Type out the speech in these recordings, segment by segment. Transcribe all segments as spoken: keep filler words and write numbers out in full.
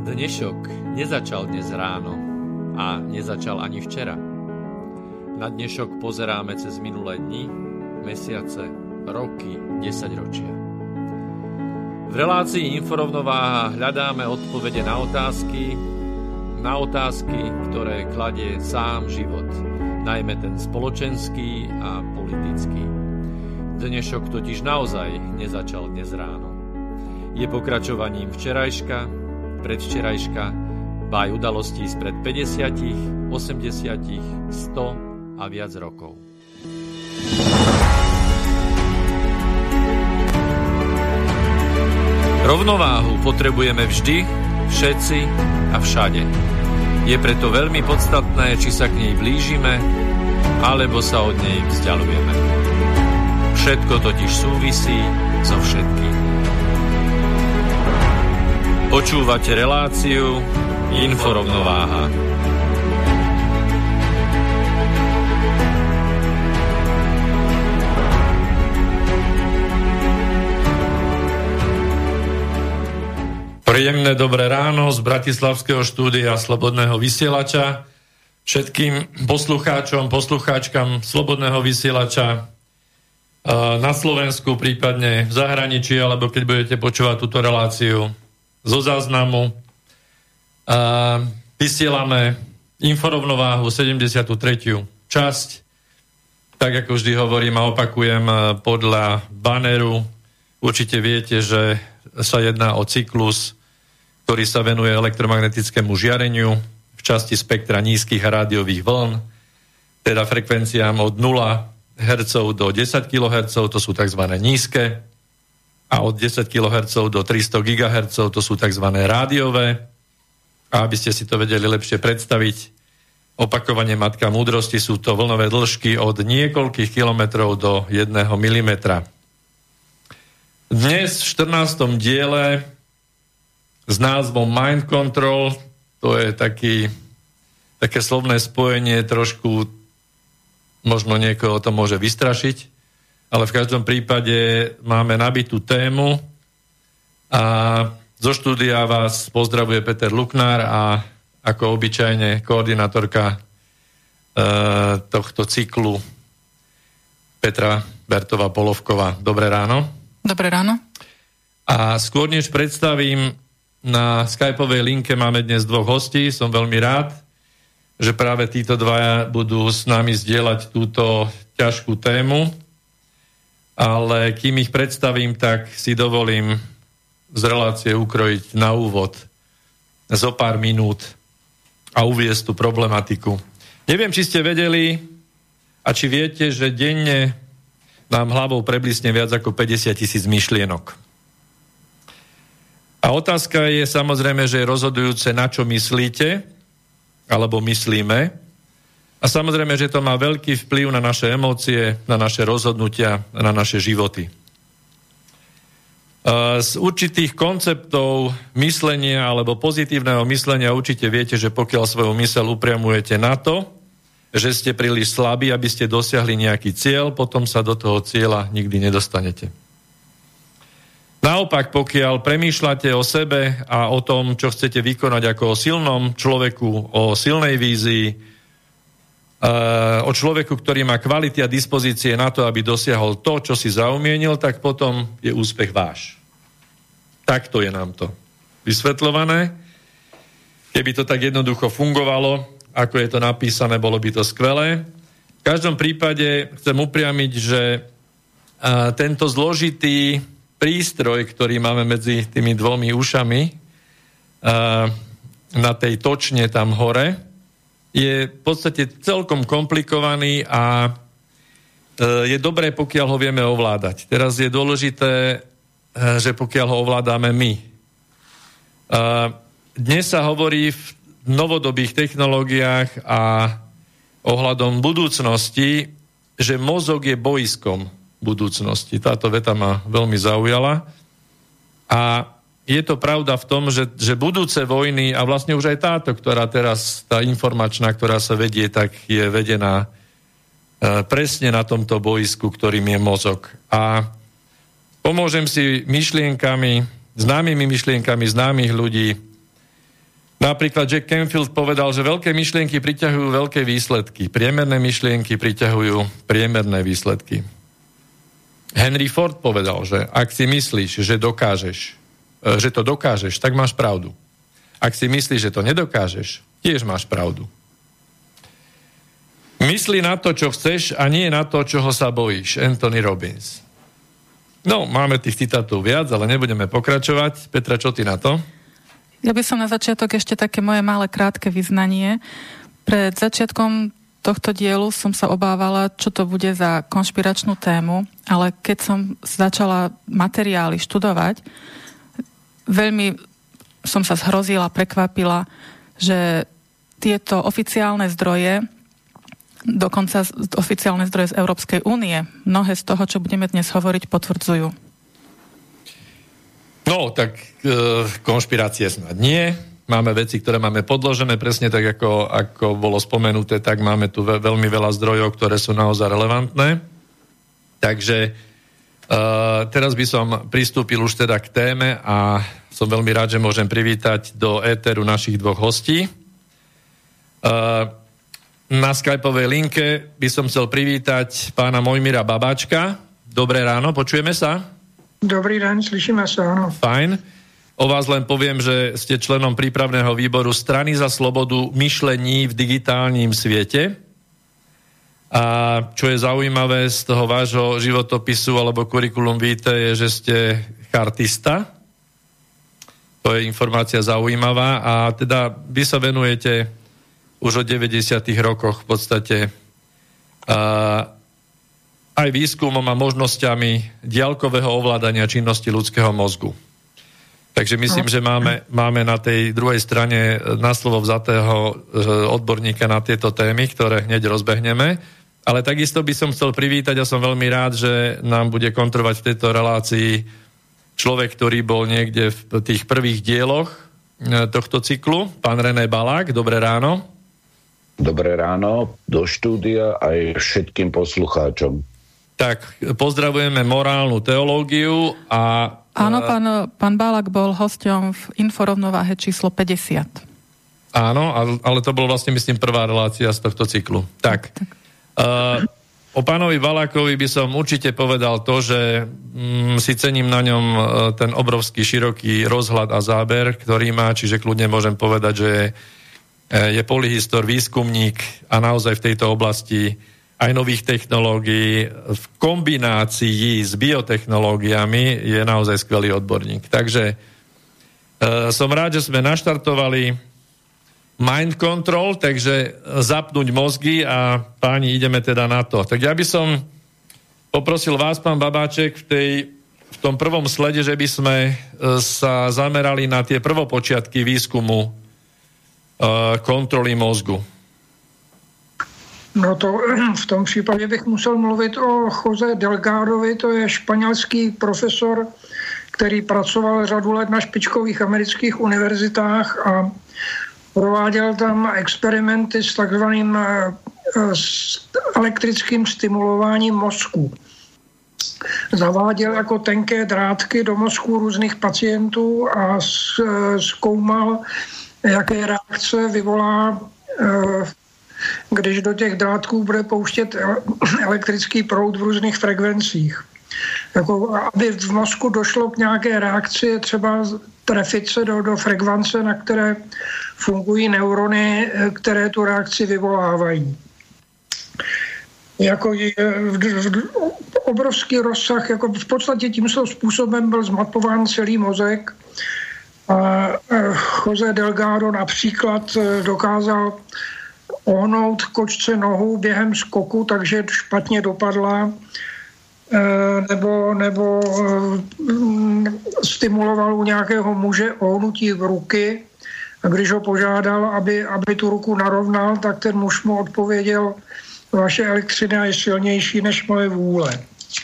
Dnešok nezačal dnes ráno a nezačal ani včera. Na dnešok pozeráme cez minulé dni, mesiace, roky, desaťročia. V relácii Inforovnováha hľadáme odpovede na otázky, na otázky, ktoré kladie sám život, najmä ten spoločenský a politický. Dnešok totiž naozaj nezačal dnes ráno. Je pokračovaním včerajška, predvčerajška, báj udalostí spred päťdesiat, osemdesiat, sto a viac rokov. Rovnováhu potrebujeme vždy, všetci a všade. Je preto veľmi podstatné, či sa k nej blížime, alebo sa od nej vzdialujeme. Všetko totiž súvisí so všetkým. Počúvate reláciu Inforovnováha. Príjemné dobré ráno z bratislavského štúdia Slobodného vysielača všetkým poslucháčom, poslucháčkam Slobodného vysielača na Slovensku, prípadne v zahraničí, alebo keď budete počúvať túto reláciu zo záznamu. A vysielame Inforovnováhu sedemdesiatu tretiu časť. Tak ako vždy hovorím a opakujem, podľa baneru určite viete, že sa jedná o cyklus, ktorý sa venuje elektromagnetickému žiareniu v časti spektra nízkych a rádiových vln, teda frekvenciám od nula hertzov do desať kilohertzov, to sú tzv. Nízke, a od desať kilohertzov do tristo gigahertzov, to sú tzv. Rádiové. A aby ste si to vedeli lepšie predstaviť, opakovanie matka múdrosti, sú to vlnové dĺžky od niekoľkých kilometrov do jedného milimetra. Dnes v štrnástom diele s názvom Mind Control, to je taký, také slovné spojenie, trošku možno niekoho to môže vystrašiť, ale v každom prípade máme nabitú tému a zo štúdia vás pozdravuje Peter Luknár a ako obyčajne koordinátorka e, tohto cyklu Petra Bertová Polovková. Dobré ráno. Dobré ráno. A skôr než predstavím, na skypovej linke máme dnes dvoch hostí. Som veľmi rád, že práve títo dvaja budú s nami zdieľať túto ťažkú tému. Ale kým ich predstavím, tak si dovolím z relácie ukrojiť na úvod zo pár minút a uviesť tú problematiku. Neviem, či ste vedeli a či viete, že denne nám hlavou preblisne viac ako päťdesiat tisíc myšlienok. A otázka je samozrejme, že je rozhodujúce, na čo myslíte, alebo myslíme. A samozrejme, že to má veľký vplyv na naše emócie, na naše rozhodnutia, na naše životy. Z určitých konceptov myslenia alebo pozitívneho myslenia určite viete, že pokiaľ svoju myseľ upriamujete na to, že ste príliš slabí, aby ste dosiahli nejaký cieľ, potom sa do toho cieľa nikdy nedostanete. Naopak, pokiaľ premýšľate o sebe a o tom, čo chcete vykonať ako o silnom človeku, o silnej vízii, o človeku, ktorý má kvality a dispozície na to, aby dosiahol to, čo si zaumienil, tak potom je úspech váš. Takto je nám to vysvetľované. Keby to tak jednoducho fungovalo, ako je to napísané, bolo by to skvelé. V každom prípade chcem upriamiť, že tento zložitý prístroj, ktorý máme medzi tými dvomi ušami na tej točne tam hore, je v podstate celkom komplikovaný a je dobré, pokiaľ ho vieme ovládať. Teraz je dôležité, že pokiaľ ho ovládame my. Dnes sa hovorí v novodobých technológiách a ohľadom budúcnosti, že mozog je bojiskom budúcnosti. Táto veta ma veľmi zaujala. A je to pravda v tom, že, že budúce vojny, a vlastne už aj táto, ktorá teraz, tá informačná, ktorá sa vedie, tak je vedená e, presne na tomto bojisku, ktorým je mozog. A pomôžem si myšlienkami, známymi myšlienkami známych ľudí, Napríklad Jack Canfield povedal, že veľké myšlienky priťahujú veľké výsledky. Priemerné myšlienky priťahujú priemerné výsledky. Henry Ford povedal, že ak si myslíš, že dokážeš, že to dokážeš, tak máš pravdu. Ak si myslíš, že to nedokážeš, tiež máš pravdu. Myslí na to, čo chceš a nie na to, čoho sa bojíš. Anthony Robbins. No, máme tých citátov viac, ale nebudeme pokračovať. Petra, čo ty na to? Ja by som na začiatok ešte také moje malé krátke vyznanie. Pred začiatkom tohto dielu som sa obávala, čo to bude za konšpiračnú tému, ale keď som začala materiály študovať, veľmi som sa zhrozila, prekvapila, že tieto oficiálne zdroje, dokonca oficiálne zdroje z Európskej únie, mnohé z toho, čo budeme dnes hovoriť, potvrdzujú. No, tak e, konšpirácie snad nie. Máme veci, ktoré máme podložené, presne tak, ako, ako bolo spomenuté, tak máme tu ve, veľmi veľa zdrojov, ktoré sú naozaj relevantné. Takže e, teraz by som pristúpil už teda k téme a som veľmi rád, že môžem privítať do éteru našich dvoch hostí. E, na skypovej linke by som chcel privítať pána Mojmíra Babáčka. Dobré ráno, počujeme sa? Dobrý deň, slyšíme sa, áno. Fajn. O vás len poviem, že ste členom prípravného výboru Strany za slobodu myšlení v digitálnym svete. A čo je zaujímavé z toho vášho životopisu alebo kurikulum vitae, je, že ste chartista. To je informácia zaujímavá. A teda vy sa venujete už od deväťdesiatych rokoch v podstate a aj výskumom a možnosťami diaľkového ovládania činnosti ľudského mozgu. Takže myslím, že máme, máme na tej druhej strane na slovo vzatého odborníka na tieto témy, ktoré hneď rozbehneme. Ale takisto by som chcel privítať a som veľmi rád, že nám bude kontrovať v tejto relácii človek, ktorý bol niekde v tých prvých dieloch tohto cyklu, pán René Balák. Dobré ráno. Dobré ráno do štúdia aj všetkým poslucháčom. Tak, pozdravujeme morálnu teológiu a... Áno, pán, pán Balák bol hosťom v Inforovnováhe číslo päťdesiat. Áno, ale to bol vlastne, myslím, prvá relácia z tohto cyklu. Tak, tak. Uh, o pánovi Balákovi by som určite povedal to, že mm, si cením na ňom uh, ten obrovský, široký rozhľad a záber, ktorý má, čiže kľudne môžem povedať, že je, je polyhistor, výskumník a naozaj v tejto oblasti aj nových technológií v kombinácii s biotechnológiami je naozaj skvelý odborník. Takže e, som rád, že sme naštartovali Mind Control, takže zapnúť mozgy a páni, ideme teda na to. Tak ja by som poprosil vás, pán Babáček, v, tej, v tom prvom slede, že by sme e, sa zamerali na tie prvopočiatky výskumu e, kontroly mozgu. No to v tom případě bych musel mluvit o Jose Delgadovi, to je španělský profesor, který pracoval řadu let na špičkových amerických univerzitách a prováděl tam experimenty s takzvaným elektrickým stimulováním mozku. Zaváděl jako tenké drátky do mozku různých pacientů a zkoumal, jaké reakce vyvolá, když do těch drátků bude pouštět elektrický proud v různých frekvencích. Jako, aby v mozku došlo k nějaké reakci, je třeba trefit se do, do frekvence, na které fungují neurony, které tu reakci vyvolávají. Jako je, v, v, obrovský rozsah, jako v podstatě tímto způsobem byl zmapován celý mozek. A Jose Delgado například dokázal ohnout kočce nohu během skoku, takže špatně dopadla, nebo, nebo stimuloval u nějakého muže ohnutí v ruky. A když ho požádal, aby, aby tu ruku narovnal, tak ten muž mu odpověděl, vaše elektřina je silnější než moje vůle.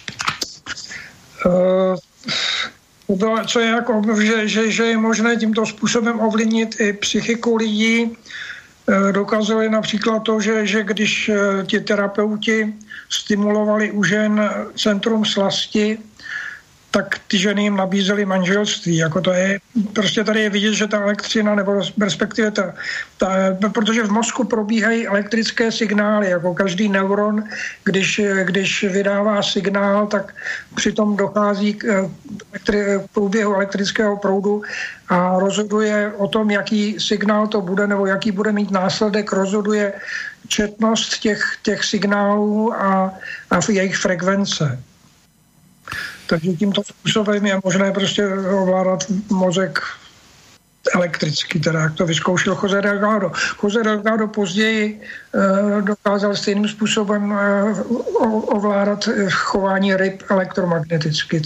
Co je jako, že, že, že je možné tímto způsobem ovlivnit i psychiku lidí. Dokazuje například to, že, že když ti terapeuti stimulovali u žen centrum slasti, tak ty ženy jim nabízely manželství. Jako to je, prostě tady je vidět, že ta elektřina, nebo respektive ta, ta, protože v mozku probíhají elektrické signály, jako každý neuron, když, když vydává signál, tak přitom dochází k elektri, průběhu elektrického proudu a rozhoduje o tom, jaký signál to bude, nebo jaký bude mít následek, rozhoduje četnost těch, těch signálů a, a jejich frekvence. Takže tímto způsobem je možné prostě ovládat mozek elektricky, teda jak to vyzkoušel José Delgado. José Delgado později e, dokázal stejným způsobem e, ovládat chování ryb elektromagneticky.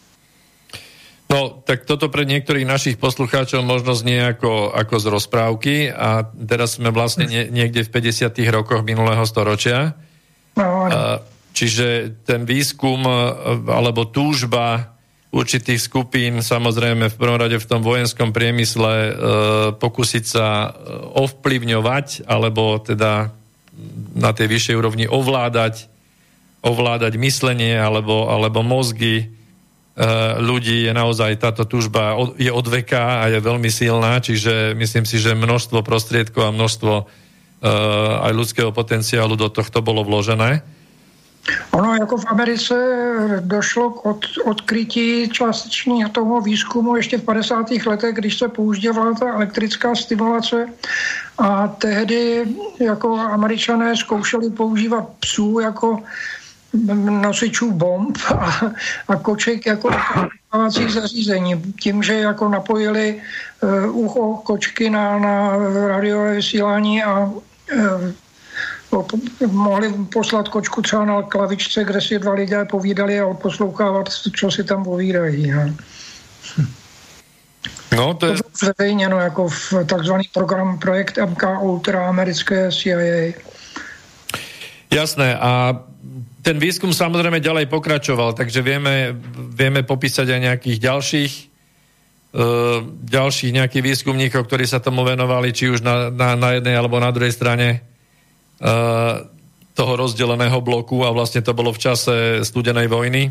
No, tak toto pre niektorých našich poslucháčov možno znie ako, ako z rozprávky a teraz sme vlastne nie, niekde v päťdesiatych rokoch minulého storočia. No, a, čiže ten výskum alebo túžba určitých skupín, samozrejme v prvom rade v tom vojenskom priemysle e, pokúsiť sa ovplyvňovať alebo teda na tej vyššej úrovni ovládať ovládať myslenie alebo, alebo mozgy ľudí, je naozaj táto túžba je od veka a je veľmi silná, čiže myslím si, že množstvo prostriedkov a množstvo uh, aj ľudského potenciálu do tohto bolo vložené. Ono jako v Americe došlo k od, odkrytí částečního toho výzkumu ještě v padesátých letech, když se používala ta elektrická stimulace a tehdy jako Američané zkoušeli používat psů jako nosičů bomb a, a koček jako vypávací zařízení. Tím, že jako napojili uh, ucho kočky na, na rádiové vysílání a uh, mohli poslat kočku třeba na klavičce, kde si dva lidé povídali a odposlouchávat, co si tam povídají. No, no to je... To bylo zveřejněno jako v takzvaný program projekt M K Ultra americké C I A. Jasné, a ten výskum samozrejme ďalej pokračoval, takže vieme, vieme popísať aj nejakých ďalších uh, ďalších nejakých výskumníkov, ktorí sa tomu venovali, či už na, na, na jednej alebo na druhej strane uh, toho rozdeleného bloku a vlastne to bolo v čase studenej vojny.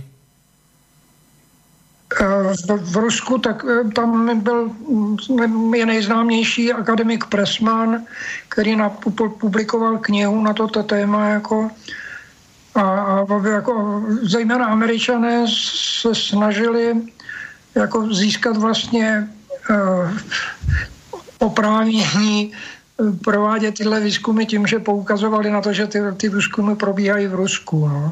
V, v Rusku, tak tam byl je nejznámější akademik Pressman, který na, publikoval knihu na toto téma jako A, a jako zejména Američané se snažili jako získat vlastně uh, oprávnění provádět tyhle výzkumy tím, že poukazovali na to, že ty, ty výzkumy probíhají v Rusku. No.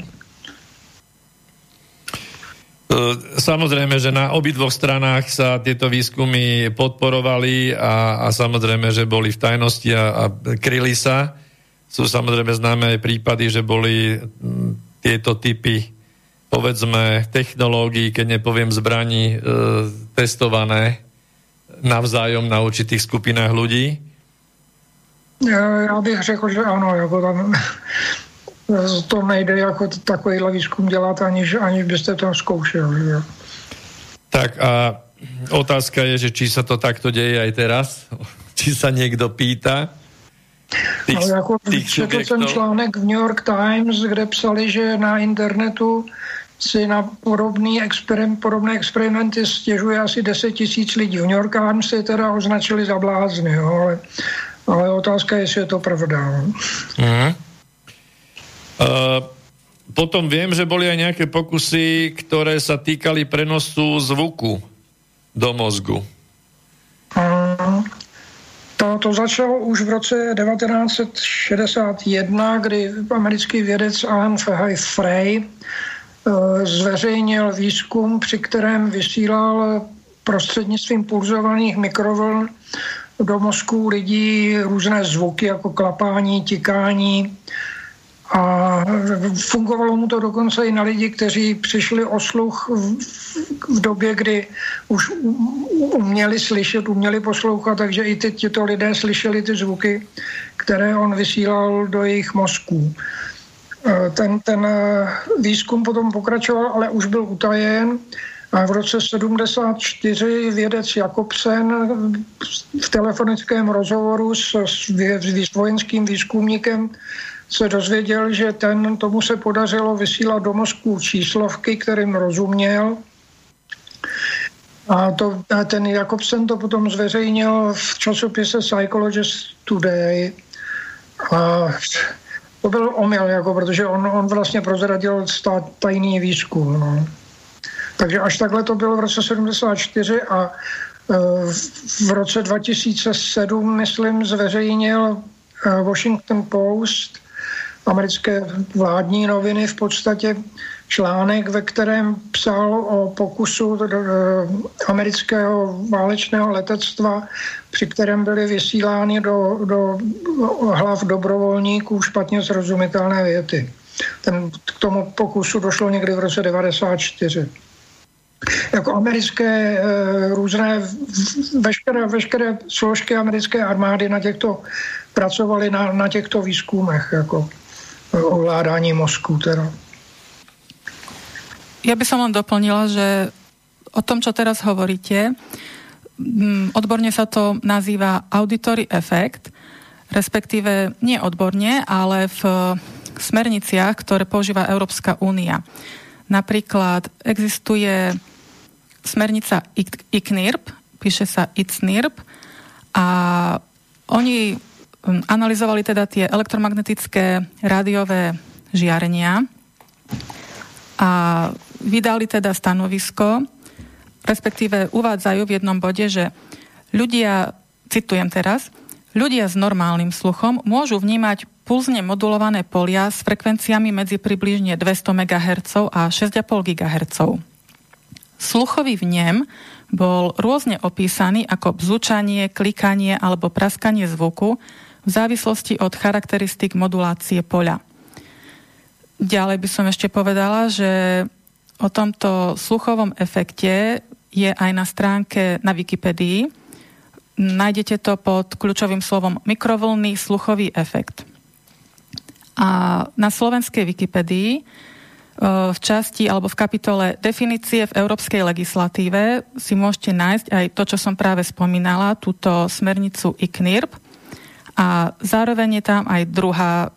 Samozrejme, že na obidvoch stranách sa tieto výskumy podporovali a, a samozrejme, že boli v tajnosti a, a kryli sa. Sú samozrejme známe aj prípady, že boli tieto typy, povedzme, technológií, keď nepoviem zbraní, e, testované navzájom na určitých skupinách ľudí? Ja, ja bych řekl, že áno, jako tam to nejde jako takovýhle výzkum dělat, aniž, aniž byste to zkoušeli. Jo. Tak a otázka je, že či sa to takto deje aj teraz? Či sa niekto pýta? Tých, no, jako četl jsem článek v New York Times, kde psali, že na internetu si na podobný experim, podobné experimenty stěžuje asi deset tisíc lidí. V New York Times si teda označili za blázny, jo, ale, ale otázka je, jestli je to pravda. Mm. Uh, potom viem, že boli aj nejaké pokusy, ktoré sa týkali prenosu zvuku do mozgu. Mm. To, to začalo už v roce devatenáct set šedesát jedna, kdy americký vědec Alan Frey zveřejnil výzkum, při kterém vysílal prostřednictvím pulzovaných mikrovln do mozku lidí různé zvuky, jako klapání, tikání. A fungovalo mu to dokonce i na lidi, kteří přišli o sluch v, v době, kdy už uměli slyšet, uměli poslouchat, takže i ty, tyto lidé slyšeli ty zvuky, které on vysílal do jejich mozků. Ten, ten výzkum potom pokračoval, ale už byl utajen. A v roce sedmdesát čtyři vědec Jakobsen v telefonickém rozhovoru s, s, s vojenským výzkumníkem se dozvěděl, že ten, tomu se podařilo vysílat do mozku číslovky, kterým rozuměl A, to, a ten Jakobsen to potom zveřejnil v časopise Psychologist Today. A to byl omyl, jako, protože on, on vlastně prozradil tajný výzkum. No. Takže až takhle to bylo v roce sedmdesát čtyři a v roce dva tisíce sedm, myslím, zveřejnil Washington Post, americké vládní noviny, v podstatě článek, ve kterém psal o pokusu amerického válečného letectva, při kterém byly vysílány do, do hlav dobrovolníků špatně srozumitelné věty. Ten, k tomu pokusu došlo někdy v roce devadesát čtyři. Jako americké různé, veškeré, veškeré složky americké armády na těchto pracovali na, na těchto výzkumech, jako ovládání mozku teda. Ja by som len doplnila, že o tom, čo teraz hovoríte, odborne sa to nazýva auditory effect, respektíve nie odborne, ale v smerniciach, ktoré používa Európska únia. Napríklad existuje smernica I C N I R P, píše sa I C N I R P, a oni analyzovali teda tie elektromagnetické rádiové žiarenia a vydali teda stanovisko, respektíve uvádzajú v jednom bode, že ľudia, citujem teraz, ľudia s normálnym sluchom môžu vnímať pulzne modulované polia s frekvenciami medzi približne dvesto megahertzov a šesť a pol gigahertzov. Sluchový vnem bol rôzne opísaný ako bzučanie, klikanie alebo praskanie zvuku v závislosti od charakteristik modulácie poľa. Ďalej by som ešte povedala, že o tomto sluchovom efekte je aj na stránke na Wikipedii. Nájdete to pod kľúčovým slovom mikrovlnný sluchový efekt. A na slovenskej Wikipedii v časti alebo v kapitole definície v európskej legislatíve si môžete nájsť aj to, čo som práve spomínala, túto smernicu I C N I R P. A zároveň je tam aj druhá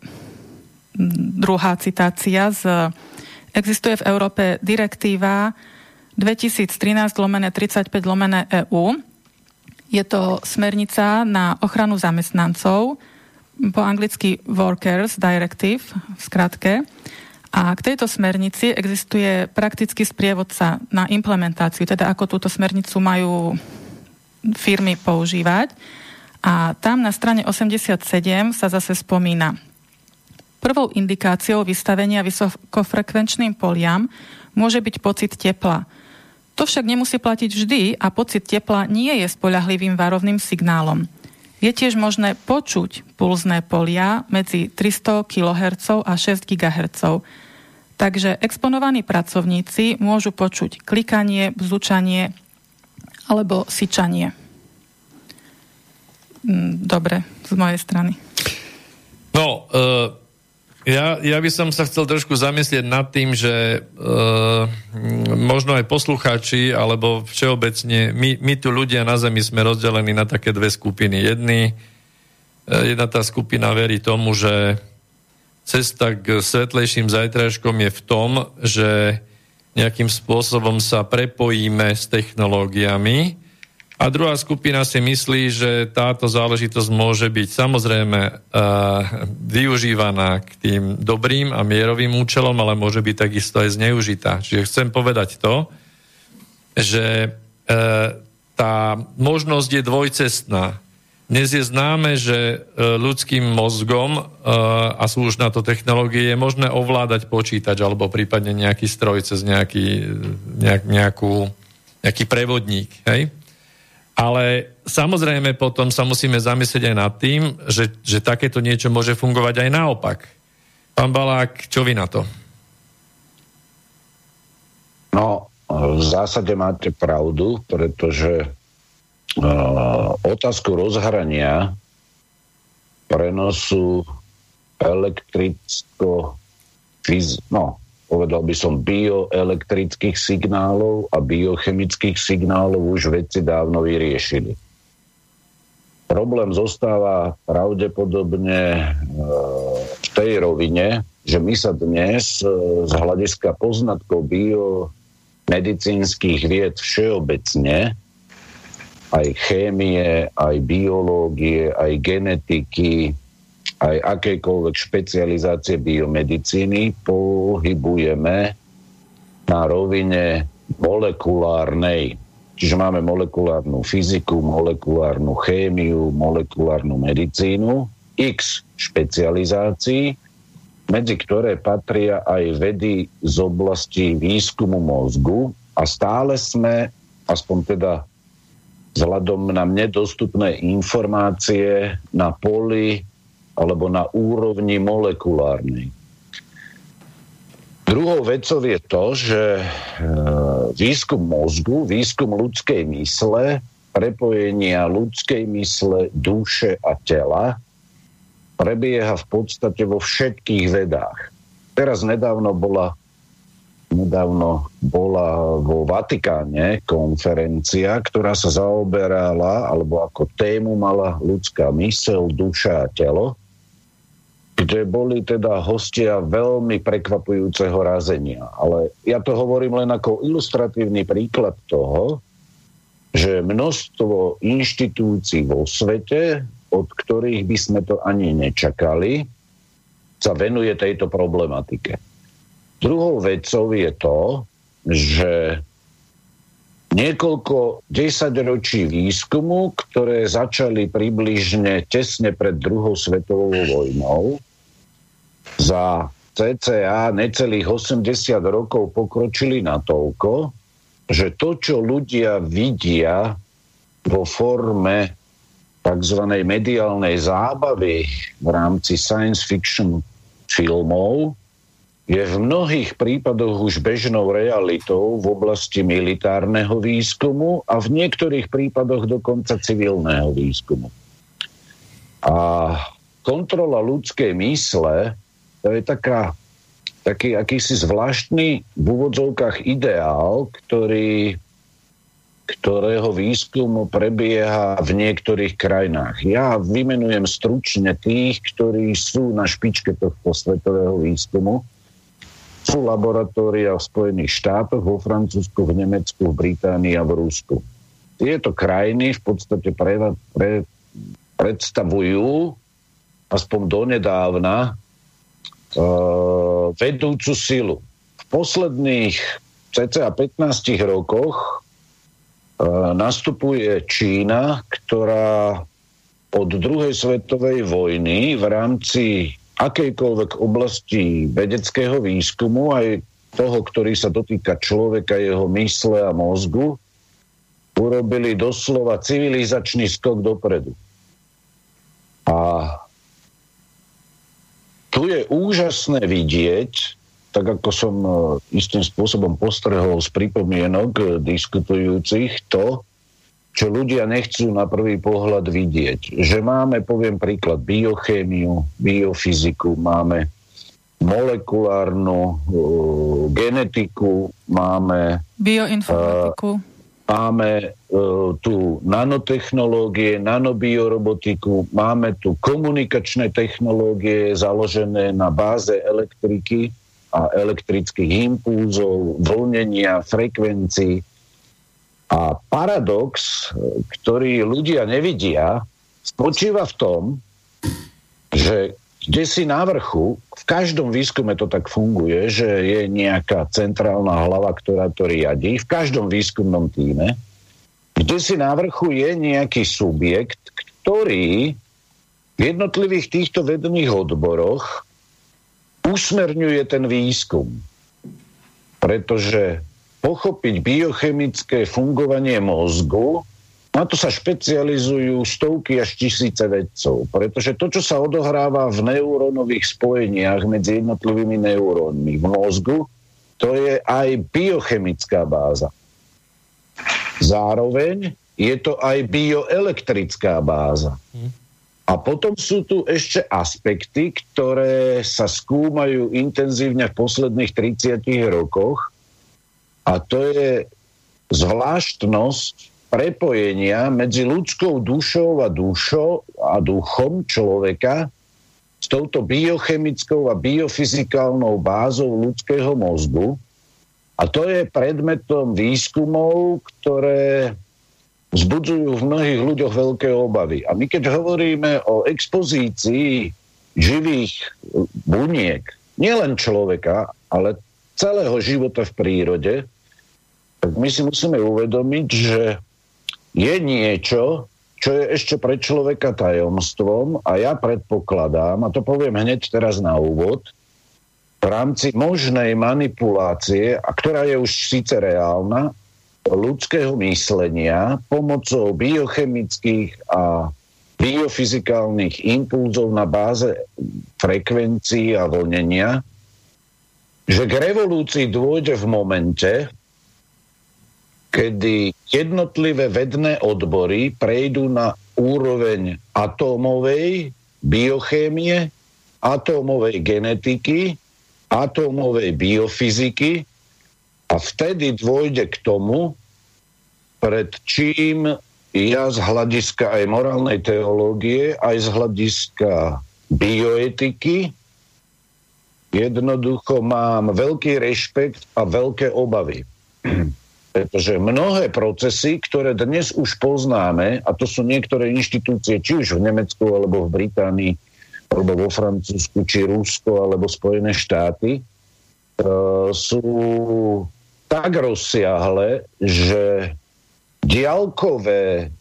druhá citácia z existuje v Európe direktíva dvetisíctrinásť lomeno tridsaťpäť lomeno é ú. Je to smernica na ochranu zamestnancov, po anglicky Workers Directive, v skratke. A k tejto smernici existuje praktický sprievodca na implementáciu, teda ako túto smernicu majú firmy používať. A tam na strane osemdesiatsedem sa zase spomína: prvou indikáciou vystavenia vysokofrekvenčným poliam môže byť pocit tepla. To však nemusí platiť vždy a pocit tepla nie je spoľahlivým varovným signálom. Je tiež možné počuť pulzné polia medzi tristo kilohertzov a šesť gigahertzov. Takže exponovaní pracovníci môžu počuť klikanie, bzučanie alebo syčanie. Dobre, z mojej strany. No, uh... Ja, ja by som sa chcel trošku zamyslieť nad tým, že e, možno aj poslucháči, alebo všeobecne, my, my tu ľudia na Zemi sme rozdelení na také dve skupiny. Jedni, e, jedna tá skupina verí tomu, že cesta k svetlejším zajtrajškom je v tom, že nejakým spôsobom sa prepojíme s technológiami. A druhá skupina si myslí, že táto záležitosť môže byť samozrejme uh, využívaná k tým dobrým a mierovým účelom, ale môže byť takisto aj zneužitá. Čiže chcem povedať to, že uh, tá možnosť je dvojcestná. Dnes je známe, že uh, ľudským mozgom, uh, a sú už na to technológie, je možné ovládať počítač alebo prípadne nejaký stroj cez nejaký, nejak, nejakú, nejaký prevodník, hej? Ale samozrejme potom sa musíme zamyslieť aj nad tým, že, že takéto niečo môže fungovať aj naopak. Pán Balák, čo vy na to? No, v zásade máte pravdu, pretože uh, otázku rozhrania prenosu elektricko fyz, no, povedal by som bioelektrických signálov a biochemických signálov už vedci dávno vyriešili. Problém zostáva pravdepodobne v tej rovine, že my sa dnes z hľadiska poznatkov bio, medicínskych vied všeobecne, aj chémie, aj biológie, aj genetiky, aj akékoľvek špecializácie biomedicíny, pohybujeme na rovine molekulárnej. Čiže máme molekulárnu fyziku, molekulárnu chémiu, molekulárnu medicínu, x špecializácií, medzi ktoré patria aj vedy z oblasti výskumu mozgu a stále sme, aspoň teda vzhľadom na mne dostupné informácie, na poli alebo na úrovni molekulárnej. Druhou vecou je to, že výskum mozgu, výskum ľudskej mysle, prepojenia ľudskej mysle, duše a tela prebieha v podstate vo všetkých vedách. Teraz nedávno bola Nedávno bola vo Vatikáne konferencia, ktorá sa zaoberala, alebo ako tému mala ľudská myseľ, duša a telo, kde boli teda hostia veľmi prekvapujúceho razenia. Ale ja to hovorím len ako ilustratívny príklad toho, že množstvo inštitúcií vo svete, od ktorých by sme to ani nečakali, sa venuje tejto problematike. Druhou vecou je to, že niekoľko desaťročí výskumu, ktoré začali približne tesne pred druhou svetovou vojnou, za cca necelých osemdesiat rokov pokročili natoľko, že to, čo ľudia vidia vo forme tzv. Mediálnej zábavy v rámci science fiction filmov, je v mnohých prípadoch už bežnou realitou v oblasti militárneho výskumu a v niektorých prípadoch dokonca civilného výskumu. A kontrola ľudskej mysle, to je taká, taký akýsi zvláštny v úvodzovkách ideál, ktorý, ktorého výskum prebieha v niektorých krajinách. Ja vymenujem stručne tých, ktorí sú na špičke tohto svetového výskumu. Sú laboratória v Spojených štátoch, vo Francúzsku, v Nemecku, v Británii a v Rusku. Tieto krajiny v podstate pre, pre, predstavujú aspoň donedávna e, vedúcu silu. V posledných cca pätnástich rokoch e, nastupuje Čína, ktorá od druhej svetovej vojny v rámci akejkoľvek oblasti vedeckého výskumu, aj toho, ktorý sa dotýka človeka, jeho mysle a mozgu, urobili doslova civilizačný skok dopredu. A tu je úžasné vidieť, tak ako som istým spôsobom postrehol z pripomienok diskutujúcich, to, čo ľudia nechcú na prvý pohľad vidieť. Že máme, poviem príklad, biochémiu, biofyziku, máme molekulárnu uh, genetiku, máme bioinformatiku. Uh, máme uh, tu nanotechnológie, nanobiorobotiku, máme tu komunikačné technológie založené na báze elektriky a elektrických impulzov, vlnenia, frekvencií. A paradox, ktorý ľudia nevidia, spočíva v tom, že kde si na vrchu, v každom výskume to tak funguje, že je nejaká centrálna hlava, ktorá to riadí, v každom výskumnom tíme, kde si na vrchu je nejaký subjekt, ktorý v jednotlivých týchto vedných odboroch usmerňuje ten výskum. Pretože pochopiť biochemické fungovanie mozgu, na to sa špecializujú stovky až tisíce vedcov. Pretože to, čo sa odohráva v neurónových spojeniach medzi jednotlivými neurónmi v mozgu, to je aj biochemická báza. Zároveň je to aj bioelektrická báza. A potom sú tu ešte aspekty, ktoré sa skúmajú intenzívne v posledných tridsiatich rokoch, a to je zvláštnosť prepojenia medzi ľudskou dušou a dušou a duchom človeka s touto biochemickou a biofyzikálnou bázou ľudského mozgu. A to je predmetom výskumov, ktoré vzbudzujú v mnohých ľuďoch veľké obavy. A my keď hovoríme o expozícii živých buniek, nielen človeka, ale celého života v prírode, tak my si musíme uvedomiť, že je niečo, čo je ešte pre človeka tajomstvom a ja predpokladám, a to poviem hneď teraz na úvod, v rámci možnej manipulácie, a ktorá je už síce reálna, ľudského myslenia pomocou biochemických a biofyzikálnych impulzov na báze frekvencií a vlnenia, že k revolúcii dôjde v momente, kedy jednotlivé vedné odbory prejdú na úroveň atómovej biochémie, atómovej genetiky, atómovej biofyziky a vtedy dôjde k tomu, pred čím ja z hľadiska aj morálnej teológie, aj z hľadiska bioetiky jednoducho mám veľký rešpekt a veľké obavy. Pretože mnohé procesy, ktoré dnes už poznáme, a to sú niektoré inštitúcie, či už v Nemecku, alebo v Británii, alebo vo Francúzsku, či Rusko, alebo Spojené štáty, e, sú tak rozsiahle, že diaľkové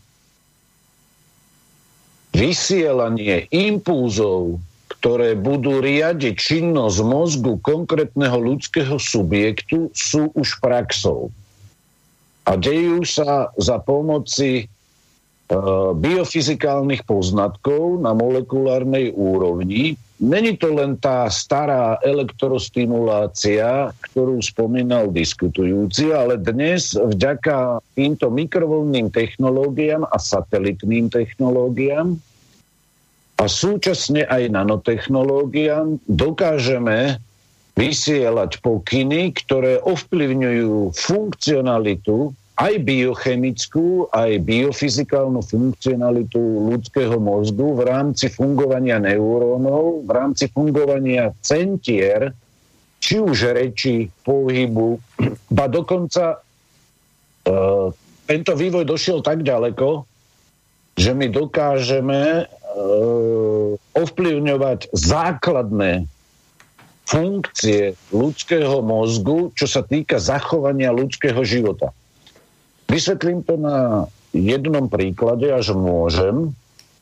vysielanie impulzov, ktoré budú riadiť činnosť mozgu konkrétneho ľudského subjektu, sú už praxou. A dejú sa za pomoci e, biofyzikálnych poznatkov na molekulárnej úrovni. Není to len tá stará elektrostimulácia, ktorú spomínal diskutujúci, ale dnes vďaka týmto mikrovlnným technológiám a satelitným technológiám a súčasne aj nanotechnológiám dokážeme vysielať pokyny, ktoré ovplyvňujú funkcionalitu, aj biochemickú, aj biofyzikálnu funkcionalitu ľudského mozgu v rámci fungovania neurónov, v rámci fungovania centier, či už reči, pohybu, ba dokonca e, tento vývoj došiel tak ďaleko, že my dokážeme e, ovplyvňovať základné funkcie ľudského mozgu, čo sa týka zachovania ľudského života. Vysvetlím to na jednom príklade, až môžem.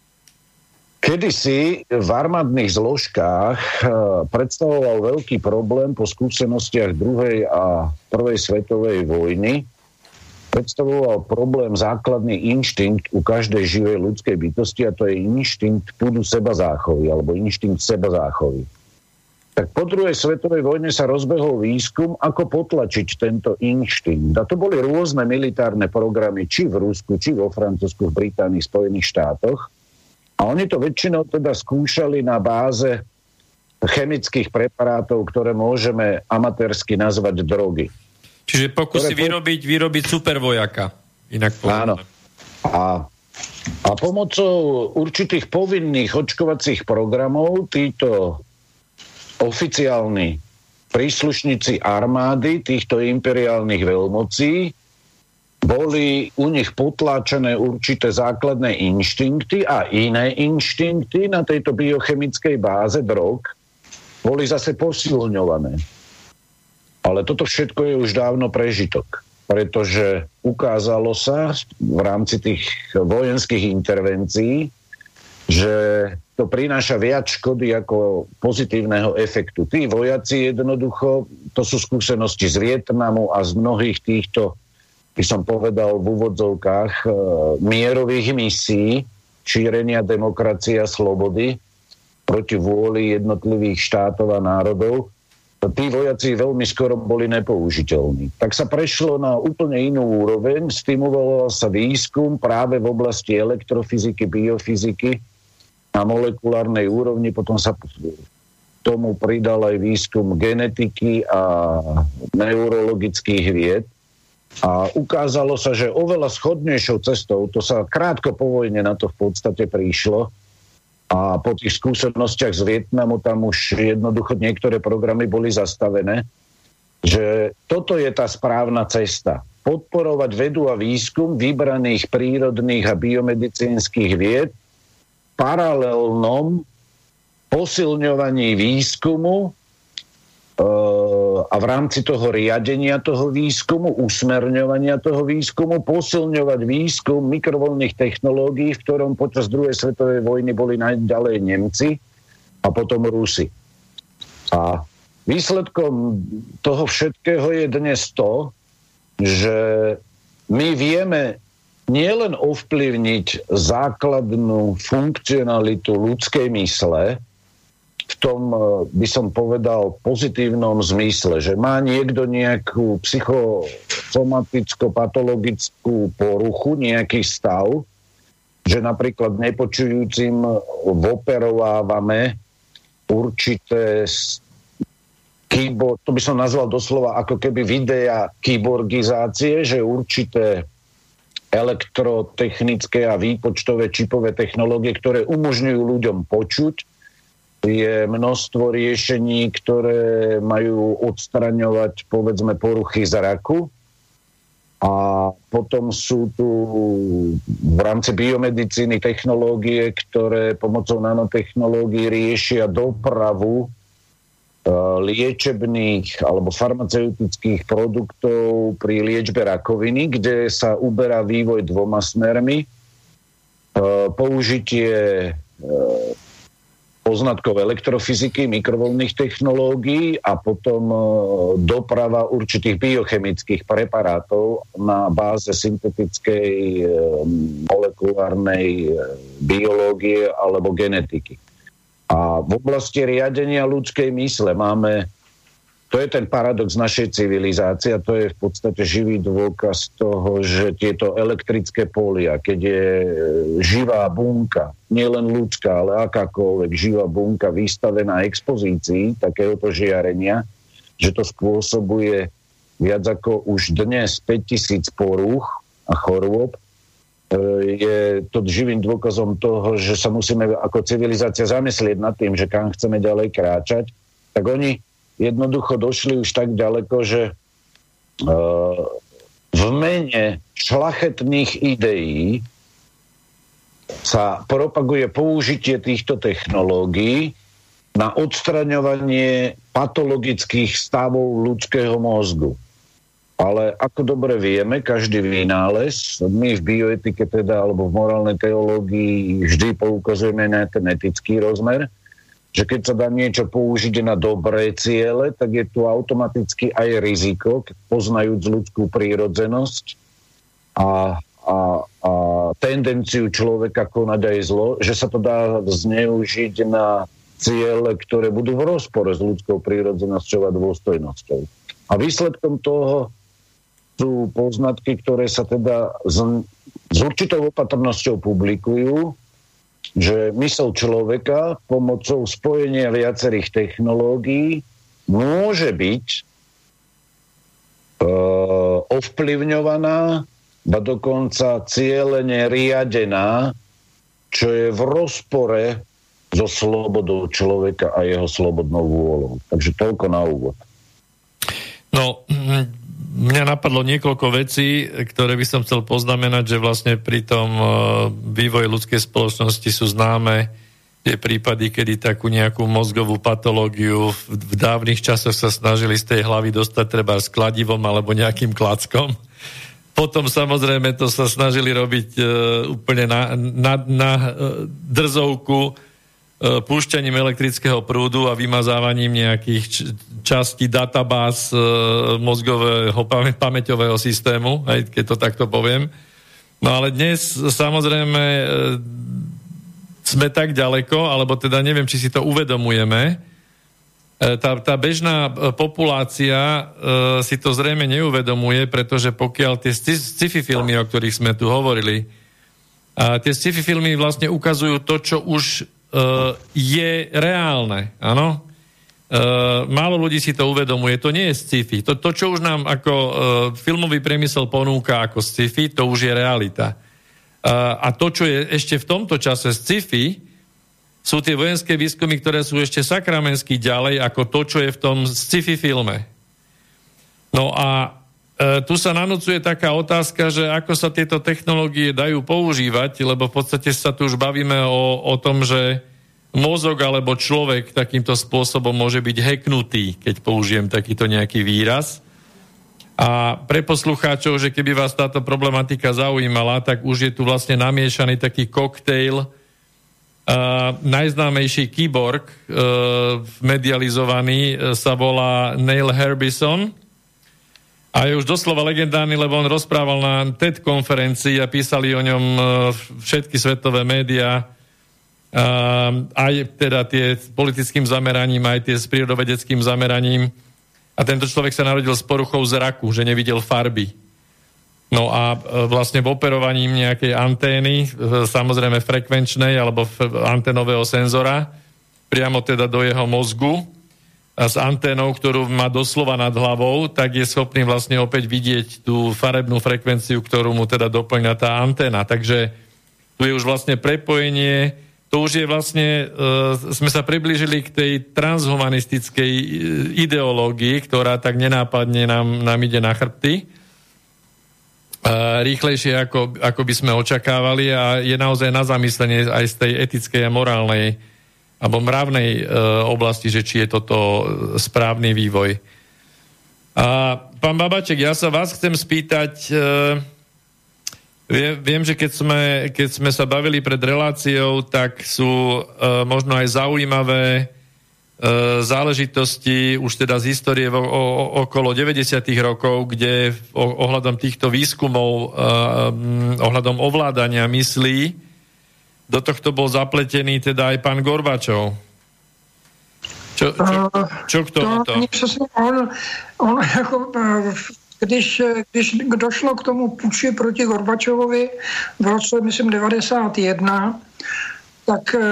Kedysi v armádnych zložkách predstavoval veľký problém po skúsenostiach druhej a prvej svetovej vojny. Predstavoval problém základný inštinkt u každej živej ľudskej bytosti, a to je inštinkt púdu seba záchovy, alebo inštinkt seba záchovy. Tak po druhej svetovej vojne sa rozbehol výskum, ako potlačiť tento inštinkt. A to boli rôzne militárne programy, či v Rusku, či vo Francúzsku, v Británii, Spojených štátoch. A oni to väčšinou teda skúšali na báze chemických preparátov, ktoré môžeme amatérsky nazvať drogy. Čiže pokusy ktoré... vyrobiť, vyrobiť supervojaka. Inak povedané. Áno. A, a pomocou určitých povinných očkovacích programov títo oficiálni príslušníci armády týchto imperiálnych veľmocí boli u nich potláčané určité základné inštinkty a iné inštinkty na tejto biochemickej báze drog boli zase posilňované. Ale toto všetko je už dávno prežitok, pretože ukázalo sa v rámci tých vojenských intervencií, že to prináša viac škody ako pozitívneho efektu. Tí vojaci jednoducho, to sú skúsenosti z Vietnamu a z mnohých týchto, by som povedal v úvodzovkách, e, mierových misií šírenia demokracie a slobody proti vôli jednotlivých štátov a národov. Tí vojaci veľmi skoro boli nepoužiteľní. Tak sa prešlo na úplne inú úroveň, stimuloval sa výskum práve v oblasti elektrofyziky, biofyziky, na molekulárnej úrovni, potom sa tomu pridal aj výskum genetiky a neurologických vied a ukázalo sa, že oveľa schodnejšou cestou, to sa krátko po vojne na to v podstate prišlo a po tých skúsenostiach z Vietnamu tam už jednoducho niektoré programy boli zastavené, že toto je tá správna cesta. Podporovať vedu a výskum vybraných prírodných a biomedicínskych vied v paralelnom posilňovaní výskumu a v rámci toho riadenia toho výskumu, usmerňovania toho výskumu, posilňovať výskum mikrovlnných technológií, v ktorom počas druhej svetovej vojny boli najďalej Nemci a potom Rusi. A výsledkom toho všetkého je dnes to, že my vieme nielen ovplyvniť základnú funkcionalitu ľudskej mysle, v tom, by som povedal, pozitívnom zmysle, že má niekto nejakú psychosomaticko-patologickú poruchu, nejaký stav, že napríklad nepočujúcim operovávame určité keyboard, to by som nazval doslova ako keby videa kyborgizácie, že určité elektrotechnické a výpočtové čipové technológie, ktoré umožňujú ľuďom počuť. Je množstvo riešení, ktoré majú odstraňovať, povedzme, poruchy zraku. A potom sú tu v rámci biomedicíny technológie, ktoré pomocou nanotechnológií riešia dopravu liečebných alebo farmaceutických produktov pri liečbe rakoviny, kde sa uberá vývoj dvoma smermi. Použitie poznatkov elektrofyziky, mikrovlnných technológií a potom doprava určitých biochemických preparátov na báze syntetickej molekulárnej biológie alebo genetiky. A v oblasti riadenia ľudskej mysle máme, to je ten paradox našej civilizácie a to je v podstate živý dôkaz toho, že tieto elektrické polia, keď je živá bunka, nielen ľudská, ale akákoľvek živá bunka vystavená expozícii takéhoto žiarenia, že to spôsobuje viac ako už dnes päťtisíc porúch a chorôb, je to živým dôkazom toho, že sa musíme ako civilizácia zamyslieť nad tým, že kam chceme ďalej kráčať, tak oni jednoducho došli už tak ďaleko, že v mene šľachetných ideí sa propaguje použitie týchto technológií na odstraňovanie patologických stavov ľudského mozgu. Ale ako dobre vieme, každý vynález, my v bioetike teda, alebo v morálnej teológii vždy poukazujeme na ten etický rozmer, že keď sa dá niečo použiť na dobré ciele, tak je tu automaticky aj riziko, poznajúc ľudskú prírodzenosť a, a, a tendenciu človeka konať aj zlo, že sa to dá zneužiť na ciele, ktoré budú v rozpore s ľudskou prírodzenosťou a dôstojnosťou. A výsledkom toho sú poznatky, ktoré sa teda s, s určitou opatrnosťou publikujú, že mysl človeka pomocou spojenia viacerých technológií môže byť e, ovplyvňovaná, ba dokonca cielene riadená, čo je v rozpore so slobodou človeka a jeho slobodnou vôľou. Takže toľko na úvod. No, mňa napadlo niekoľko vecí, ktoré by som chcel poznamenať, že vlastne pri tom vývoji ľudskej spoločnosti sú známe tie prípady, kedy takú nejakú mozgovú patológiu v dávnych časoch sa snažili z tej hlavy dostať treba s kladivom alebo nejakým klackom. Potom samozrejme to sa snažili robiť úplne na, na, na drzovku púšťaním elektrického prúdu a vymazávaním nejakých častí databáz mozgového pamäťového systému, aj keď to takto poviem. No ale dnes samozrejme sme tak ďaleko, alebo teda neviem, či si to uvedomujeme. Tá, tá bežná populácia si to zrejme neuvedomuje, pretože pokiaľ tie sci-fi filmy, o ktorých sme tu hovorili, a tie sci-fi filmy vlastne ukazujú to, čo už je reálne, áno. Málo ľudí si to uvedomuje, to nie je sci-fi. To, to čo už nám ako filmový priemysel ponúka ako sci-fi, to už je realita. A to, čo je ešte v tomto čase sci-fi, sú tie vojenské výskumy, ktoré sú ešte sakramensky ďalej ako to, čo je v tom sci-fi filme. No a e, tu sa nanúcuje taká otázka, že ako sa tieto technológie dajú používať, lebo v podstate sa tu už bavíme o, o tom, že mozog alebo človek takýmto spôsobom môže byť hacknutý, keď použijem takýto nejaký výraz. A pre poslucháčov, že keby vás táto problematika zaujímala, tak už je tu vlastne namiešaný taký koktejl. Uh, najznámejší kyborg uh, medializovaný uh, sa volá Neil Harbisson a je už doslova legendárny, lebo on rozprával na TED konferencii a písali o ňom uh, všetky svetové médiá, uh, aj teda tie s politickým zameraním, aj tie s prírodovedeckým zameraním. A tento človek sa narodil s poruchou zraku, že nevidel farby. No a vlastne v operovaní nejakej antény, samozrejme frekvenčnej alebo anténového senzora, priamo teda do jeho mozgu a s anténou, ktorú má doslova nad hlavou, tak je schopný vlastne opäť vidieť tú farebnú frekvenciu, ktorú mu teda doplňa tá anténa. Takže tu je už vlastne prepojenie. To už je vlastne, uh, sme sa priblížili k tej transhumanistickej ideológii, ktorá tak nenápadne nám, nám ide na chrbty. Uh, rýchlejšie, ako, ako by sme očakávali a je naozaj na zamyslenie aj z tej etickej a morálnej alebo mravnej uh, oblasti, že či je toto správny vývoj. A pán Babaček, ja sa vás chcem spýtať... Uh, Viem, viem, že keď sme, keď sme sa bavili pred reláciou, tak sú e, možno aj zaujímavé e, záležitosti už teda z histórie o, o, okolo deväťdesiatych rokov, kde o, ohľadom týchto výskumov, e, ohľadom ovládania myslí, do tohto bol zapletený teda aj pán Gorbačov. Čo, čo, čo k tomuto? On, on jako... Když, když došlo k tomu puči proti Gorbačovovi v roce, myslím, devadesát jedna, tak e,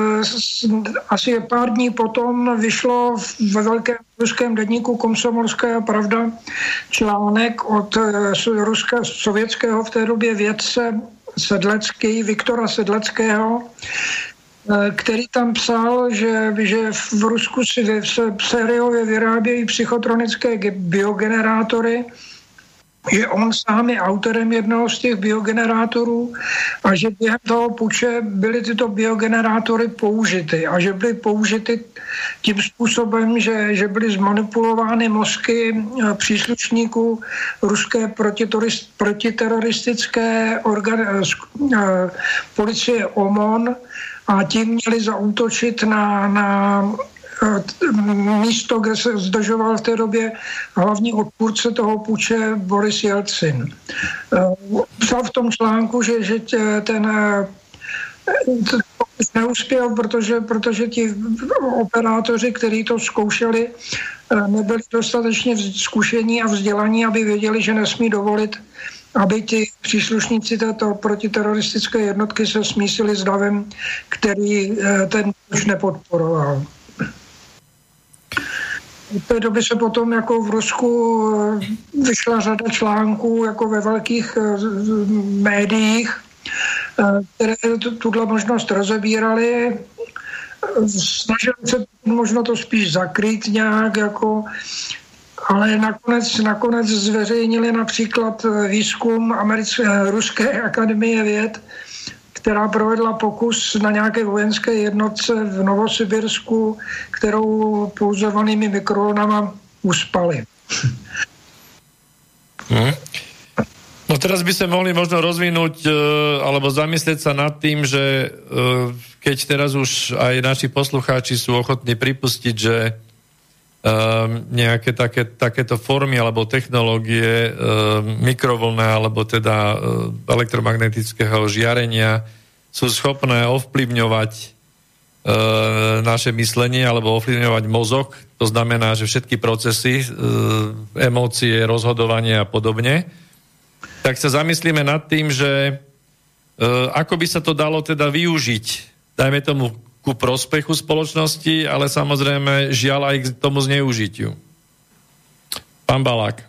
asi pár dní potom vyšlo ve velkém ruském deníku Komsomolská pravda článek od e, ruského, sovětského v té době vědce Sedlecký, Viktora Sedleckého, e, který tam psal, že, že v Rusku si se sériově vyrábějí psychotronické biogenerátory, že on sám je autorem jednoho z těch biogenerátorů a že během toho puče byly tyto biogenerátory použity a že byly použity tím způsobem, že, že byly zmanipulovány mozky příslušníků ruské protiteroristické organ, policie O M O N a tím měli zaútočit na, na místo, kde se zdržoval v té době hlavní odpůrce toho puče Boris Jelcin. Psal v tom článku, že, že ten neuspěl, protože, protože ti operátoři, kteří to zkoušeli, nebyli dostatečně zkušení a vzdělaní, aby věděli, že nesmí dovolit, aby ti příslušníci této protiteroristické jednotky se smísili s davem, který ten puč nepodporoval. V té doby se potom jako v Rusku vyšla řada článků jako ve velkých médiích, které tuhle možnost rozebírali. Snažili se možno to spíš zakrýt nějak, jako, ale nakonec, nakonec zveřejnili například výzkum Americké, Ruské akademie věd, která provedla pokus na nějaké vojenské jednotce v Novosibirsku, kterou pouzovanými mikrovlnama uspali. Hmm. No teraz by sme mohli možno rozvinúť alebo zamyslieť sa nad tým, že keď teraz už aj naši poslucháči sú ochotní pripustiť, že nejaké také, takéto formy alebo technológie mikrovlnné alebo teda elektromagnetického žiarenia sú schopné ovplyvňovať naše myslenie alebo ovplyvňovať mozog. To znamená, že všetky procesy, emócie, rozhodovanie a podobne. Tak sa zamyslíme nad tým, že ako by sa to dalo teda využiť, dajme tomu ku prospechu spoločnosti, ale samozrejme žiaľ aj k tomu zneužitiu. Pán Balák.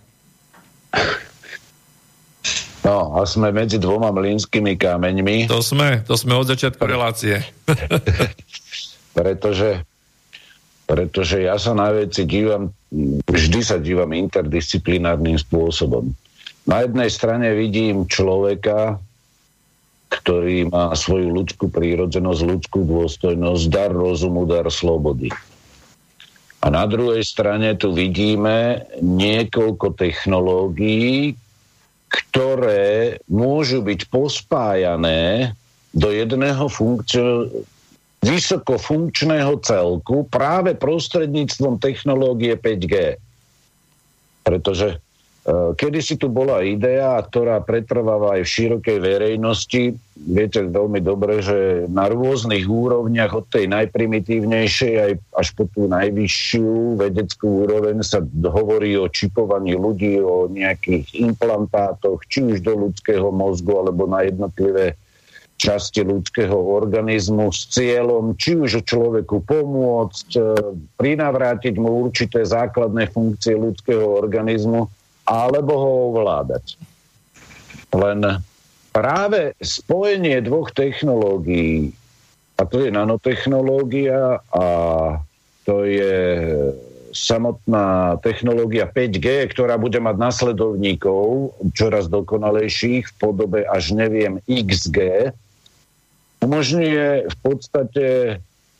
No, a sme medzi dvoma mlynskými kameňmi. To sme, to sme od začiatku relácie. pretože, pretože ja sa na veci dívam vždy sa dívam interdisciplinárnym spôsobom. Na jednej strane vidím človeka, ktorý má svoju ľudskú prírodzenosť, ľudskú dôstojnosť, dar rozumu, dar slobody. A na druhej strane tu vidíme niekoľko technológií, ktoré môžu byť pospájané do jedného funkcio- vysokofunkčného celku práve prostredníctvom technológie päť gé. Pretože kedysi tu bola idea, ktorá pretrváva aj v širokej verejnosti. Viete veľmi dobre, že na rôznych úrovniach od tej najprimitívnejšej aj až po tú najvyššiu vedeckú úroveň sa hovorí o čipovaní ľudí, o nejakých implantátoch, či už do ľudského mozgu, alebo na jednotlivé časti ľudského organizmu s cieľom, či už človeku pomôcť, prinavrátiť mu určité základné funkcie ľudského organizmu, alebo ho ovládať. Len práve spojenie dvoch technológií, a to je nanotechnológia a to je samotná technológia päť gé, ktorá bude mať nasledovníkov čoraz dokonalejších v podobe až neviem iks gé, umožňuje v podstate e,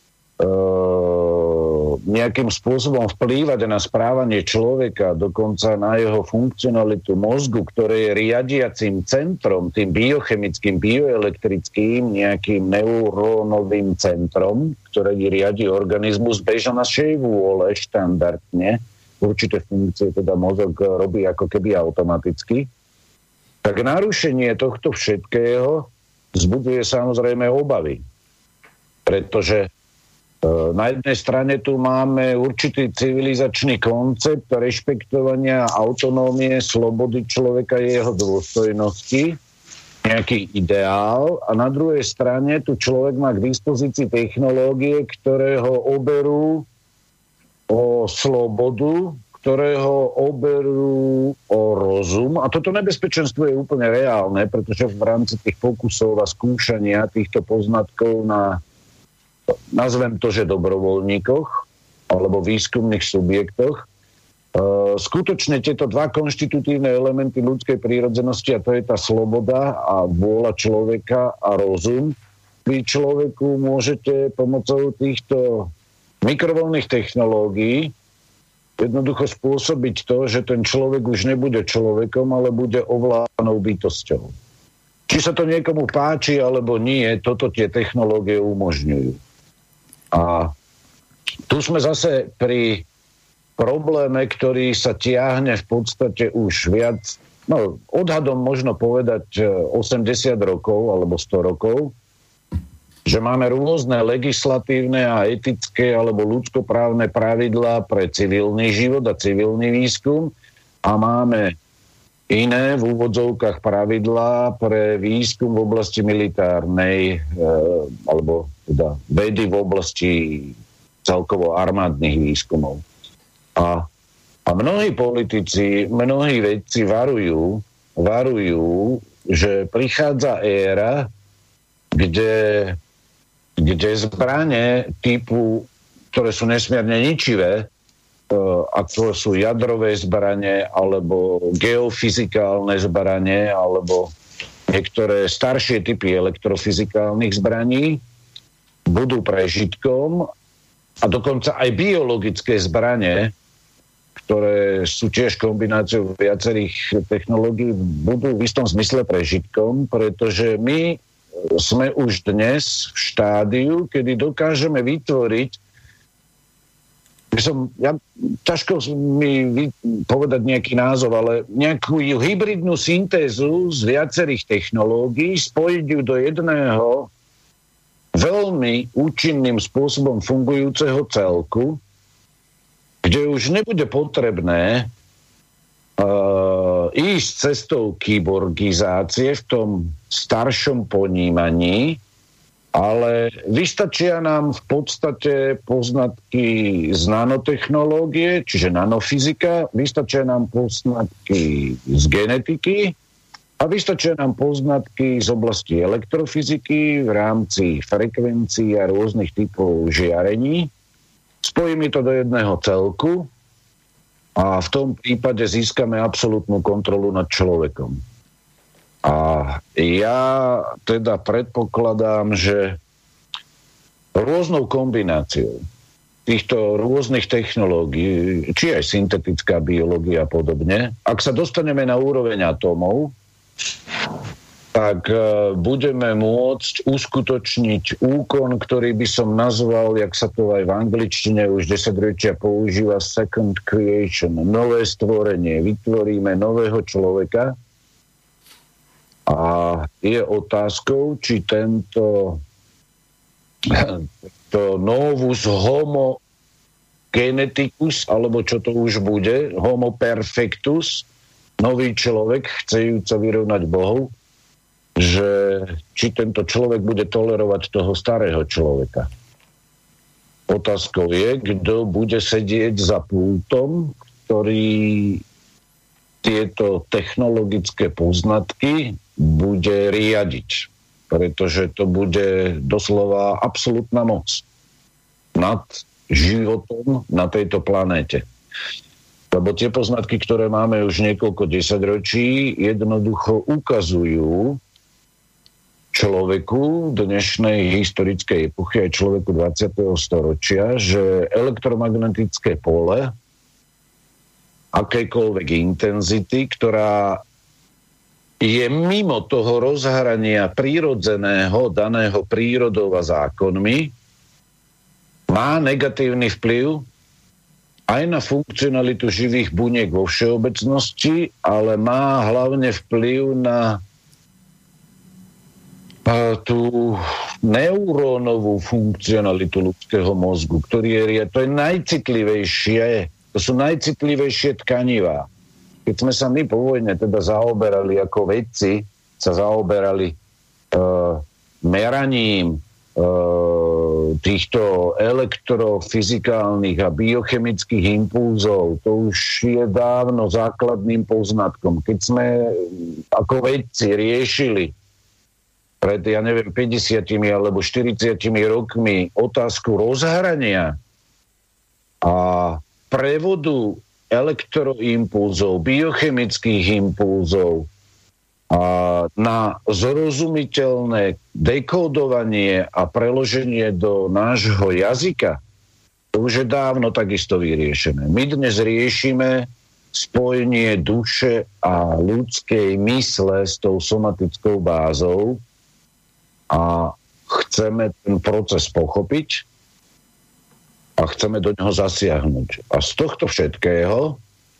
nejakým spôsobom vplývať na správanie človeka, dokonca na jeho funkcionalitu mozgu, ktoré je riadiacím centrom, tým biochemickým, bioelektrickým, nejakým neurónovým centrom, ktoré riadi organizmus beža našej vôle štandardne. Určité funkcie teda mozog robí ako keby automaticky. Tak narušenie tohto všetkého vzbudzuje samozrejme obavy. Pretože na jednej strane tu máme určitý civilizačný koncept rešpektovania autonómie, slobody človeka, jeho dôstojnosti, nejaký ideál, a na druhej strane tu človek má k dispozícii technológie, ktoré ho oberú o slobodu, ktoré ho oberú o rozum. A toto nebezpečenstvo je úplne reálne, pretože v rámci tých pokusov a skúšania týchto poznatkov na, nazvem to, že dobrovoľníkoch alebo výskumných subjektoch, skutočne tieto dva konštitutívne elementy ľudskej prírodzenosti, a to je tá sloboda a vôľa človeka a rozum, vy človeku môžete pomocou týchto mikrovlnných technológií jednoducho spôsobiť to, že ten človek už nebude človekom, ale bude ovládanou bytosťou. Či sa to niekomu páči alebo nie, toto tie technológie umožňujú. A tu sme zase pri probléme, ktorý sa tiahne v podstate už viac, no odhadom možno povedať osemdesiat rokov alebo sto rokov, že máme rôzne legislatívne a etické alebo ľudskoprávne pravidlá pre civilný život a civilný výskum a máme iné v úvodzovkách pravidlá pre výskum v oblasti militárnej e, alebo teda vedy v oblasti celkovo armádnych výskumov. A, a mnohí politici, mnohí vedci varujú, varujú, že prichádza éra, kde kde zbrane typu, ktoré sú nesmierne ničivé, ako sú jadrové zbrane, alebo geofyzikálne zbrane, alebo niektoré staršie typy elektrofyzikálnych zbraní, budú prežitkom, a dokonca aj biologické zbrane, ktoré sú tiež kombináciou viacerých technológií, budú v istom zmysle prežitkom, pretože my sme už dnes v štádiu, kedy dokážeme vytvoriť, som, ja, ťažko mi vy, povedať nejaký názov, ale nejakú hybridnú syntézu z viacerých technológií, spojiť ju do jedného veľmi účinným spôsobom fungujúceho celku, kde už nebude potrebné Uh, ísť cestou kyborgizácie v tom staršom ponímaní, ale vystačia nám v podstate poznatky z nanotechnológie, čiže nanofyzika, vystačia nám poznatky z genetiky a vystačia nám poznatky z oblasti elektrofyziky v rámci frekvencií a rôznych typov žiarení. Spojíme to do jedného celku a v tom prípade získame absolútnu kontrolu nad človekom. A ja teda predpokladám, že rôznou kombináciou týchto rôznych technológií, či aj syntetická biológia a podobne, ak sa dostaneme na úroveň atómov, tak budeme môcť uskutočniť úkon, ktorý by som nazval, jak sa to aj v angličtine už desaťročia používa, second creation, nové stvorenie. Vytvoríme nového človeka a je otázkou, či tento to novus homo geneticus, alebo čo to už bude, homo perfectus, nový človek, chcejúc sa vyrovnať Bohu, že či tento človek bude tolerovať toho starého človeka. Otázkou je, kto bude sedieť za pultom, ktorý tieto technologické poznatky bude riadiť. Pretože to bude doslova absolútna moc nad životom na tejto planéte. Lebo tie poznatky, ktoré máme už niekoľko desaťročí, jednoducho ukazujú človeku dnešnej historickej epochy aj človeku dvadsiateho storočia, že elektromagnetické pole akejkoľvek intenzity, ktorá je mimo toho rozhrania prírodzeného, daného prírodou a zákonmi, má negatívny vplyv aj na funkcionalitu živých buniek vo všeobecnosti, ale má hlavne vplyv na tú neurónovú funkcionalitu ľudského mozgu, ktorý je, to je najcitlivejšie, to sú najcitlivejšie tkanivá. Keď sme sa my po vojne teda zaoberali ako vedci, sa zaoberali e, meraním e, týchto elektrofyzikálnych a biochemických impulzov, to už je dávno základným poznatkom. Keď sme ako vedci riešili pred, ja neviem, päťdesiatimi alebo štyridsiatimi rokmi otázku rozhrania a prevodu elektroimpulzov, biochemických impulzov a na zrozumiteľné dekódovanie a preloženie do nášho jazyka, to už je dávno takisto vyriešené. My dnes riešime spojenie duše a ľudskej mysle s tou somatickou bázou a chceme ten proces pochopiť a chceme do neho zasiahnuť. A z tohto všetkého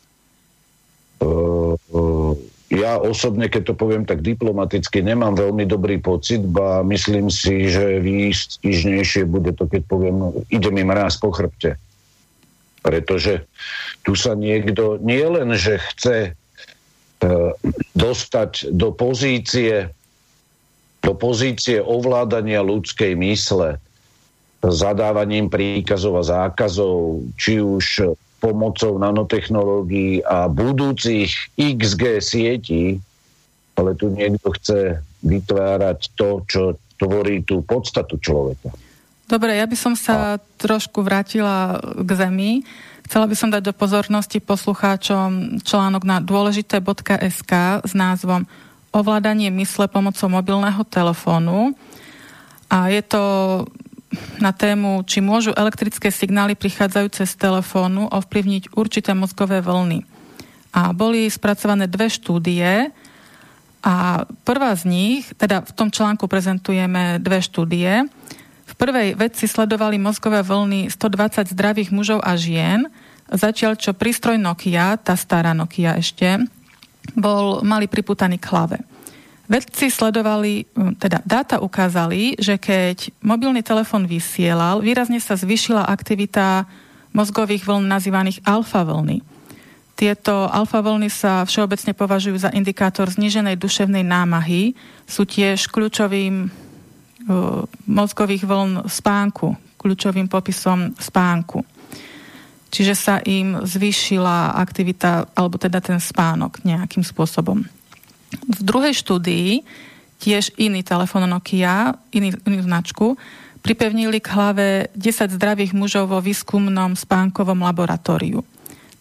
uh, uh, ja osobne, keď to poviem tak diplomaticky, nemám veľmi dobrý pocit, ba myslím si, že výstižnejšie bude to, keď poviem, ide mi mráz po chrbte. Pretože tu sa niekto nie len, že chce uh, dostať do pozície do pozície ovládania ľudskej mysle zadávaním príkazov a zákazov, či už pomocou nanotechnológií a budúcich iks gé sietí, ale tu niekto chce vytvárať to, čo tvorí tú podstatu človeka. Dobre, ja by som sa a... trošku vrátila k zemi. Chcela by som dať do pozornosti poslucháčom článok na dôležité bodka es ká s názvom Ovládanie mysle pomocou mobilného telefónu. A je to na tému, či môžu elektrické signály prichádzajúce z telefónu ovplyvniť určité mozgové vlny. A boli spracované dve štúdie a prvá z nich, teda v tom článku prezentujeme dve štúdie. V prvej vedci sledovali mozgové vlny stodvadsať zdravých mužov a žien, zatiaľ čo prístroj Nokia, tá stará Nokia ešte, bol, mali pripútaný k hlave. Vedci sledovali, teda dáta ukázali, že keď mobilný telefón vysielal, výrazne sa zvýšila aktivita mozgových vln nazývaných alfa vlny. Tieto alfa vlny sa všeobecne považujú za indikátor zníženej duševnej námahy, sú tiež kľúčovým uh, mozgových vln spánku, kľúčovým popisom spánku. Čiže sa im zvýšila aktivita, alebo teda ten spánok nejakým spôsobom. V druhej štúdii tiež iný telefón Nokia, iný, inú značku, pripevnili k hlave desať zdravých mužov vo výskumnom spánkovom laboratóriu.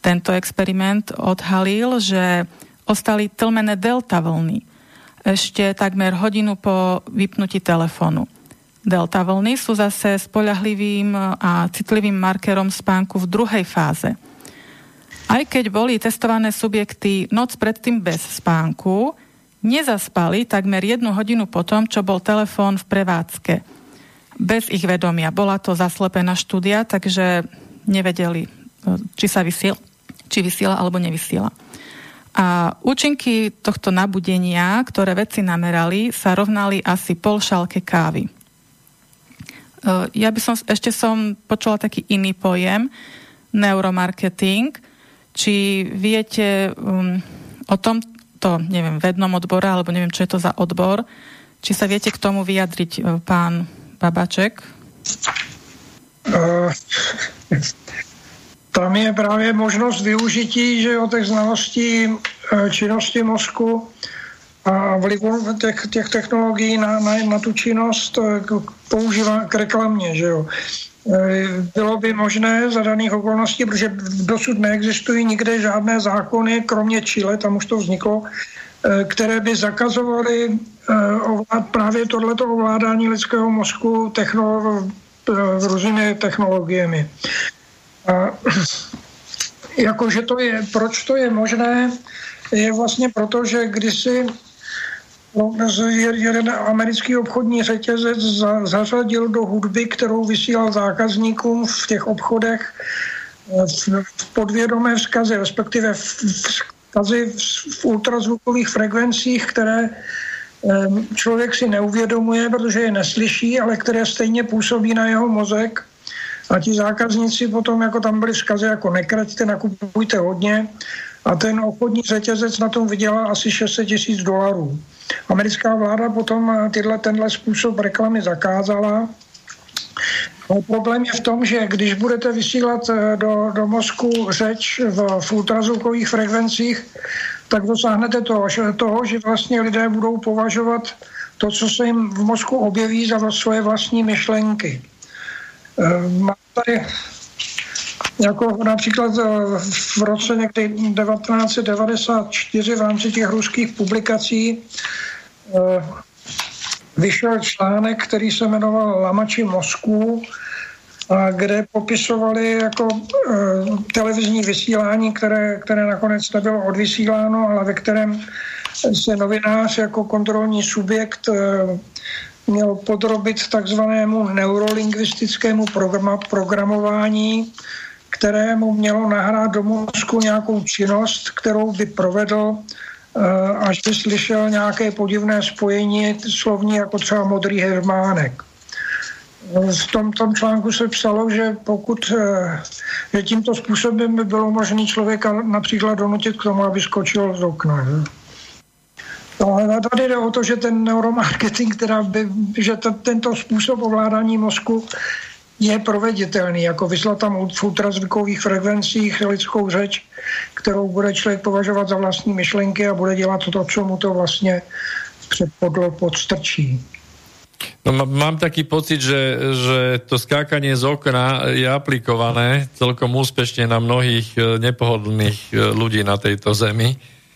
Tento experiment odhalil, že ostali tlmené delta vlny ešte takmer hodinu po vypnutí telefónu. Delta vlny sú zase spoľahlivým a citlivým markerom spánku v druhej fáze. Aj keď boli testované subjekty noc predtým bez spánku, nezaspali takmer jednu hodinu potom, čo bol telefón v prevádzke. Bez ich vedomia. Bola to zaslepená štúdia, takže nevedeli, či sa vysiela, či vysiela alebo nevysiela. A účinky tohto nabudenia, ktoré vedci namerali, sa rovnali asi pol šálke kávy. Ja by som, ešte som počula taký iný pojem, neuromarketing. Či viete um, o tomto, neviem, vednom odbore, alebo neviem, čo je to za odbor, či sa viete k tomu vyjadriť, pán Babaček? Uh, tam je právě možnost využití, že o těch znalostí činnosti mozku a vlivu těch, těch technologií na, na, na tu činnost používá k reklamě, že jo. Bylo by možné za daných okolností, protože dosud neexistují nikde žádné zákony, kromě Chile, tam už to vzniklo, které by zakazovaly právě tohleto ovládání lidského mozku technolo- různými technologiemi. A jakože to je, proč to je možné, je vlastně proto, že kdysi jeden americký obchodní řetězec zařadil do hudby, kterou vysílal zákazníkům v těch obchodech, v podvědomé vzkazy, respektive vzkazy v ultrazvukových frekvencích, které člověk si neuvědomuje, protože je neslyší, ale které stejně působí na jeho mozek. A ti zákazníci potom, jako tam byly vzkazy, jako nekraťte, nakupujte hodně. A ten obchodní řetězec na tom vydělal asi šest set tisíc dolarů. Americká vláda potom tyhle, tenhle způsob reklamy zakázala. Ale problém je v tom, že když budete vysílat do, do mozku řeč v, v ultrazvukových frekvencích, tak dosáhnete toho, že, toho, že vlastně lidé budou považovat to, co se jim v mozku objeví, za svoje vlastní myšlenky. Mám tady jako například v roce někdy devatenáct set devadesát čtyři v rámci těch ruských publikací vyšel článek, který se jmenoval Lamači mozku, kde popisovali jako televizní vysílání, které, které nakonec nebylo odvysíláno, ale ve kterém se novinář jako kontrolní subjekt měl podrobit takzvanému neurolingvistickému programování, kterému mělo nahrát do mozku nějakou činnost, kterou by provedl, až by slyšel nějaké podivné spojení slovní, jako třeba modrý hermánek. V tom, tom článku se psalo, že pokud že tímto způsobem by bylo možné člověka například donutit k tomu, aby skočil z okna. Ale tady jde o to, že ten neuromarketing, teda by, že to, tento způsob ovládání mozku je proveditelný, jako vyslat tam v ultrazvukových frekvencích lidskou řeč, kterou bude člověk považovat za vlastní myšlenky a bude dělat to, co mu to vlastně předpodlo podstrčí. No, mám taký pocit, že, že to skákanie z okna je aplikované celkom úspešne na mnohých nepohodlných ľudí na tejto zemi.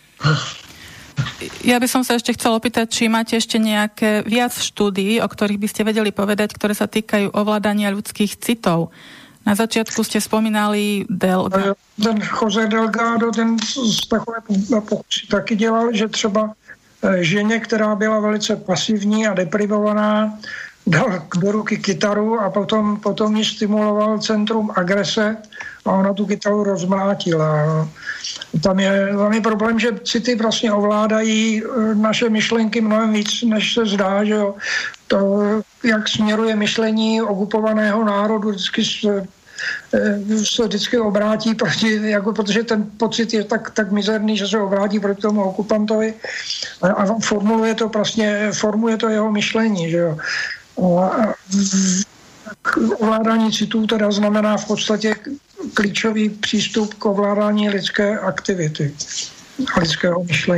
Ja by som sa ešte chcela opýtať, či máte ešte nejaké viac štúdií, o ktorých by ste vedeli povedať, ktoré sa týkajú ovládania ľudských citov. Na začiatku ste spomínali Delgado. Ten Jose Delgado, ten takové pokusy taky dělal, že třeba ženě, která byla velice pasivní a deprivovaná, dal do ruky kytaru a potom, potom ji stimuloval centrum agrese a ona tu kytaru rozmlátila. Tam je, tam je problém, že city vlastně ovládají naše myšlenky mnohem víc, než se zdá, že jo. To, jak směruje myšlení okupovaného národu, vždycky se, se vždycky obrátí proti, jako, protože ten pocit je tak, tak mizerný, že se obrátí proti tomu okupantovi a, a formuluje to vlastně, formuje to jeho myšlení, že jo. A ovládání citů teda znamená v podstatě klíčový přístup k ovládání lidské aktivity a lidského myšlení.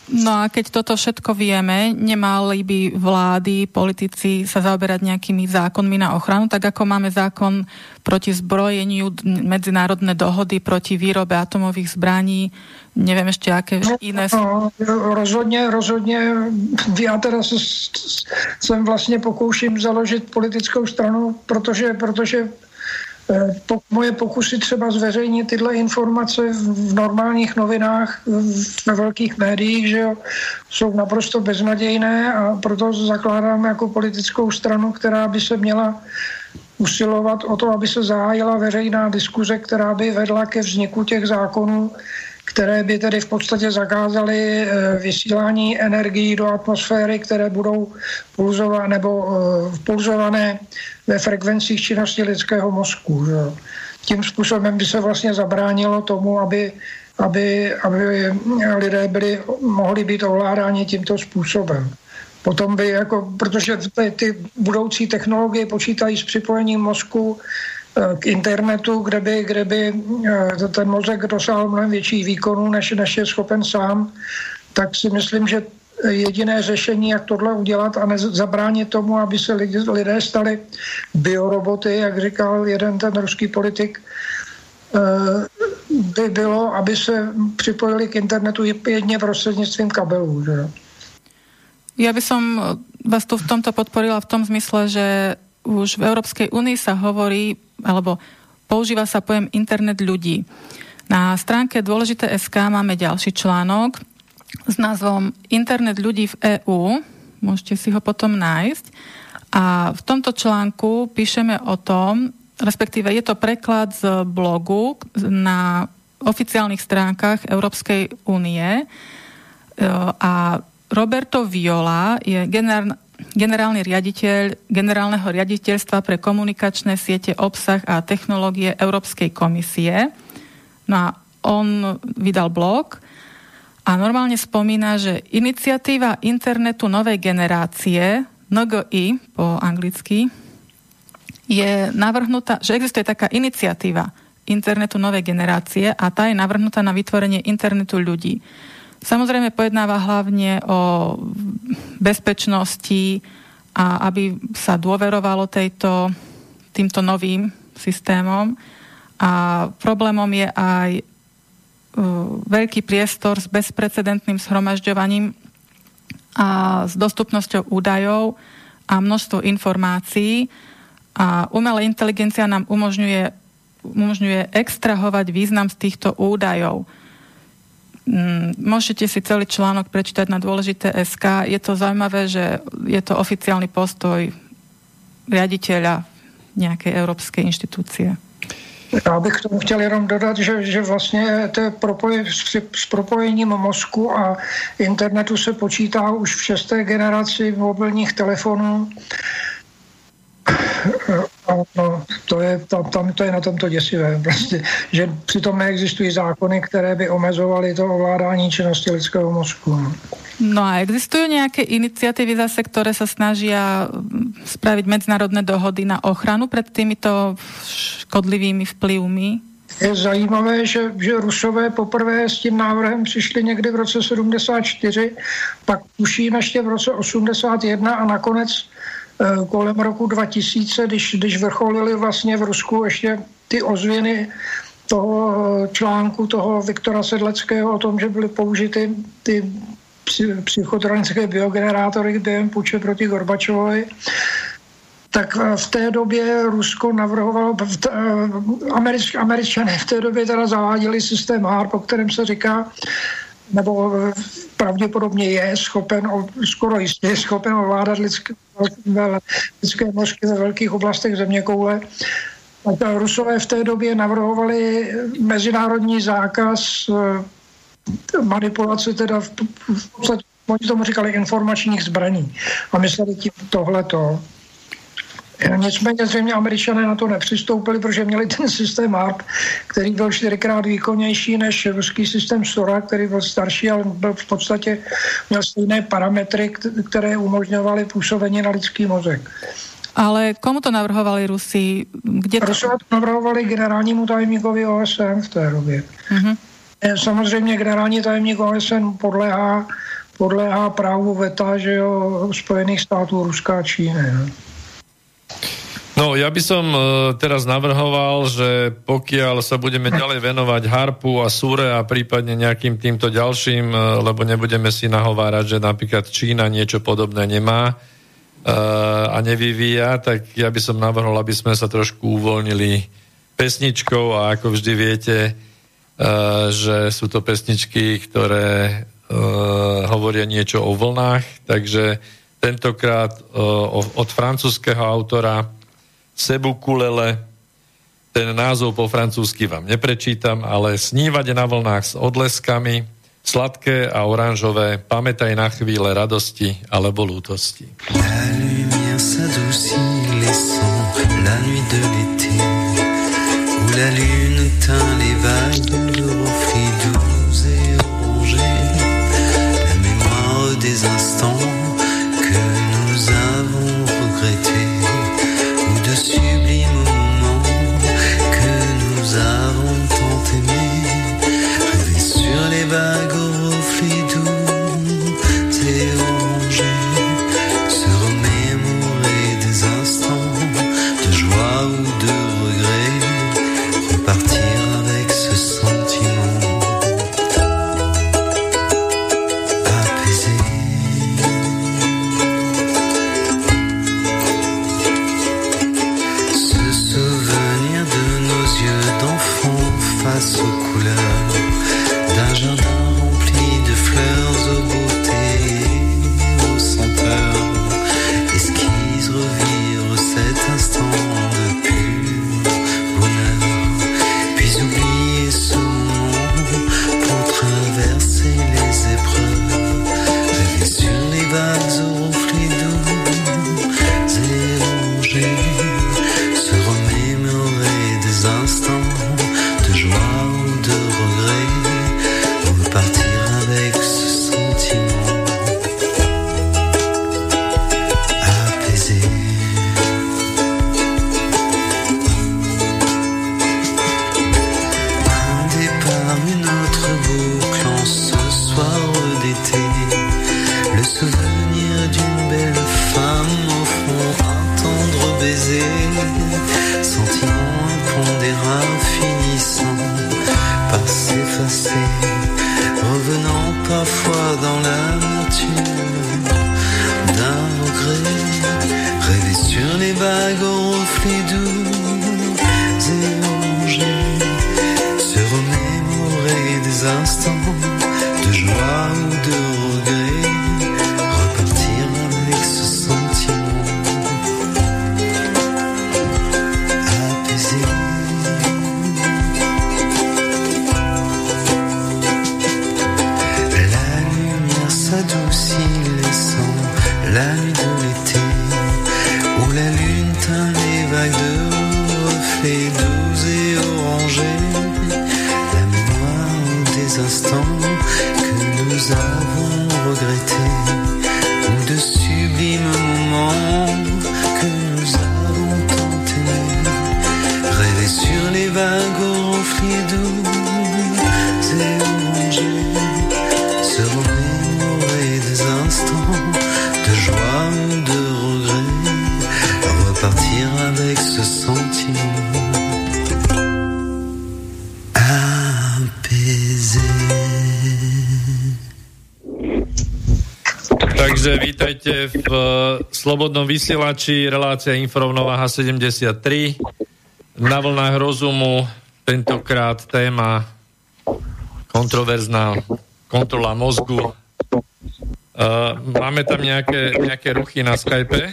No a keď toto všetko vieme, nemali by vlády, politici sa zaoberať nejakými zákonmi na ochranu, tak ako máme zákon proti zbrojeniu, medzinárodné dohody proti výrobe atomových zbraní, neviem ešte aké iné. No, rozhodně, rozhodně. Já teda jsem vlastně pokouším založit politickou stranu, protože, protože Po, moje pokusy třeba zveřejnit tyhle informace v normálních novinách, ve velkých médiích, že jo, jsou naprosto beznadějné a proto zakládám jako politickou stranu, která by se měla usilovat o to, aby se zahájila veřejná diskuze, která by vedla ke vzniku těch zákonů, které by tedy v podstatě zakázaly vysílání energií do atmosféry, které budou pulzované nebo pulzované ve frekvencích činnosti lidského mozku. Že? Tím způsobem by se vlastně zabránilo tomu, aby, aby, aby lidé byli, mohli být ovládáni tímto způsobem. Potom by, jako, protože ty, ty budoucí technologie počítají s připojením mozku k internetu, kde by, kde by ten mozek dosáhl mnohem větší výkonu, než, než je schopen sám, tak si myslím, že jediné řešení, jak tohle udělat a zabránit tomu, aby se lidé stali bioroboty, jak říkal jeden ten ruský politik, by bylo, aby se připojili k internetu jedně prostřednictvím kabelů. Že? Ja by som vás tu v tomto podporila v tom zmysle, že už v Európskej únii sa hovorí, alebo používa sa pojem internet ľudí. Na stránke dôležité bodka es ká máme ďalší článok s názvom Internet ľudí v EÚ. Môžete si ho potom nájsť. A v tomto článku píšeme o tom, respektíve je to preklad z blogu na oficiálnych stránkach Európskej únie. A Roberto Viola je generál, generálny riaditeľ Generálneho riaditeľstva pre komunikačné siete, obsah a technológie Európskej komisie. No a on vydal blog a normálne spomína, že iniciatíva internetu novej generácie, en gé í po anglicky, je navrhnutá, že existuje taká iniciatíva internetu novej generácie a tá je navrhnutá na vytvorenie internetu ľudí. Samozrejme pojednáva hlavne o bezpečnosti a aby sa dôverovalo tejto, týmto novým systémom. A problémom je aj veľký priestor s bezprecedentným zhromažďovaním a s dostupnosťou údajov a množstvo informácií. A umelá inteligencia nám umožňuje, umožňuje extrahovať význam z týchto údajov. Môžete si celý článok prečítať na dôležité bodka es ká. Je to zaujímavé, že je to oficiálny postoj riaditeľa nejakej európskej inštitúcie. Já bych k tomu chtěl jenom dodat, že, že vlastně to propoj, s propojením mozku a internetu se počítá už v šesté generaci mobilních telefonů. No, to je, tam, tam, to je na tomto děsivé, prostě, že přitom neexistují zákony, které by omezovaly to ovládání činnosti lidského mozku. No a existujú nejaké iniciatívy zase, ktoré sa snažia spraviť medzinárodné dohody na ochranu pred týmito škodlivými vplyvmi? Je zajímavé, že, že Rusové poprvé s tím návrhem přišli někdy v roce sedmdesát čtyři, pak tuším ještě v roce osmdesát jedna a nakonec kolem roku dva tisíce, když, když vrcholili vlastně v Rusku ještě ty ozvěny toho článku toho Viktora Sedleckého o tom, že byly použity ty psychotronické biogenerátory během puče proti Gorbačovovi, tak v té době Rusko navrhovalo, Američ, Američané v té době teda zaváděli systém HARP, o kterém se říká, nebo pravděpodobně je schopen, skoro jistě je schopen ovládat lidské, lidské mozky ve velkých oblastech zeměkoule. Tak Rusové v té době navrhovali mezinárodní zákaz manipulace, teda v, v podstatě, oni tomu říkali informačních zbraní a mysleli tím tohleto. Nicméně zřejmě Američané na to nepřistoupili, protože měli ten systém HARP, který byl čtyřikrát výkonnější než ruský systém SORA, který byl starší, ale byl v podstatě měl stejné parametry, které umožňovaly působení na lidský mozek. Ale komu to navrhovali Rusi? Kde to... Rusové to navrhovali generálnímu tajemníkovi O S N v té době. Uh-huh. Samozřejmě generální tajemník O S N podléhá, podléhá právu veta, že jo, Spojených států, Ruska a Číny. Ne? No, ja by som teraz navrhoval, že pokiaľ sa budeme ďalej venovať harpu a súre a prípadne nejakým týmto ďalším, lebo nebudeme si nahovárať, že napríklad Čína niečo podobné nemá a nevyvíja, tak ja by som navrhol, aby sme sa trošku uvoľnili pesničkou a ako vždy viete, že sú to pesničky, ktoré hovoria niečo o vlnách, takže tentokrát od francúzskeho autora Sebu Kulele, ten názov po francúzsky vám neprečítam, ale Snívať na vlnách s odleskami, sladké a oranžové, pamätaj na chvíle radosti alebo lútosti. La lumière s'adoucit, laissant la nuit de l'été, où la lune teint les vagues de reflets doux et orangés, la mémoire des instants que nous avons regrettés, de sublimes moments que nous avons tant aimés, rêver sur les vagues aux reflets doux et orangés, se remémorer des instants de joie ou de regret, repartir avec ce sentiment apaisé. Face aux couleurs d'un jardin rempli de fleurs aux beautés, aux senteurs, esquisse revivre cet instant de pur bonheur, puis oublier ce moment pour traverser les épreuves, rêver sur les vagues aux reflets doux et rongés, se remémorer des instants de joie ou de regret, repartir avec ce sentiment apaisé. Un départ, une autre boucle en ce soir d'été, le souvenir d'une belle femme au front, un tendre baiser, sentiment impondérable finissant par s'effacer, revenant parfois dans l'amertume d'un regret, rêver sur les vagues aux reflets doux et orangés, se remémorer des instants de joie ou de regret, repartir avec ce sentiment apaisé. S'adoucit, laissant la nuit de l'été, où la lune teint les vagues de reflets doux et orangés, la mémoire des instants que nous avons regrettés, ou de sublimes moments que nous avons tant aimés, rêver sur les vagues aux reflets doux et orangés, se remémorer des instants de joie ou de regret, repartir avec ce sentiment apaisé. Takže vítajte v Slobodnom vysielači, relácia Inforovnováha sedemdesiattri, na vlnách rozumu, tentokrát téma kontroverzná, kontrola mozgu. Uh, máme tam nejaké, nejaké ruchy na Skype.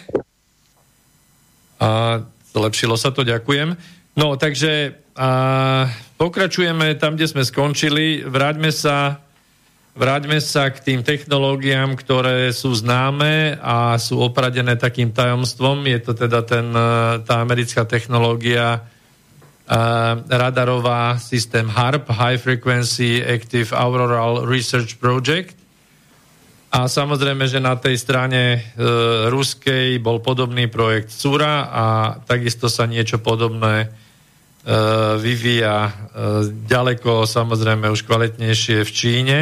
A zlepšilo sa to, ďakujem. No, takže uh, pokračujeme tam, kde sme skončili. Vráťme sa, vráťme sa k tým technológiám, ktoré sú známe a sú opradené takým tajomstvom. Je to teda ten, tá americká technológia Uh, radarová systém HARP, High Frequency Active Auroral Research Project. A samozrejme, že na tej strane uh, ruskej bol podobný projekt SURA a takisto sa niečo podobné vyvíja ďaleko samozrejme už kvalitnejšie v Číne.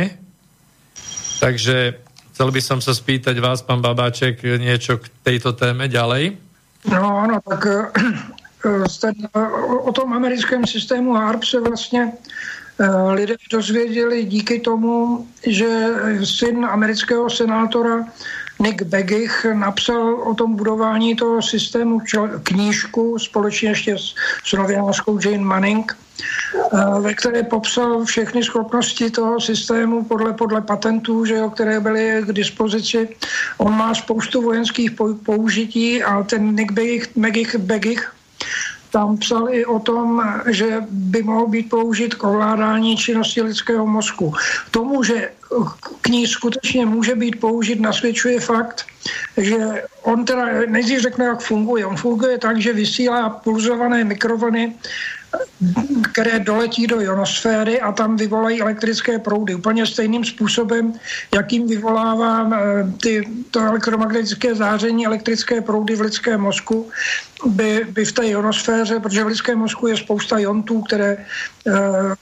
Takže chcel by som sa spýtať vás, pán Babáček, niečo k tejto téme ďalej. No ano, tak ten, o tom americkém systému H A R P se vlastně lidé dozvěděli díky tomu, že syn amerického senátora Nick Begich napsal o tom budování toho systému knížku společně ještě s novinářkou Jane Manning, ve které popsal všechny schopnosti toho systému podle, podle patentů, že jo, které byly k dispozici. On má spoustu vojenských použití a ten Nick Begich, Begich, Begich tam psal i o tom, že by mohl být použit k ovládání činnosti lidského mozku. Tomu, že kníž skutečně může být použit, nasvědčuje fakt, že on teda nejdřív řekne, jak funguje. On funguje tak, že vysílá pulzované mikrovlny, které doletí do ionosféry a tam vyvolají elektrické proudy. Úplně stejným způsobem, jakým vyvolává ty, to elektromagnetické záření, elektrické proudy v lidském mozku, by, by v té ionosféře, protože v lidském mozku je spousta iontů, které eh,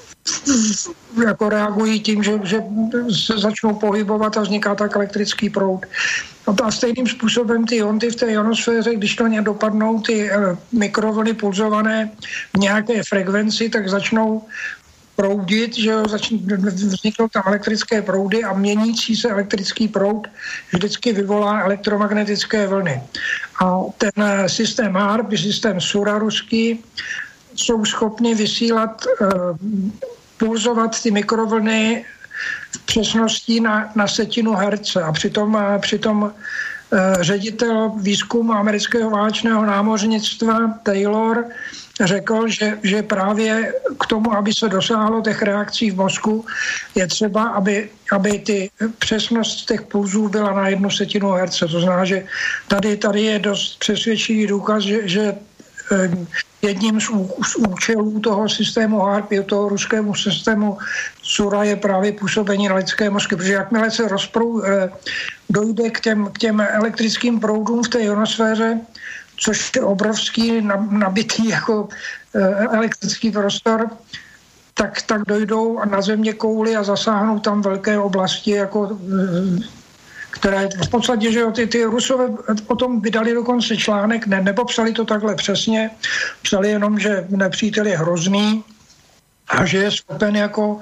jako reagují tím, že, že se začnou pohybovat a vzniká tak elektrický proud. A stejným způsobem ty ionty v té ionosféře, když na ně dopadnou ty mikrovlny pulzované v nějaké frekvenci, tak začnou proudit, že začnou, vzniknou tam elektrické proudy a měnící se elektrický proud vždycky vyvolá elektromagnetické vlny. A ten systém H A R P, systém Sura ruský, jsou schopni vysílat, pulzovat ty mikrovlny v přesnosti na, na setinu herce. A přitom, přitom ředitel výzkumu amerického válečného námořnictva Taylor řekl, že, že právě k tomu, aby se dosáhlo těch reakcí v mozku, je třeba, aby, aby ty přesnost těch pulzů byla na jednu setinu herce. To znamená, že tady, tady je dost přesvědčivý důkaz, že, že jedním z, ú, z účelů toho systému H A R P, toho ruskému systému Sura je právě působení na lidské mozky, protože jakmile se rozprou, dojde k těm, k těm elektrickým proudům v té ionosféře, což je obrovský nabitý jako elektrický prostor, tak, tak dojdou na země kouli a zasáhnou tam velké oblasti, jako, které v podstatě, že jo, ty, ty Rusové o tom vydali dokonce článek, ne, nepopsali to takhle přesně, psali jenom, že nepřítel je hrozný a že je schopen jako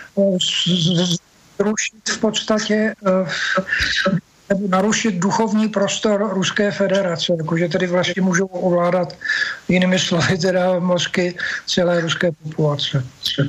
zrušit v podstatě nebo narušit duchovní prostor Ruské federace, jakože tedy vlastně můžou ovládat jinými slovy teda mozky celé ruské populace.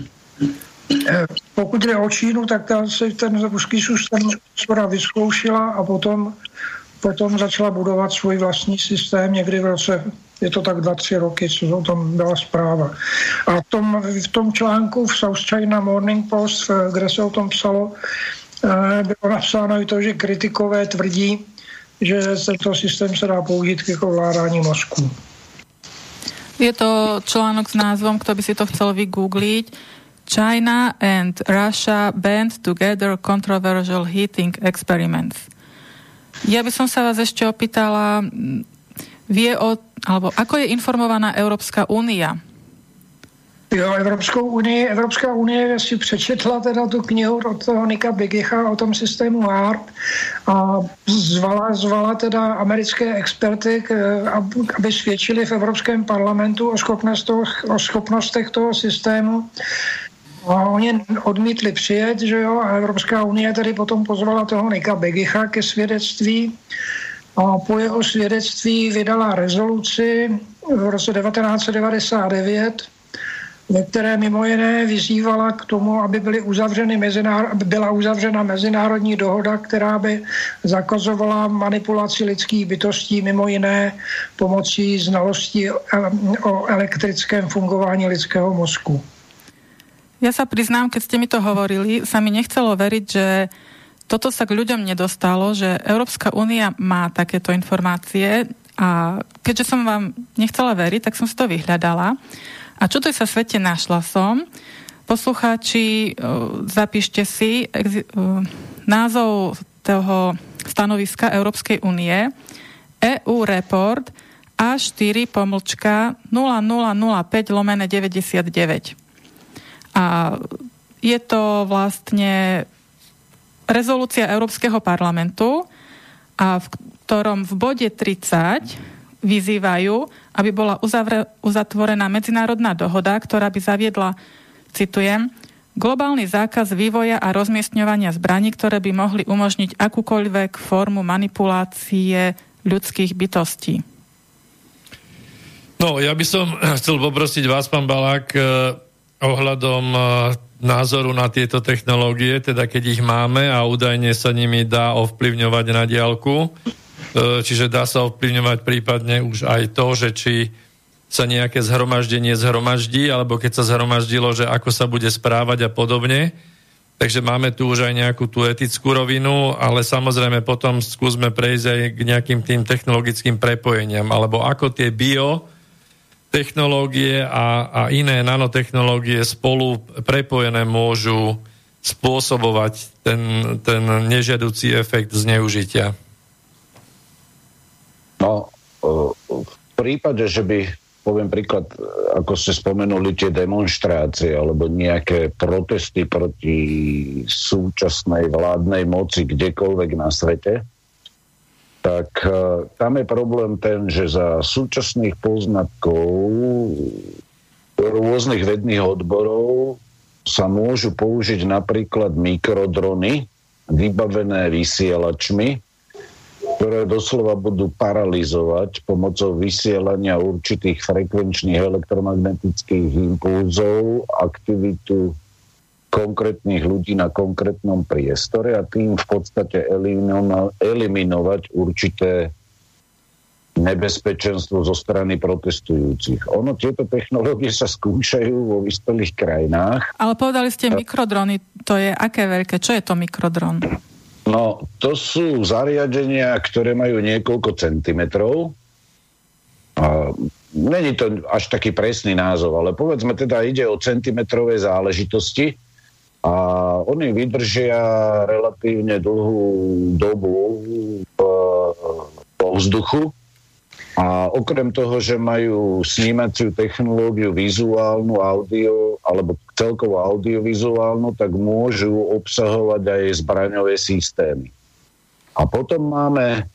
Pokud jde o Čínu, tak ta se ten ruský systém skoro vyzkoušela a potom, potom začala budovat svůj vlastní systém někdy v roce, je to tak dva, tři roky, co o tom byla zpráva. A v tom, v tom článku v South China Morning Post, kde se o tom psalo, bylo napsáno i to, že kritikové tvrdí, že tento systém se dá použít k ovládání mozku. Je to článok s názvom, kto by si to chcel vygoogliť, China and Russia band together controversial heating experiments. Ja by som sa vás ešte opýtala, vie o, alebo ako je informovaná Európska únia? Jo, Evropskou unii, Evropská unie si přečetla teda tu knihu od toho Nicka Begicha o tom systému H A R P a zvala, zvala teda americké experty, aby svědčili v Evropském parlamentu o, schopnost toho, o schopnostech toho systému. A oni odmítli přijet, že jo, a Evropská unie tedy potom pozvala toho Nicka Begicha ke svědectví. A po jeho svědectví vydala rezoluci v roce devatenáct set devadesát devět, ve které mimo jiné vyzývala k tomu, aby, byly uzavřeny mezinár- aby byla uzavřena mezinárodní dohoda, která by zakazovala manipulaci lidských bytostí, mimo jiné pomocí znalostí o elektrickém fungování lidského mozku. Ja sa priznám, keď ste mi to hovorili, sa mi nechcelo veriť, že toto sa k ľuďom nedostalo, že Európska únia má takéto informácie a keďže som vám nechcela veriť, tak som si to vyhľadala. A čo to sa svete našla som? Poslucháči, zapíšte si názov toho stanoviska Európskej únie E U Report á štyri pomlčka nula nula nula päť lomene deväťdesiatdeväť. A je to vlastne rezolúcia Európskeho parlamentu, a v ktorom v bode tridsať vyzývajú, aby bola uzavre, uzatvorená medzinárodná dohoda, ktorá by zaviedla, citujem, globálny zákaz vývoja a rozmiestňovania zbraní, ktoré by mohli umožniť akúkoľvek formu manipulácie ľudských bytostí. No, ja by som chcel poprosiť vás, pán Balák, eh, ohľadom eh, názoru na tieto technológie, teda keď ich máme a údajne sa nimi dá ovplyvňovať na diaľku, eh, čiže dá sa ovplyvňovať prípadne už aj to, že či sa nejaké zhromaždenie zhromaždí, alebo keď sa zhromaždilo, že ako sa bude správať a podobne. Takže máme tu už aj nejakú tú etickú rovinu, ale samozrejme potom skúsme prejsť aj k nejakým tým technologickým prepojeniam, alebo ako tie biotechnológie a, a iné nanotechnológie spolu prepojené môžu spôsobovať ten, ten nežiaducí efekt zneužitia. No, v prípade, že by, poviem príklad, ako ste spomenuli, tie demonštrácie alebo nejaké protesty proti súčasnej vládnej moci kdekoľvek na svete, tak uh, tam je problém ten, že za súčasných poznatkov rôznych vedných odborov sa môžu použiť napríklad mikrodrony vybavené vysielačmi, ktoré doslova budú paralyzovať pomocou vysielania určitých frekvenčných elektromagnetických impulzov aktivitu konkrétnych ľudí na konkrétnom priestore a tým v podstate elimino- eliminovať určité nebezpečenstvo zo strany protestujúcich. Ono, tieto technológie sa skúšajú vo vyspelých krajinách. Ale povedali ste mikrodrony, to je aké veľké? Čo je to mikrodron? No, to sú zariadenia, ktoré majú niekoľko centimetrov. A není to až taký presný názov, ale povedzme teda ide o centimetrové záležitosti a oni vydržia relatívne dlhú dobu vo vzduchu a okrem toho, že majú snímaciu technológiu vizuálnu, audio alebo celkovo audiovizuálnu, tak môžu obsahovať aj zbraňové systémy. A potom máme e,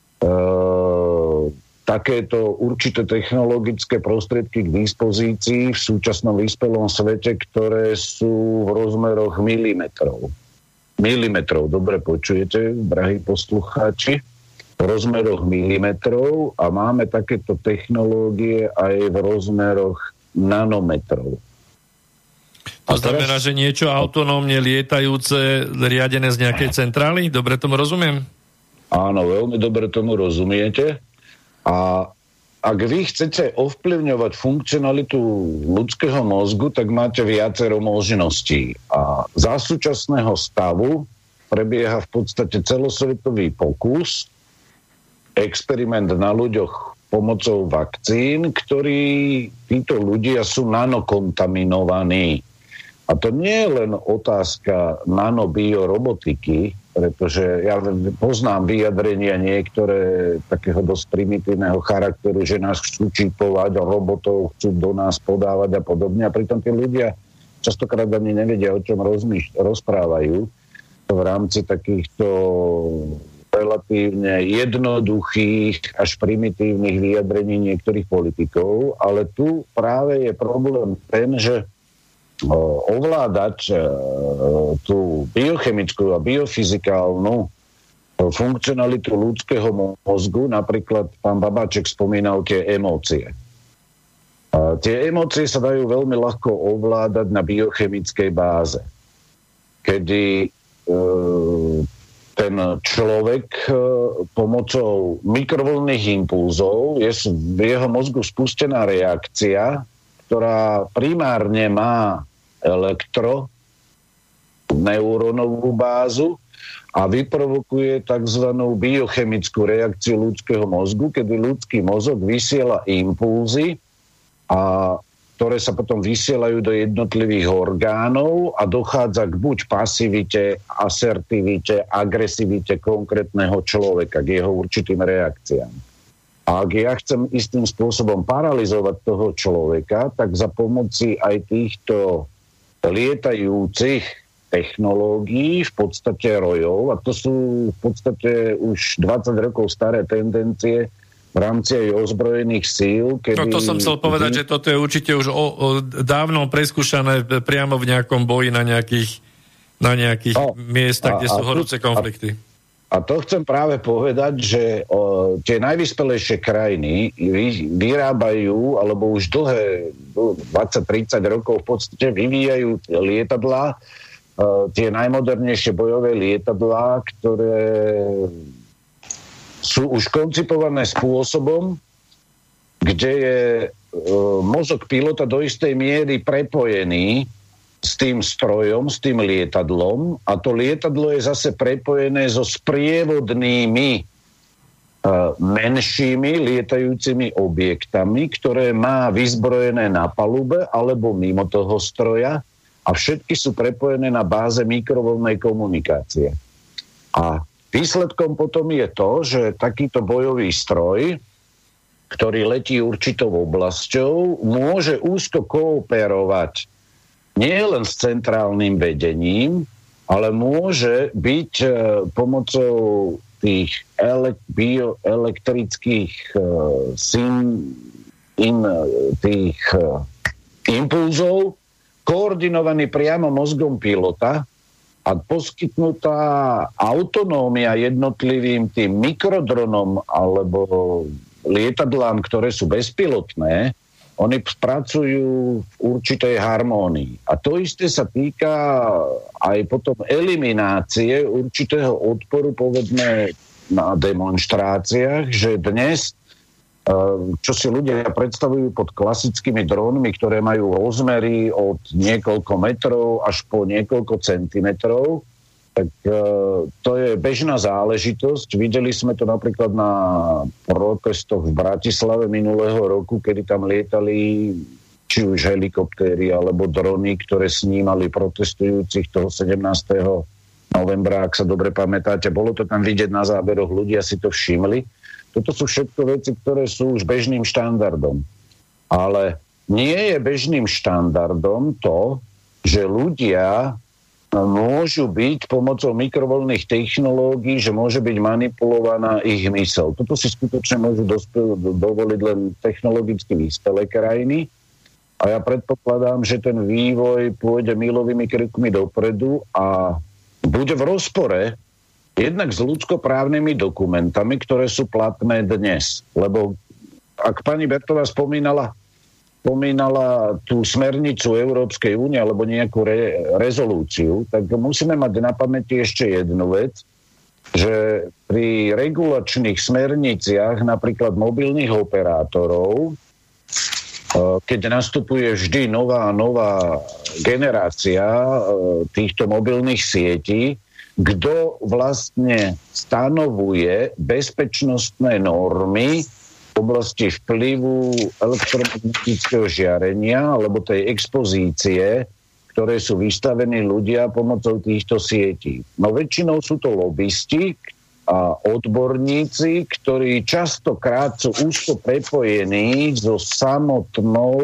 takéto určité technologické prostriedky k dispozícii v súčasnom vyspelom svete, ktoré sú v rozmeroch milimetrov. Milimetrov, dobre počujete, drahí poslucháči? V rozmeroch milimetrov a máme takéto technológie aj v rozmeroch nanometrov. To znamená, teraz, že niečo autonómne lietajúce, riadené z nejakej centrály? Dobre tomu rozumiem? Áno, veľmi dobre tomu rozumiete. A ak vy chcete ovplyvňovať funkcionalitu ľudského mozgu, tak máte viacero možností. A za súčasného stavu prebieha v podstate celosvetový pokus, experiment na ľuďoch pomocou vakcín, ktorí títo ľudia sú nanokontaminovaní. A to nie je len otázka nanobiorobotiky, pretože ja poznám vyjadrenia niektoré takého dosť primitívneho charakteru, že nás chcú čipovať, robotov chcú do nás podávať a podobne. A pritom tí ľudia častokrát ani nevedia, o čom rozmýš- rozprávajú v rámci takýchto relatívne jednoduchých až primitívnych vyjadrení niektorých politikov, ale tu práve je problém ten, že ovládať tú biochemickú a biofyzikálnu funkcionalitu ľudského mozgu, napríklad pán Babáček spomínal tie emócie. A tie emócie sa dajú veľmi ľahko ovládať na biochemickej báze, kedy ten človek pomocou mikrovlnných impulzov je v jeho mozgu spustená reakcia, ktorá primárne má elektro neurónovú bázu a vyprovokuje tzv. Biochemickú reakciu ľudského mozgu, kedy ľudský mozog vysiela impulzy, a ktoré sa potom vysielajú do jednotlivých orgánov a dochádza k buď pasivite, asertivite, agresivite konkrétneho človeka, k jeho určitým reakciám. A ak ja chcem istým spôsobom paralyzovať toho človeka, tak za pomoci aj týchto lietajúcich technológií, v podstate rojov, a to sú v podstate už dvadsať rokov staré tendencie v rámci aj ozbrojených síl. Kedy... No to som chcel povedať, že toto je určite už o, o, dávno preskúšané priamo v nejakom boji na nejakých, na nejakých no, miestach, kde sú horúce konflikty. A, A to chcem práve povedať, že o, tie najvyspelejšie krajiny vy, vyrábajú, alebo už dlhé dvadsať tridsať rokov v podstate vyvíjajú lietadlá, o, tie najmodernejšie bojové lietadlá, ktoré sú už koncipované spôsobom, kde je o, mozog pilota do istej miery prepojený s tým strojom, s tým lietadlom, a to lietadlo je zase prepojené so sprievodnými uh, menšími lietajúcimi objektami, ktoré má vyzbrojené na palube alebo mimo toho stroja, a všetky sú prepojené na báze mikrovlnnej komunikácie. A výsledkom potom je to, že takýto bojový stroj, ktorý letí určitou oblasťou, môže úzko kooperovať nie len s centrálnym vedením, ale môže byť e, pomocou tých ele- bioelektrických e, sim, in, tých e, impulzov koordinovaný priamo mozgom pilota a poskytnutá autonómia jednotlivým tým mikrodronom alebo lietadlám, ktoré sú bezpilotné, oni pracujú v určitej harmónii. A to isté sa týka aj potom eliminácie určitého odporu, povedzme, na demonštráciách, že dnes, čo si ľudia predstavujú pod klasickými drónmi, ktoré majú rozmery od niekoľko metrov až po niekoľko centimetrov, tak to je bežná záležitosť. Videli sme to napríklad na protestoch v Bratislave minulého roku, kedy tam lietali či už helikoptéry alebo drony, ktoré snímali protestujúcich toho sedemnásteho novembra, ak sa dobre pamätáte. Bolo to tam vidieť na záberoch, ľudia si to všimli. Toto sú všetko veci, ktoré sú už bežným štandardom. Ale nie je bežným štandardom to, že ľudia môžu byť pomocou mikrovlnných technológií, že môže byť manipulovaná ich myseľ. Toto si skutočne môžu dospel, dovoliť len technologicky vyspelé krajiny, a ja predpokladám, že ten vývoj pôjde milovými krokmi dopredu a bude v rozpore jednak s ľudskoprávnymi dokumentami, ktoré sú platné dnes. Lebo ak pani Bertová spomínala spomínala tú smernicu Európskej únie alebo nejakú re, rezolúciu, tak musíme mať na pamäti ešte jednu vec, že pri regulačných smerniciach napríklad mobilných operátorov, keď nastupuje vždy nová nová generácia týchto mobilných sietí, kto vlastne stanovuje bezpečnostné normy v oblasti vplyvu elektromagnetického žiarenia alebo tej expozície, ktoré sú vystavení ľudia pomocou týchto sietí. No väčšinou sú to lobisti a odborníci, ktorí častokrát sú úzko prepojení so samotnou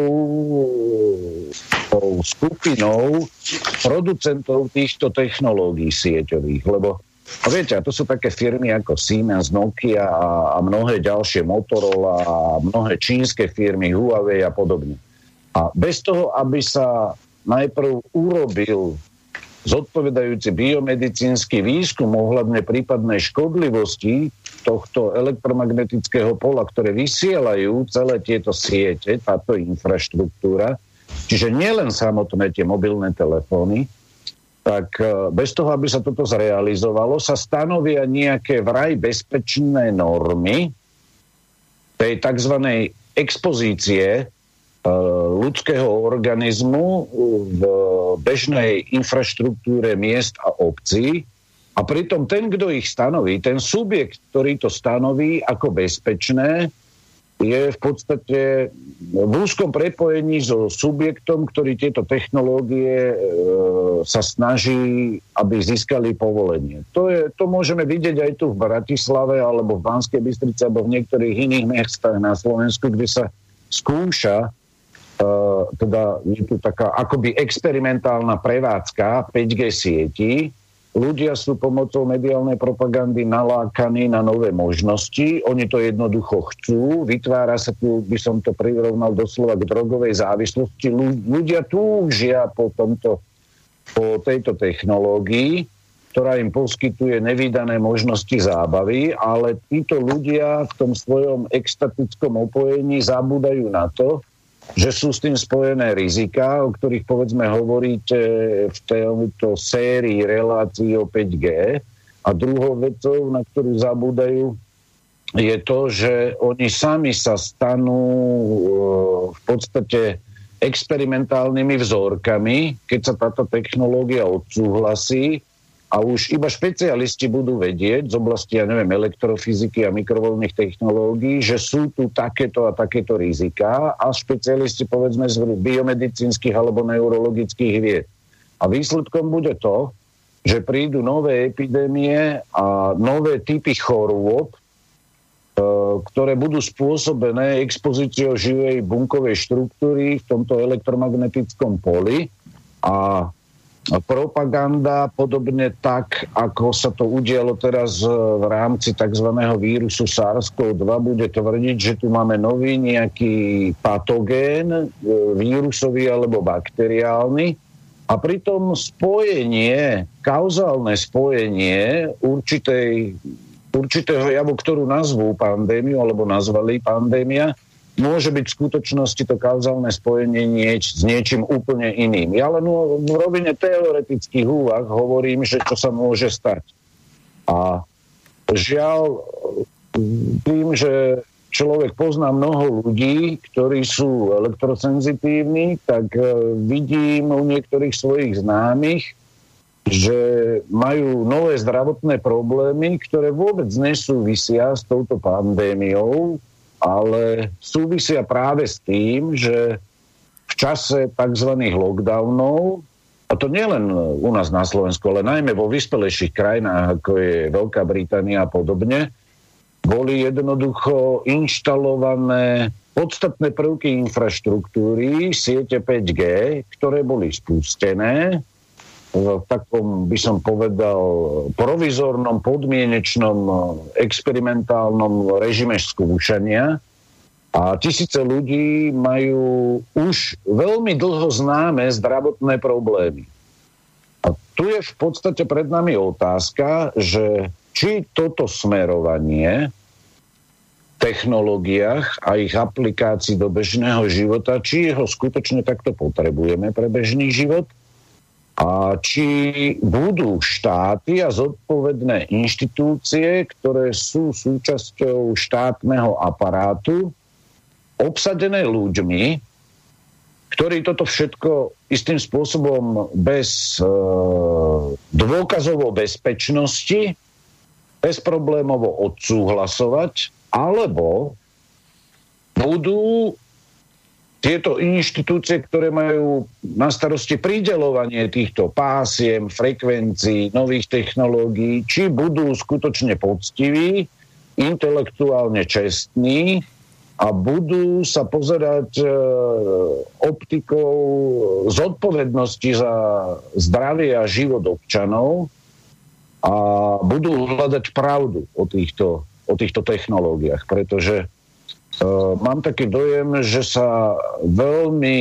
skupinou producentov týchto technológií sieťových, lebo a viete, a to sú také firmy ako Siemens, Nokia a, a mnohé ďalšie, Motorola a mnohé čínske firmy, Huawei a podobne. A bez toho, aby sa najprv urobil zodpovedajúci biomedicínsky výskum ohľadne prípadnej škodlivosti tohto elektromagnetického pola, ktoré vysielajú celé tieto siete, táto infraštruktúra, čiže nielen samotné tie mobilné telefóny, tak bez toho, aby sa toto zrealizovalo, sa stanovia nejaké vraj bezpečné normy tej tzv. Expozície ľudského organizmu v bežnej infraštruktúre miest a obcí. A pritom ten, kto ich stanoví, ten subjekt, ktorý to stanoví ako bezpečné, je v podstate v úzkom prepojení so subjektom, ktorý tieto technológie e, sa snaží, aby získali povolenie. To, je, to môžeme vidieť aj tu v Bratislave, alebo v Banskej Bystrici, alebo v niektorých iných mestách na Slovensku, kde sa skúša, e, teda je tu taká akoby experimentálna prevádzka päť G sietí. Ľudia sú pomocou mediálnej propagandy nalákaní na nové možnosti. Oni to jednoducho chcú. Vytvára sa tu, by som to prirovnal doslova k drogovej závislosti. Ľudia túžia po, tomto, po tejto technológii, ktorá im poskytuje nevídané možnosti zábavy, ale títo ľudia v tom svojom extatickom opojení zabúdajú na to, že sú s tým spojené riziká, o ktorých povedzme hovoríte v tejto sérii relácií o päť G. A druhou vecou, na ktorú zabúdajú, je to, že oni sami sa stanú v podstate experimentálnymi vzorkami, keď sa táto technológia odsúhlasí, a už iba špecialisti budú vedieť z oblasti, ja neviem, elektrofyziky a mikrovoľných technológií, že sú tu takéto a takéto riziká, a špecialisti, povedzme, z biomedicínskych alebo neurologických vied. A výsledkom bude to, že prídu nové epidémie a nové typy chorôb, ktoré budú spôsobené expozíciou živej bunkovej štruktúry v tomto elektromagnetickom poli, a propaganda, podobne tak, ako sa to udialo teraz v rámci tzv. Vírusu SARS-kov dva, bude tvrdiť, že tu máme nový nejaký patogén, vírusový alebo bakteriálny, a pritom spojenie, kauzálne spojenie určitej, určitého javu, ktorú nazvú pandémiu alebo nazvali pandémia, môže byť v skutočnosti to kauzálne spojenie nieč, s niečím úplne iným. Ja len v rovine teoretických úvah hovorím, že čo sa môže stať. A žiaľ, tým, že človek pozná mnoho ľudí, ktorí sú elektrosenzitívni, tak vidím u niektorých svojich známych, že majú nové zdravotné problémy, ktoré vôbec nesúvisia s touto pandémiou, ale súvisia práve s tým, že v čase tzv. Lockdownov, a to nielen u nás na Slovensku, ale najmä vo vyspelejších krajinách, ako je Veľká Británia a podobne, boli jednoducho inštalované podstatné prvky infraštruktúry siete päť G, ktoré boli spustené v takom, by som povedal, provizornom, podmienečnom, experimentálnom režime skúšania, a tisíce ľudí majú už veľmi dlho známe zdravotné problémy. A tu je v podstate pred nami otázka, že či toto smerovanie v technológiách a ich aplikácií do bežného života, či ho skutočne takto potrebujeme pre bežný život, a či budú štáty a zodpovedné inštitúcie, ktoré sú súčasťou štátneho aparátu, obsadené ľuďmi, ktorí toto všetko istým spôsobom bez e, dôkazov o bezpečnosti bezproblémovo odsúhlasovať, alebo budú tieto inštitúcie, ktoré majú na starosti prideľovanie týchto pásiem, frekvencií, nových technológií, či budú skutočne poctiví, intelektuálne čestní a budú sa pozerať e, optikou zodpovednosti za zdravie a život občanov a budú hľadať pravdu o týchto, o týchto technológiách, pretože Uh, mám taký dojem, že sa veľmi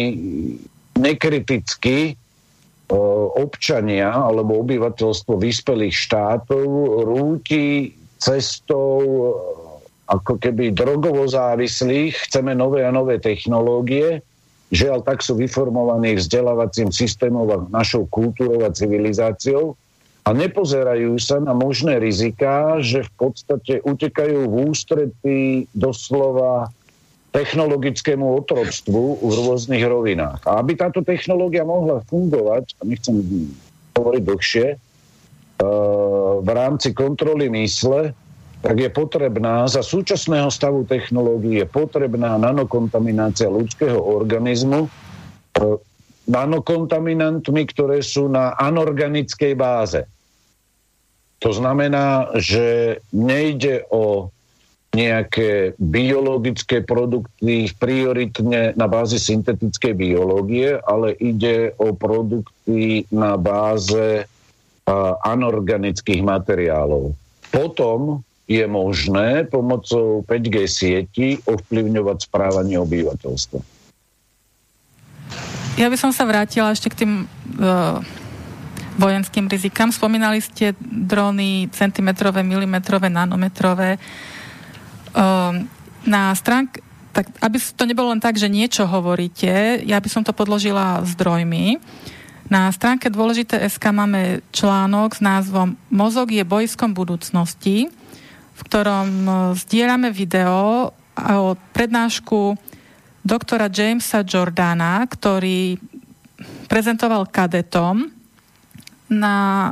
nekriticky uh, občania alebo obyvateľstvo vyspelých štátov rúti cestou uh, ako keby drogovo závislých. Chceme nové a nové technológie. Žiaľ, tak sú vyformovaní vzdelávacím systémom a našou kultúrou a civilizáciou a nepozerajú sa na možné riziká, že v podstate utekajú v ústretí doslova technologickému otroctvu v rôznych rovinách. A aby táto technológia mohla fungovať, a nechcem hovoriť dlhšie, v rámci kontroly mysle, tak je potrebná, za súčasného stavu technológií je potrebná nanokontaminácia ľudského organizmu nanokontaminantmi, ktoré sú na anorganickej báze. To znamená, že nejde o nejaké biologické produkty prioritne na báze syntetickej biológie, ale ide o produkty na báze anorganických materiálov. Potom je možné pomocou päť G sieti ovplyvňovať správanie obyvateľstva. Ja by som sa vrátila ešte k tým uh, vojenským rizikám. Spomínali ste drony centimetrové, milimetrové, nanometrové. Uh, na stránke, tak aby to nebolo len tak, že niečo hovoríte, ja by som to podložila zdrojmi. Na stránke Dôležité bodka es ká máme článok s názvom Mozog je bojskom budúcnosti, v ktorom zdieľame video o prednášku doktora Jamesa Jordana, ktorý prezentoval kadetom na,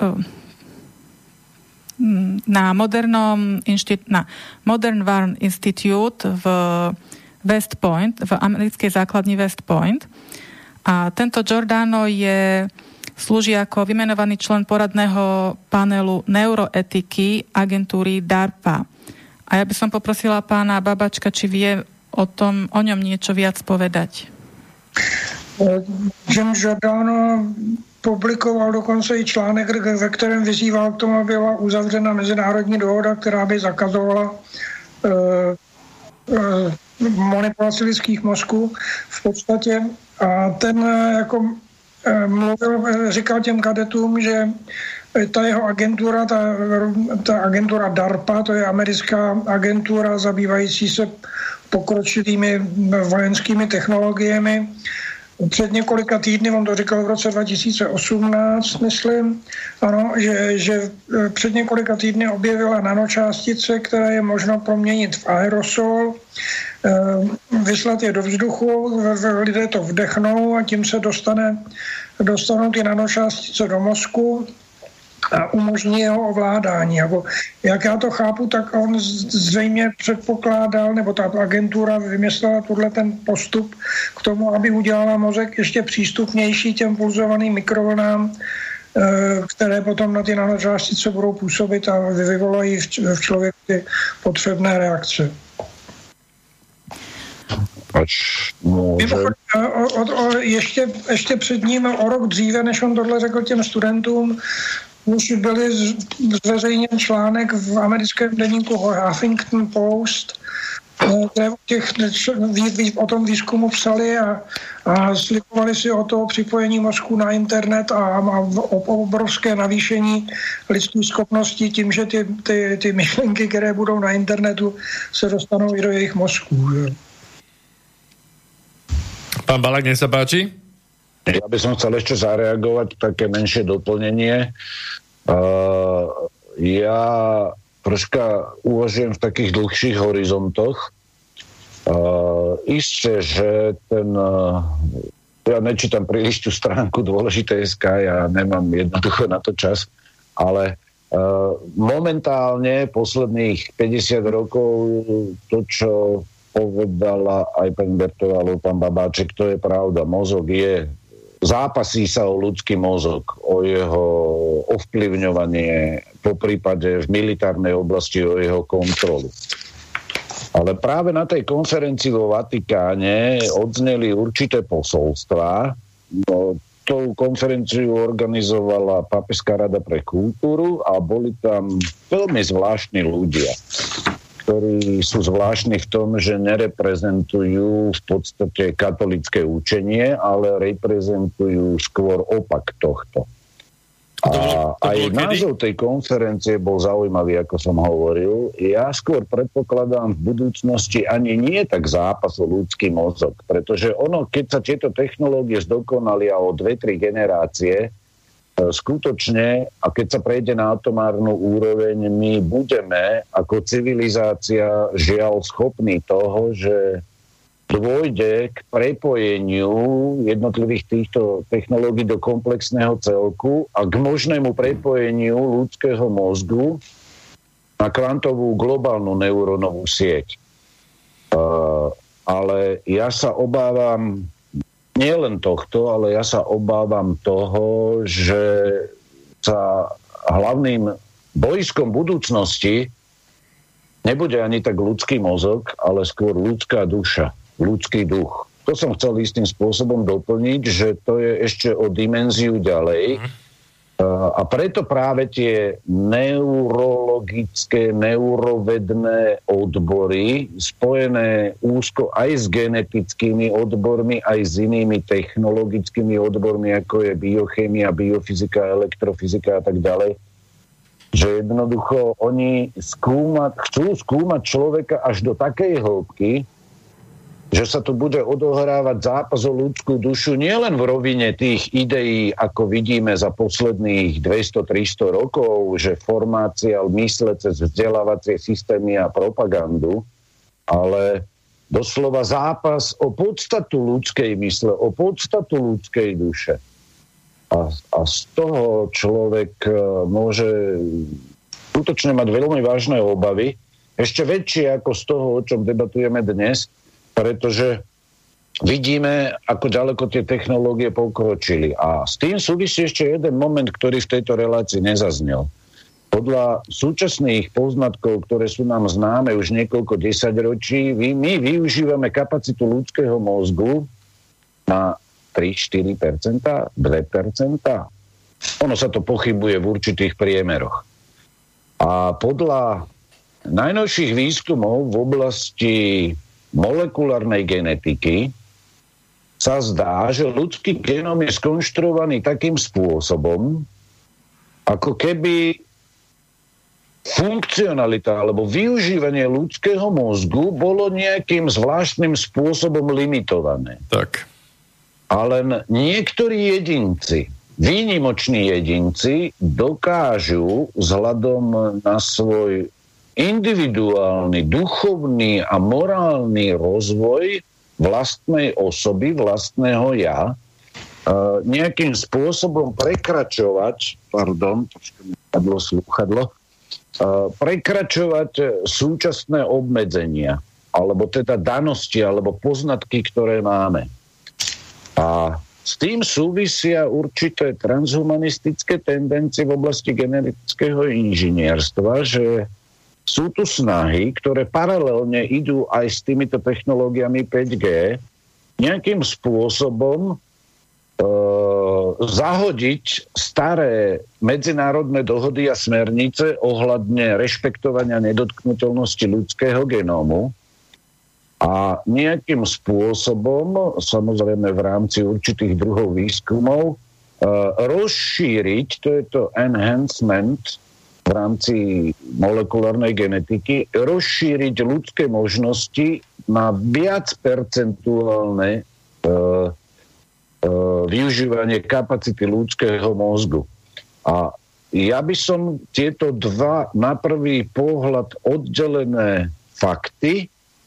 na modernom inštit, na Modern Warfare Institute v West Point, v americkej základni West Point. A tento Giordano je, slúži ako vymenovaný člen poradného panelu neuroetiky agentúry DARPA. A ja by som poprosila pána Babačka, či vie o tom, o ňom niečo viac povedať. Jim Giordano publikoval dokonce i článek, ve kterém vyzýval k tomu, aby byla uzavřena mezinárodní dohoda, která by zakazovala uh, uh, manipulaci lidských mozků v podstatě. A ten jako mluvil, říkal těm kadetům, že ta jeho agentura, ta, ta agentura DARPA, to je americká agentura zabývající se pokročilými vojenskými technologiemi. Před několika týdny, on to říkal v roce dva tisíce osmnáct, myslím, ano, že, že před několika týdny objevila nanočástice, které je možno proměnit v aerosol, vyslat je do vzduchu, lidé to vdechnou a tím se dostane, dostanou ty nanočástice do mozku a umožní jeho ovládání. Jako, jak já to chápu, tak on zřejmě předpokládal, nebo ta agentura vymyslela tuhle ten postup k tomu, aby udělala mozek ještě přístupnější těm pulzovaným mikrovlnám, které potom na ty nanočástice budou působit a vyvolají v člověku ty potřebné reakce. Až může... o, o, o, ještě, ještě před ním o rok dříve, než on tohle řekl těm studentům, už byly zveřejněn článek v americkém deníku Huffington Post, které o, těch, o tom výzkumu psali a, a slibovali si o to připojení mozku na internet a, a o obrovské navýšení lidských schopností tím, že ty, ty, ty myšlenky, které budou na internetu, se dostanou i do jejich mozků. Pán Balák, nech sa páči. Ja by som chcel ešte zareagovať, také menšie doplnenie. Uh, ja troška uvažujem v takých dlhších horizontoch. Uh, isté, že ten... Uh, ja nečítam príliš tú stránku Dôležité bodka es ká, ja nemám jednoducho na to čas, ale uh, momentálne posledných päťdesiat rokov to, čo povedala aj pani Bertová alebo pán Babáček, to je pravda. Mozog je, zápasí sa o ľudský mozog, o jeho ovplyvňovanie, po prípade v militárnej oblasti o jeho kontrolu. Ale práve na tej konferencii vo Vatikáne odzneli určité posolstvá. No, tú konferenciu organizovala Pápežská rada pre kultúru a boli tam veľmi zvláštni ľudia, ktorí sú zvláštni v tom, že nereprezentujú v podstate katolické učenie, ale reprezentujú skôr opak tohto. A to bolo, to aj bolo názov tej konferencie bol zaujímavý, ako som hovoril. Ja skôr predpokladám v budúcnosti ani nie tak zápas o ľudský mozog, pretože ono, keď sa tieto technológie zdokonalia o dve tri generácie, skutočne, a keď sa prejde na atomárnu úroveň, my budeme ako civilizácia žiaľ schopní toho, že dôjde k prepojeniu jednotlivých týchto technológií do komplexného celku a k možnému prepojeniu ľudského mozgu na kvantovú globálnu neurónovú sieť. Uh, ale ja sa obávam nielen tohto, ale ja sa obávam toho, že sa hlavným bojskom budúcnosti nebude ani tak ľudský mozog, ale skôr ľudská duša, ľudský duch. To som chcel istým spôsobom doplniť, že to je ešte o dimenziu ďalej. Mm. A preto práve tie neurologické, neurovedné odbory, spojené úzko aj s genetickými odbormi, aj s inými technologickými odbormi, ako je biochémia, biofyzika, elektrofyzika a tak ďalej, že jednoducho oni skúmať, chcú skúmať človeka až do takej hĺbky, že sa tu bude odohrávať zápas o ľudskú dušu nielen v rovine tých ideí, ako vidíme za posledných dvesto tristo rokov, že formácia mysle cez vzdelávacie systémy a propagandu, ale doslova zápas o podstatu ľudskej mysle, o podstatu ľudskej duše. A, a z toho človek môže skutočne mať veľmi vážne obavy, ešte väčšie ako z toho, o čom debatujeme dnes, pretože vidíme, ako ďaleko tie technológie pokročili. A s tým súvisí ešte jeden moment, ktorý v tejto relácii nezaznel. Podľa súčasných poznatkov, ktoré sú nám známe už niekoľko desaťročí, my využívame kapacitu ľudského mozgu na tri až štyri percentá, dva percentá. Ono sa to pochybuje v určitých priemeroch. A podľa najnovších výskumov v oblasti molekulárnej genetiky sa zdá, že ľudský genóm je skonštruovaný takým spôsobom, ako keby funkcionalita alebo využívanie ľudského mozgu bolo nejakým zvláštnym spôsobom limitované. Tak. A len niektorí jedinci, výnimoční jedinci, dokážu vzhľadom na svoj individuálny, duchovný a morálny rozvoj vlastnej osoby, vlastného ja, nejakým spôsobom prekračovať, pardon, trošku mi padlo slúchadlo, prekračovať súčasné obmedzenia, alebo teda danosti, alebo poznatky, ktoré máme. A s tým súvisia určité transhumanistické tendencie v oblasti genetického inžinierstva, že sú tu snahy, ktoré paralelne idú aj s týmito technológiami päť G, nejakým spôsobom e, zahodiť staré medzinárodné dohody a smernice ohľadne rešpektovania nedotknuteľnosti ľudského genómu a nejakým spôsobom, samozrejme v rámci určitých druhov výskumov, e, rozšíriť, to je to enhancement v rámci molekulárnej genetiky, rozšíriť ľudské možnosti na viac percentuálne e, e, využívanie kapacity ľudského mozgu. A ja by som tieto dva na prvý pohľad oddelené fakty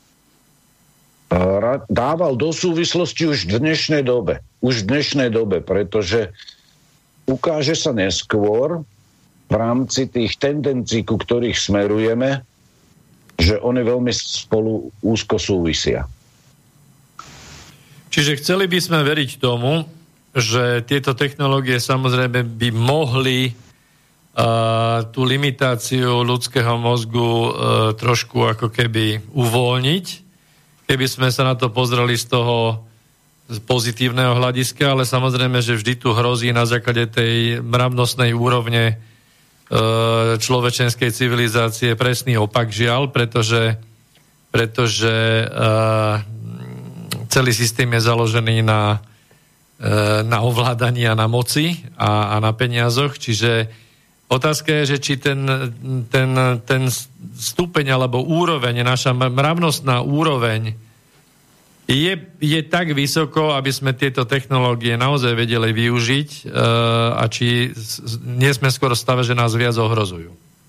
dával do súvislosti už v dnešnej dobe. Už v dnešnej dobe, pretože ukáže sa neskôr v rámci tých tendencií, ku ktorých smerujeme, že oni veľmi spolu úzko súvisia. Čiže chceli by sme veriť tomu, že tieto technológie samozrejme by mohli uh, tú limitáciu ľudského mozgu uh, trošku ako keby uvoľniť, keby sme sa na to pozreli z toho z pozitívneho hľadiska, ale samozrejme, že vždy tu hrozí na základe tej mravnostnej úrovne človečenskej civilizácie presný opak, žiaľ, pretože, pretože uh, celý systém je založený na, uh, na ovládaní a na moci a, a na peniazoch, čiže otázka je, že či ten, ten, ten stupeň alebo úroveň, naša mravnostná úroveň Je, je tak vysoko, aby sme tieto technológie naozaj vedeli využiť uh, a či nie sme skoro v stave, že nás viac ohrozujú?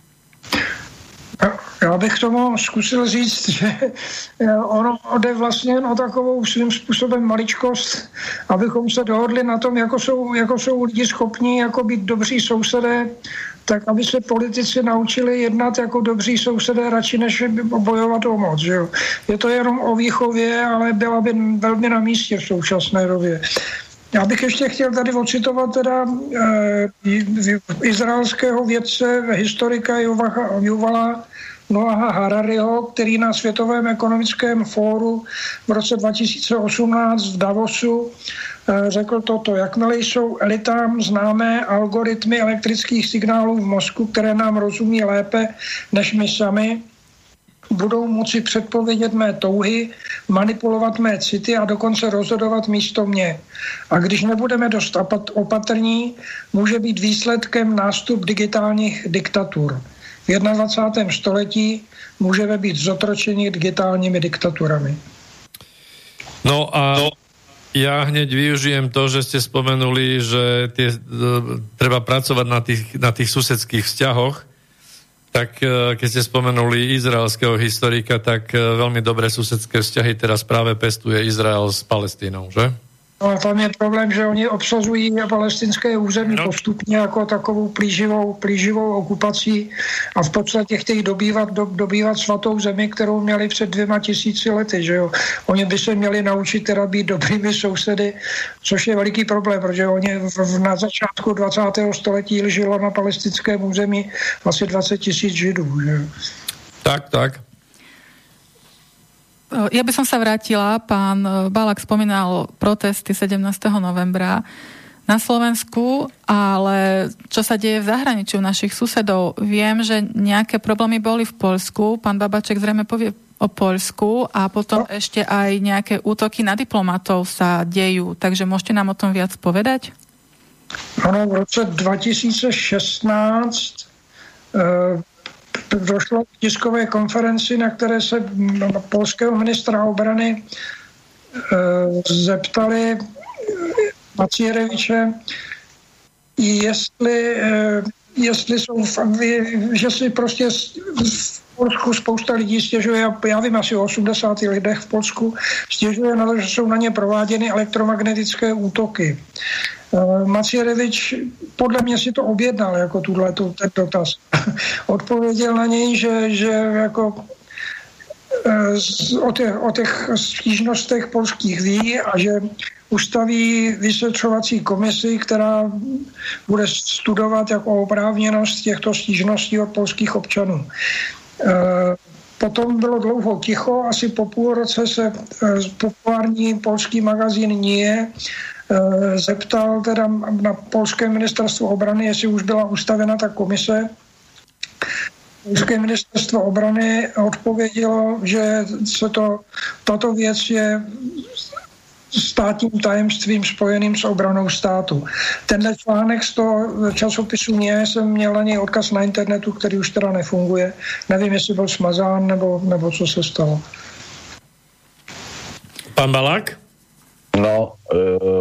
Já bych tomu zkusil říct, že ono jde vlastně jen o takovou svým způsobem maličkost, abychom se dohodli na tom, jako jsou, jako jsou lidi schopní jako být dobří sousedé tak aby se politici naučili jednat jako dobří sousedé radši, než bojovat o moc. Že jo? Je to jenom o výchově, ale byla by velmi na místě v současné době. Já bych ještě chtěl tady ocitovat teda e, izraelského vědce, historika Juvala Noaha Harariho, který na Světovém ekonomickém fóru v roce dva tisíce osmnáct v Davosu řekl toto: jakmile jsou elitám známé algoritmy elektrických signálů v mozku, které nám rozumí lépe než my sami, budou moci předpovědět mé touhy, manipulovat mé city a dokonce rozhodovat místo mě. A když nebudeme dost opatrní, může být výsledkem nástup digitálních diktatur. V dvacátém prvním století můžeme být zotročeni digitálními diktaturami. No a no. Ja hneď využijem to, že ste spomenuli, že tie, treba pracovať na tých, na tých susedských vzťahoch. Tak keď ste spomenuli izraelského historika, tak veľmi dobré susedské vzťahy teraz práve pestuje Izrael s Palestínou, že? No a tam je problém, že oni obsazují palestinské území no. postupně jako takovou plíživou, plíživou okupací a v podstatě chtějí dobývat, do, dobývat svatou zemi, kterou měli před dvěma tisíci lety. Že jo? Oni by se měli naučit teda být dobrými sousedy, což je veliký problém, protože oni v, v, na začátku dvacátého století žilo na palestinském území asi dvacet tisíc Židů. Že? Tak, tak. Ja by som sa vrátila, pán Balák spomínal protesty sedemnásteho novembra na Slovensku, ale čo sa deje v zahraničí u našich susedov? Viem, že nejaké problémy boli v Poľsku, pán Babaček zrejme povie o Poľsku a potom no. ešte aj nejaké útoky na diplomatov sa dejú, takže môžete nám o tom viac povedať? Ano, v roce dva tisíce šestnáct uh... došlo k tiskové konferenci, na které se polského ministra obrany e, zeptali Maciereviče, jestli, e, jestli jsou, že si prostě v Polsku spousta lidí stěžuje, já vím asi o osmdesáti lidech v Polsku, stěžuje na to, že jsou na ně prováděny elektromagnetické útoky. Macierevič podle mě si to objednal jako tuhletu, ten dotaz. Odpověděl na něj, že, že jako o těch, o těch stížnostech polských ví a že ustaví vyšetřovací komisi, která bude studovat jako oprávněnost těchto stížností od polských občanů. Potom bylo dlouho ticho, asi po půl roce se populární polský magazín Nie zeptal teda na polské ministerstvo obrany, jestli už byla ustavena ta komise. Polské ministerstvo obrany odpovědělo, že se to, tato věc je státním tajemstvím spojeným s obranou státu. Tenhle článek z toho časopisu Nie jsem měl na něj odkaz na internetu, který už teda nefunguje. Nevím, jestli byl smazán, nebo, nebo co se stalo. Pán Balák? No, e,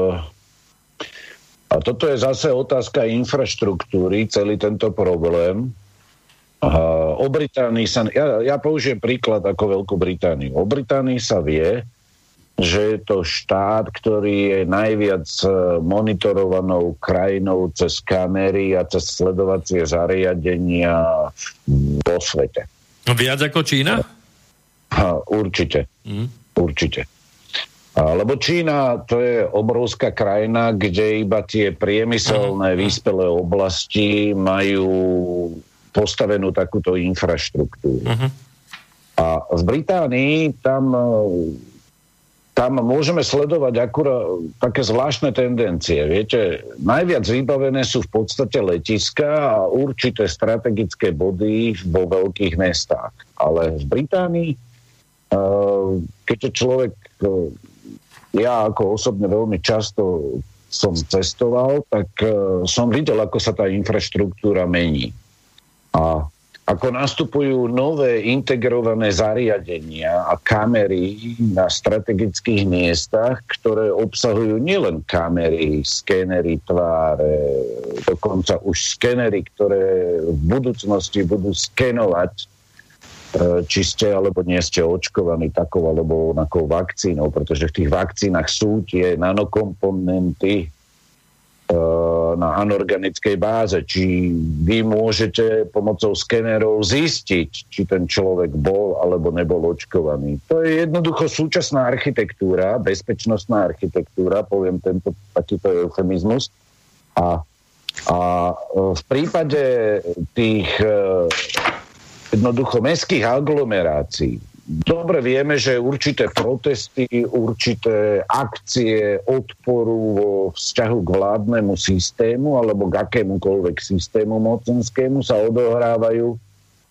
a toto je zase otázka infraštruktúry, celý tento problém. A o Británii sa, ja, ja použijem príklad ako Veľkú Britániu. O Británii sa vie, že je to štát, ktorý je najviac monitorovanou krajinou cez kamery a cez sledovacie zariadenia vo svete. Viac ako Čína? Ha, určite. Mm. Určite. Lebo Čína to je obrovská krajina, kde iba tie priemyselné vyspelé oblasti majú postavenú takúto infraštruktúru. Uh-huh. A v Británii tam, tam môžeme sledovať akurát také zvláštne tendencie. Viete, najviac vybavené sú v podstate letiská a určité strategické body vo veľkých mestách. Ale v Británii, keďže človek... Ja ako osobne veľmi často som cestoval, tak uh, som videl, ako sa tá infraštruktúra mení. A ako nastupujú nové integrované zariadenia a kamery na strategických miestach, ktoré obsahujú nielen kamery, skénery tváre, dokonca už skénery, ktoré v budúcnosti budú skenovať, či ste alebo nie ste očkovaní takou alebo onakou vakcínou, pretože v tých vakcínach sú tie nanokomponenty, na anorganickej báze, či vy môžete pomocou skenerov zistiť, či ten človek bol alebo nebol očkovaný. To je jednoducho súčasná architektúra, bezpečnostná architektúra, poviem tento takýto eufemizmus. A, a v prípade tých jednoducho mestských aglomerácií dobre vieme, že určité protesty, určité akcie odporu vo vzťahu k vládnemu systému alebo k akémukoľvek systému mocenskému sa odohrávajú e,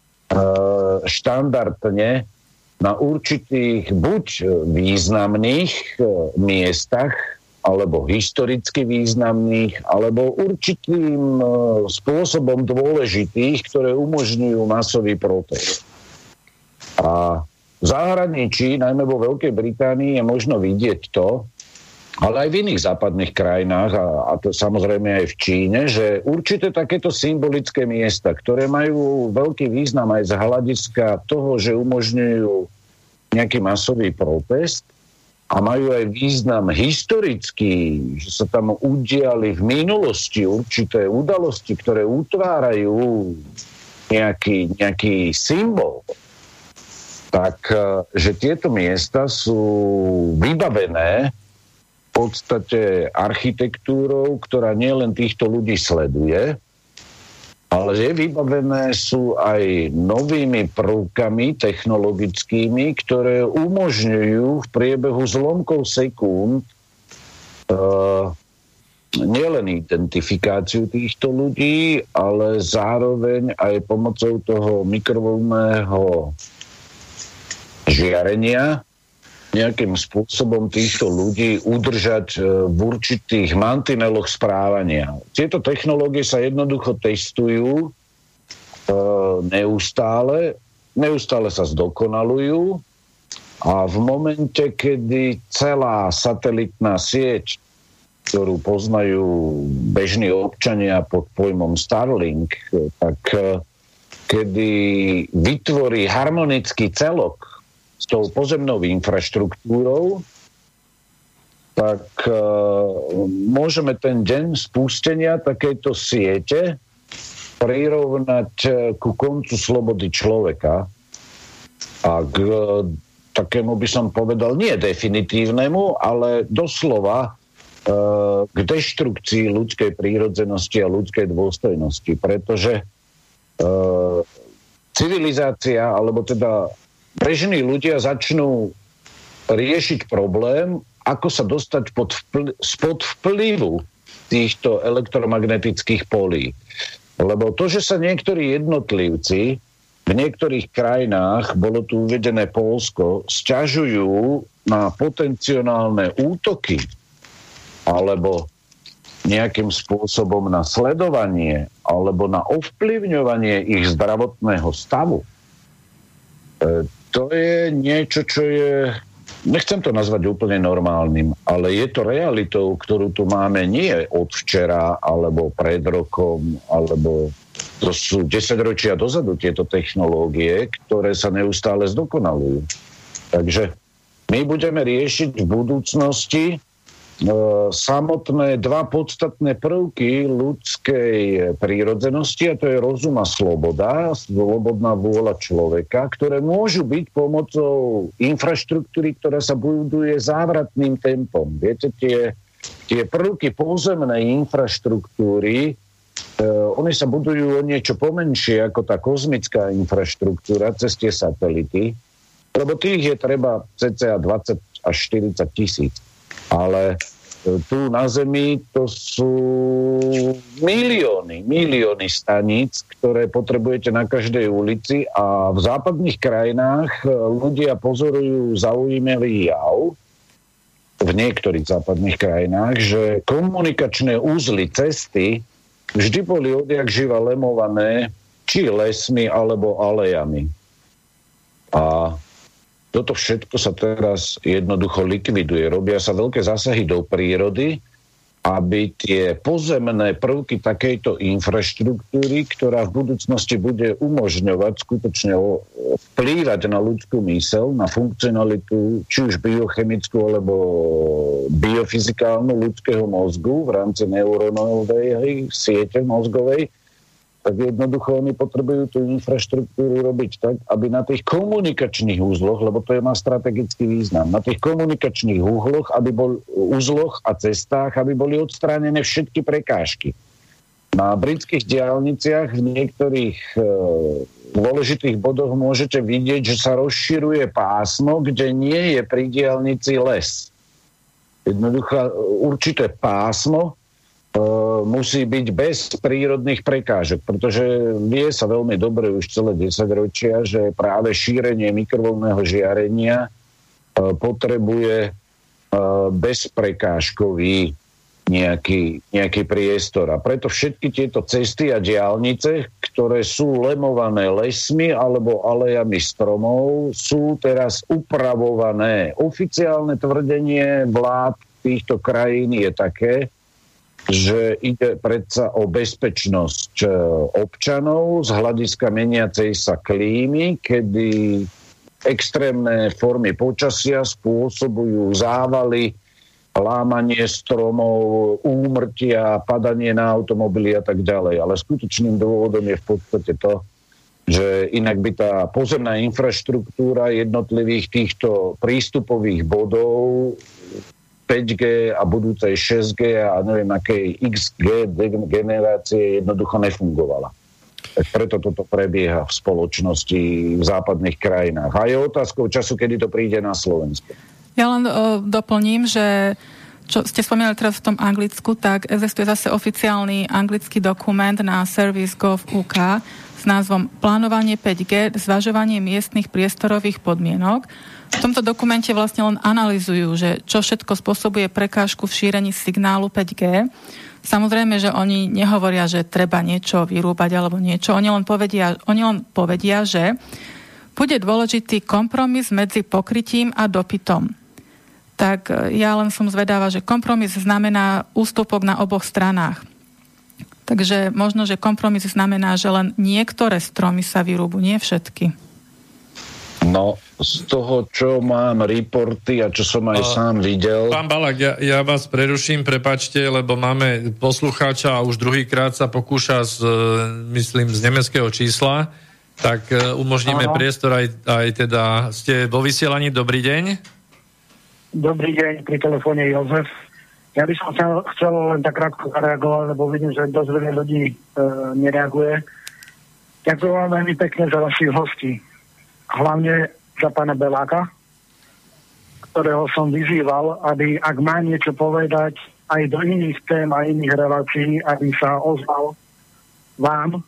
štandardne na určitých buď významných e, miestach alebo historicky významných, alebo určitým e, spôsobom dôležitých, ktoré umožňujú masový protest. A v zahraničí, najmä vo Veľkej Británii, je možno vidieť to, ale aj v iných západných krajinách, a, a to samozrejme aj v Číne, že určité takéto symbolické miesta, ktoré majú veľký význam aj z hľadiska toho, že umožňujú nejaký masový protest a majú aj význam historický, že sa tam udiali v minulosti určité udalosti, ktoré utvárajú nejaký, nejaký symbol, tak, že tieto miesta sú vybavené v podstate architektúrou, ktorá nielen týchto ľudí sleduje, ale že vybavené sú aj novými prvkami technologickými, ktoré umožňujú v priebehu zlomkov sekúnd uh, nielen identifikáciu týchto ľudí, ale zároveň aj pomocou toho mikrovlnného žiarenia nejakým spôsobom týchto ľudí udržať v určitých mantineloch správania. Tieto technológie sa jednoducho testujú e, neustále, neustále sa zdokonalujú a v momente, kedy celá satelitná sieť, ktorú poznajú bežní občania pod pojmom Starlink, tak e, kedy vytvorí harmonický celok s tou pozemnou infraštruktúrou, tak uh, môžeme ten deň spustenia takejto siete prirovnať uh, ku koncu slobody človeka a k uh, takému by som povedal, nie definitívnemu, ale doslova uh, k deštrukcii ľudskej prírodzenosti a ľudskej dôstojnosti, pretože uh, civilizácia, alebo teda bežní ľudia začnú riešiť problém, ako sa dostať pod vpl- spod vplyvu týchto elektromagnetických polí. Lebo to, že sa niektorí jednotlivci v niektorých krajinách, bolo tu uvedené Poľsko, sťažujú na potenciálne útoky alebo nejakým spôsobom na sledovanie alebo na ovplyvňovanie ich zdravotného stavu, e, to je niečo, čo je, nechcem to nazvať úplne normálnym, ale je to realitou, ktorú tu máme nie od včera, alebo pred rokom, alebo to sú desaťročia dozadu tieto technológie, ktoré sa neustále zdokonalujú. Takže my budeme riešiť v budúcnosti e, samotné dva podstatné prvky ľudskej prírodzenosti, a to je rozum a sloboda, slobodná vôľa človeka, ktoré môžu byť pomocou infraštruktúry, ktorá sa buduje závratným tempom. Viete, tie, tie prvky pozemnej infraštruktúry, e, oni sa budujú o niečo pomenšie ako tá kozmická infraštruktúra cez tie satelity, lebo tých je treba cca dvadsať až štyridsať tisíc. Ale tu na Zemi to sú milióny, milióny staníc, ktoré potrebujete na každej ulici, a v západných krajinách ľudia pozorujú zaujímavý jav, v niektorých západných krajinách, že komunikačné úzly, cesty vždy boli odjak živa lemované či lesmi alebo alejami. A toto všetko sa teraz jednoducho likviduje. Robia sa veľké zásahy do prírody, aby tie pozemné prvky takejto infraštruktúry, ktorá v budúcnosti bude umožňovať skutočne vplývať na ľudskú myseľ, na funkcionalitu, či už biochemickú, alebo biofyzikálnu ľudského mozgu v rámci neurónovej siete mozgovej, tak jednoducho oni potrebujú tú infraštruktúru robiť tak, aby na tých komunikačných úzloch, lebo to je má strategický význam, na tých komunikačných úzloch, aby bol, úzloch a cestách, aby boli odstránené všetky prekážky. Na britských diaľniciach v niektorých e, dôležitých bodoch môžete vidieť, že sa rozširuje pásmo, kde nie je pri diaľnici les. Jednoducho určité pásmo musí byť bez prírodných prekážok, pretože vie sa veľmi dobre už celé desaťročia, že práve šírenie mikrovlnného žiarenia potrebuje bezprekážkový nejaký, nejaký priestor. A preto všetky tieto cesty a diaľnice, ktoré sú lemované lesmi alebo alejami stromov, sú teraz upravované. Oficiálne tvrdenie vlád týchto krajín je také, že ide predsa o bezpečnosť občanov z hľadiska meniacej sa klímy, kedy extrémne formy počasia spôsobujú závaly, lámanie stromov, úmrtia, padanie na automobily a tak ďalej. Ale skutočným dôvodom je v podstate to, že inak by tá pozemná infraštruktúra jednotlivých týchto prístupových bodov päť gé a budúcej šesť gé a neviem akej iks gé generácie jednoducho nefungovala. Tak preto toto prebieha v spoločnosti v západných krajinách. A je otázkou času, kedy to príde na Slovensko. Ja len uh, doplním, že čo ste spomínali teraz v tom Anglicku, tak existuje zase oficiálny anglický dokument na service gov bodka ú ká s názvom Plánovanie päť gé, zvažovanie miestnych priestorových podmienok. V tomto dokumente vlastne len analyzujú, že čo všetko spôsobuje prekážku v šírení signálu päť gé. Samozrejme, že oni nehovoria, že treba niečo vyrúbať alebo niečo. Oni len povedia, oni len povedia, že bude dôležitý kompromis medzi pokrytím a dopytom. Tak ja len som zvedáva, že kompromis znamená ústupok na oboch stranách. Takže možno, že kompromis znamená, že len niektoré stromy sa vyrúbu, nie všetky. No, z toho, čo mám reporty a čo som aj uh, sám videl... Pán Balák, ja, ja vás preruším, prepáčte, lebo máme poslucháča a už druhýkrát sa pokúša z, myslím, z nemeckého čísla, tak umožníme Aha. priestor aj, aj teda... Ste vo vysielaní, dobrý deň. Dobrý deň, pri telefóne Jozef. Ja by som chcel, chcel len tak krátko zareagovať, lebo vidím, že dosť veľa ľudí e, nereaguje. Ďakujem vám veľmi pekne za vašich hostí. Hlavne za pána Beláka, ktorého som vyzýval, aby ak má niečo povedať aj do iných tém a iných relácií, aby sa ozval vám.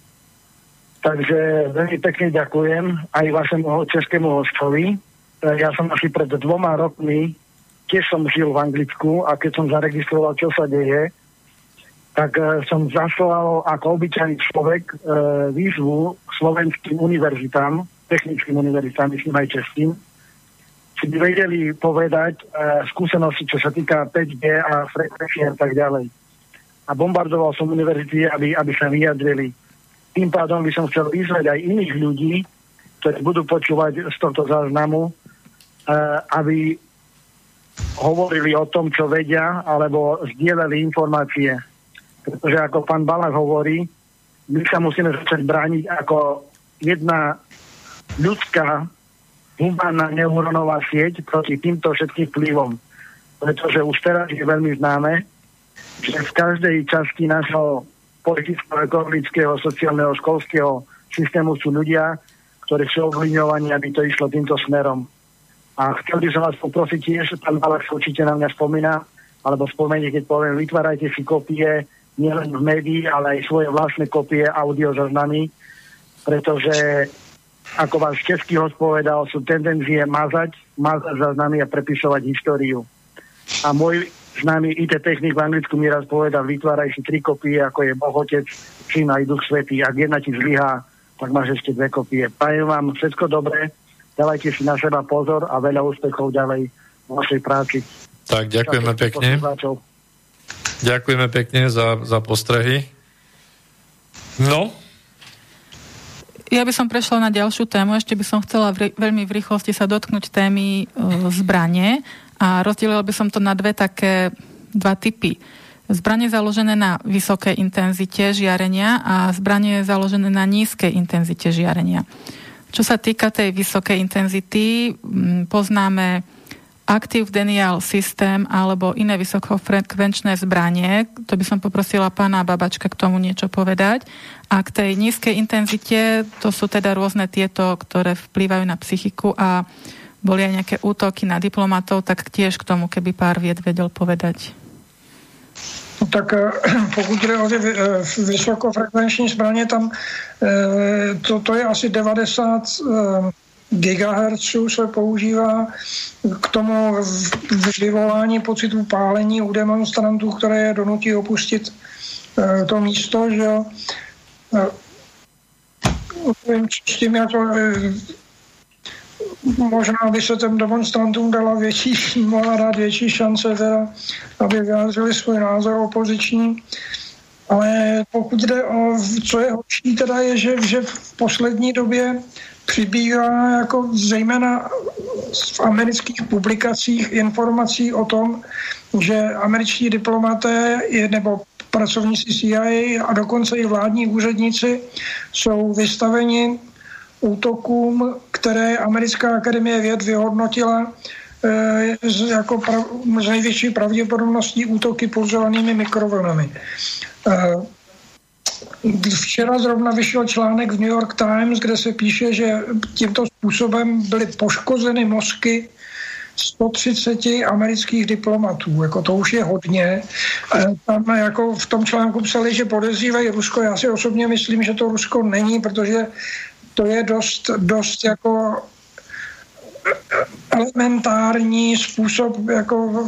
Takže veľmi pekne ďakujem aj vašemu českému hostovi. Ja som asi pred dvoma rokmi, tiež som žil v Anglicku a keď som zaregistroval, čo sa deje, tak e, som zaslal ako obyčajný človek e, výzvu slovenským univerzitám, technickým univerzitám, myslím aj českým, či by vedeli povedať e, skúsenosti, čo sa týka päť gé a frekvencie a tak ďalej. A bombardoval som univerzity, aby, aby sa vyjadrili. Tým pádom by som chcel vyzvať aj iných ľudí, ktorí budú počúvať z tohto záznamu, e, aby hovorili o tom, čo vedia, alebo zdieľali informácie. Pretože ako pán Balák hovorí, my sa musíme začať brániť ako jedna ľudská humánna neurónová sieť proti týmto všetkým vplyvom. Pretože už teraz je veľmi známe, že v každej časti nášho politického, ekonomického, sociálneho, školského systému sú ľudia, ktorí sú ovlivňovaní, aby to išlo týmto smerom. A chcel by som vás poprosiť tiež, pán Balák sa určite na mňa spomína, alebo spomenie, keď poviem, vytvárajte si kopie nielen v médií, ale aj svoje vlastné kopie audiozaznamy, pretože, ako vás český host povedal, sú tendencie mazať, mazať záznamy a prepisovať históriu. A môj známy í té technik v Anglicku mi raz povedal, vytváraj si tri kopie, ako je Boh Otec, Syn aj Duch Svätý. Ak jedna ti zlyhá, tak máš ešte dve kopie. Prajem vám všetko dobré, dávajte si na seba pozor a veľa úspechov ďalej v vašej práci. Tak, ďakujeme pekne. Ďakujeme pekne za, za postrehy. No? Ja by som prešla na ďalšiu tému. Ešte by som chcela v, veľmi v rýchlosti sa dotknúť témy e, zbrane a rozdelila by som to na dve také, dva typy. Zbranie založené na vysokej intenzite žiarenia a zbranie založené na nízkej intenzite žiarenia. Čo sa týka tej vysokej intenzity, poznáme Active Denial System alebo iné vysokofrekvenčné zbranie. To by som poprosila pána Babačka k tomu niečo povedať. A k tej nízkej intenzite, to sú teda rôzne tieto, ktoré vplývajú na psychiku a boli aj nejaké útoky na diplomatov, tak tiež k tomu, keby pár vied vedel povedať. Tak pokud jde o ty vysokofrekvenční zbraně, tam to, to je asi devadesát gigahertzů se používá k tomu vyvolání pocitu pálení u demonstrantů, které je donutí opustit to místo, že jo. S tím jako možná by se těm demonstrantům dala větší, mohla dát větší šance, teda, aby vyjádřili svůj názor opoziční. Ale pokud jde o, co je horší, teda je, že, že v poslední době přibývá jako zejména v amerických publikacích informací o tom, že američtí diplomaté nebo pracovníci C I A a dokonce i vládní úředníci jsou vystaveni útokům, které americká akademie věd vyhodnotila e, jako prav, z největší pravděpodobností útoky pulzovanými mikrovlnami. E, Včera zrovna vyšel článek v New York Times, kde se píše, že tímto způsobem byly poškozeny mozky sto třicet amerických diplomatů. Jako to už je hodně. Tam jako v tom článku psali, že podezřívají Rusko. Já si osobně myslím, že to Rusko není, protože to je dost, dost jako elementární způsob jako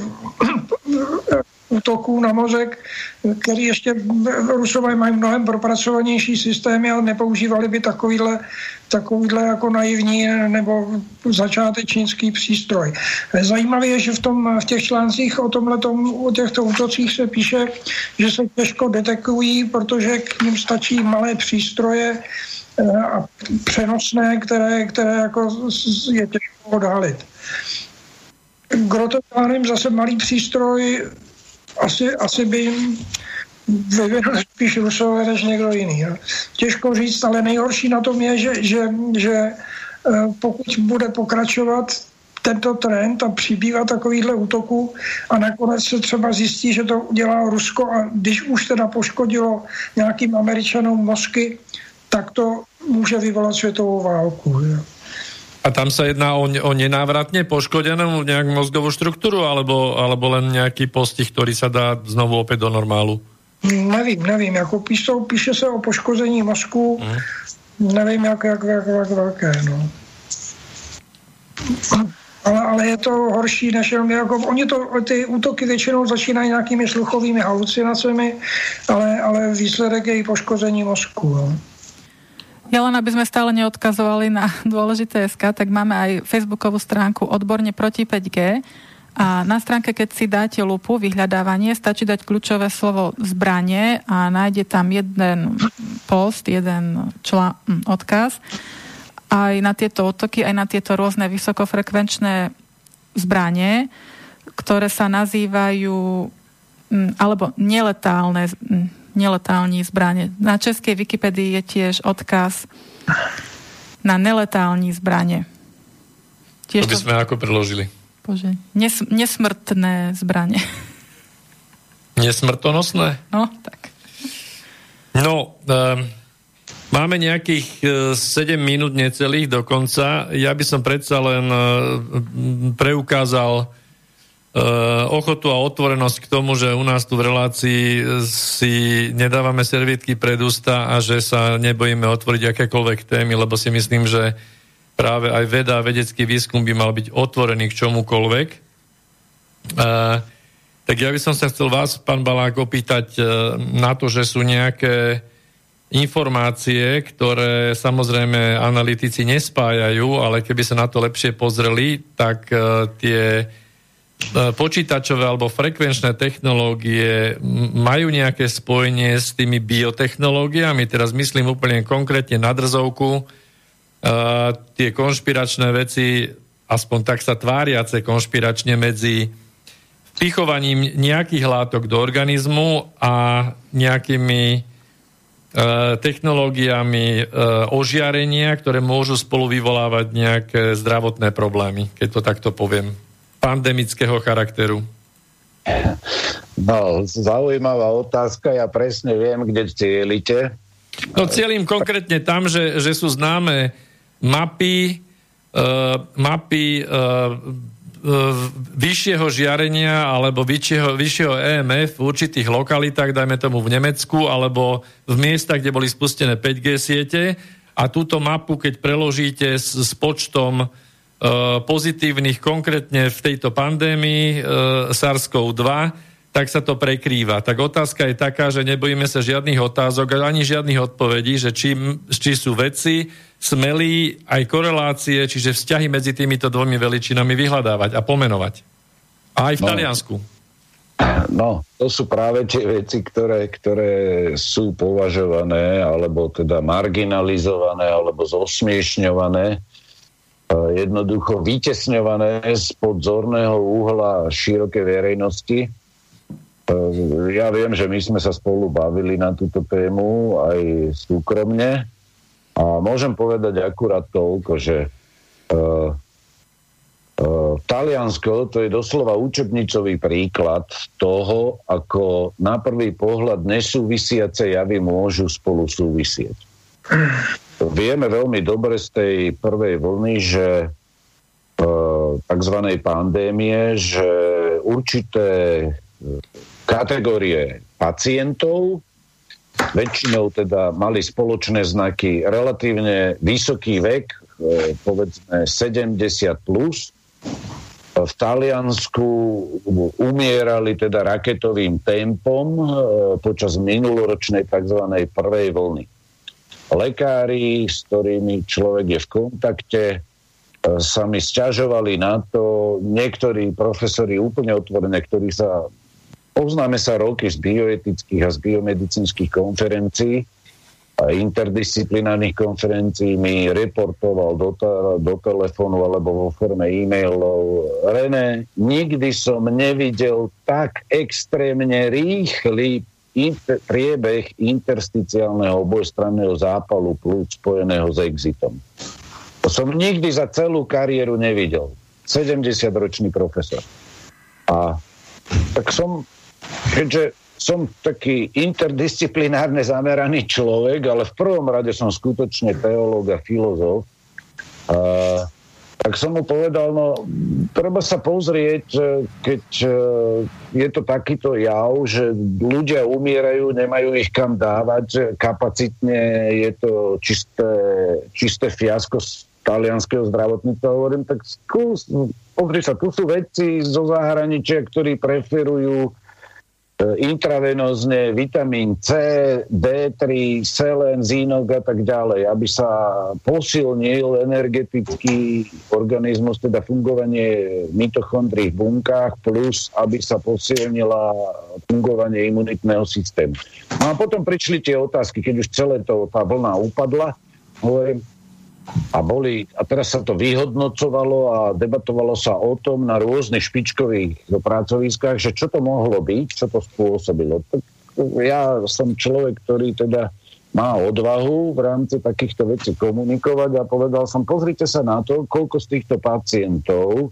útoků na mozek, který ještě Rusové mají mnohem propracovanější systémy, ale nepoužívali by takovýhle, takovýhle jako naivní nebo začátečnický přístroj. Zajímavé je, že v, tom, v těch článcích o tomhletom, o těchto útocích se píše, že se těžko detekují, protože k ním stačí malé přístroje a přenosné, které, které jako je těžko odhalit. Groteplánem zase malý přístroj asi, asi by jim vyvinuli spíš Rusové než někdo jiný. Jo. Těžko říct, ale nejhorší na tom je, že, že, že pokud bude pokračovat tento trend a přibývá takovýchhle útoků a nakonec se třeba zjistí, že to dělá Rusko a když už teda poškodilo nějakým Američanům mozky, tak to může vyvolat světovou válku. Jo. A tam sa jedná o, o nenávratne poškodenú nejakú mozgovú štruktúru alebo, alebo len nejaký postih, ktorý sa dá znovu opäť do normálu? Nevím, nevím. Jako píšou, píše se o poškození mozku. Mm. Nevím, jak, jak, jak, jak velké. No. Ale, ale je to horší, než jenom jako, oni to, ty útoky většinou začínají nějakými sluchovými halucinacemi, ale, ale výsledek je i poškození mozku. No. Ja len, aby sme stále neodkazovali na dôležité es ká, tak máme aj facebookovú stránku Odborne proti päť gé a na stránke, keď si dáte lupu, vyhľadávanie, stačí dať kľúčové slovo zbranie a nájde tam jeden post, jeden člá, odkaz aj na tieto útoky, aj na tieto rôzne vysokofrekvenčné zbranie, ktoré sa nazývajú alebo neletálne neletálne zbranie. Na českej Wikipedii je tiež odkaz na neletálne zbranie. Tiež to by sme to... ako preložili? Bože, nes, nesmrtné zbranie. Nesmrtonosné? No, tak. No, um, máme nejakých uh, sedem minút necelých do konca. Ja by som predsa len uh, preukázal ochotu a otvorenosť k tomu, že u nás tu v relácii si nedávame servietky pred ústa a že sa nebojíme otvoriť akékoľvek témy, lebo si myslím, že práve aj veda a vedecký výskum by mal byť otvorený k čomukoľvek. Uh, tak ja by som sa chcel vás, pán Balák, opýtať uh, na to, že sú nejaké informácie, ktoré samozrejme analytici nespájajú, ale keby sa na to lepšie pozreli, tak uh, tie počítačové alebo frekvenčné technológie majú nejaké spojenie s tými biotechnológiami, teraz myslím úplne konkrétne na drzovku, tie konšpiračné veci, aspoň tak sa tváriace konšpiračne, medzi vpichovaním nejakých látok do organizmu a nejakými technológiami ožiarenia, ktoré môžu spolu vyvolávať nejaké zdravotné problémy, keď to takto poviem, pandemického charakteru. No, zaujímavá otázka, ja presne viem, kde cielite. No, cieľim konkrétne tam, že, že sú známe mapy, uh, mapy uh, vyššieho žiarenia alebo vyššieho, vyššieho é em ef v určitých lokalitách, dajme tomu v Nemecku, alebo v miestach, kde boli spustené päť gé siete, a túto mapu, keď preložíte s, s počtom e, pozitívnych konkrétne v tejto pandémii e, SARS-kov dva, tak sa to prekrýva. Tak otázka je taká, že nebojíme sa žiadnych otázok ani žiadnych odpovedí, že či, či sú veci smelí aj korelácie, čiže vzťahy medzi týmito dvomi veličinami vyhľadávať a pomenovať. A aj v no, Taliansku. No, to sú práve tie veci, ktoré, ktoré sú považované, alebo teda marginalizované, alebo zosmiešňované, jednoducho vytesňované spod zorného uhla širokej verejnosti. Ja viem, že my sme sa spolu bavili na túto tému aj súkromne. A môžem povedať akurát toľko, že uh, uh, Taliansko, to je doslova učebnicový príklad toho, ako na prvý pohľad nesúvisiace javy môžu spolu súvisieť. Vieme veľmi dobre z tej prvej vlny, že uh, takzvanej pandémie, že určité kategórie pacientov väčšinou teda mali spoločné znaky relatívne vysoký vek, povedzme sedemdesiat plus. V Taliansku umierali teda raketovým tempom počas minuloročnej tzv. Prvej vlny. Lekári, s ktorými človek je v kontakte, sa mi sťažovali na to, niektorí profesori úplne otvorené, ktorí sa poznáme sa roky z bioetických a z biomedicínskych konferencií a interdisciplinárnych konferencií mi reportoval do, ta, do telefónu alebo vo forme e-mailov: René, nikdy som nevidel tak extrémne rýchly inter, priebeh intersticiálneho obojstranného zápalu plúc spojeného s exitom. To som nikdy za celú kariéru nevidel. sedemdesiatročný profesor. A tak som keďže som taký interdisciplinárne zameraný človek, ale v prvom rade som skutočne teológ a filozof, a, tak som mu povedal, no treba sa pozrieť, keď je to takýto jav, že ľudia umierajú, nemajú ich kam dávať, kapacitne je to čisté, čisté fiasko z talianskeho zdravotníctva. Hovorím, tak skús, pozri sa, tu sú vedci zo zahraničia, ktorí preferujú intravenózne vitamín C, dé tri, selén, zínok a tak ďalej, aby sa posilnil energetický organizmus, teda fungovanie mitochondrií v bunkách, plus aby sa posilnila fungovanie imunitného systému. No a potom prišli tie otázky, keď už celé to, tá vlna upadla, hovorím, a boli, a teraz sa to vyhodnocovalo a debatovalo sa o tom na rôznych špičkových pracoviskách, že čo to mohlo byť, čo to spôsobilo. Tak ja som človek, ktorý teda má odvahu v rámci takýchto vecí komunikovať a povedal som, pozrite sa na to, koľko z týchto pacientov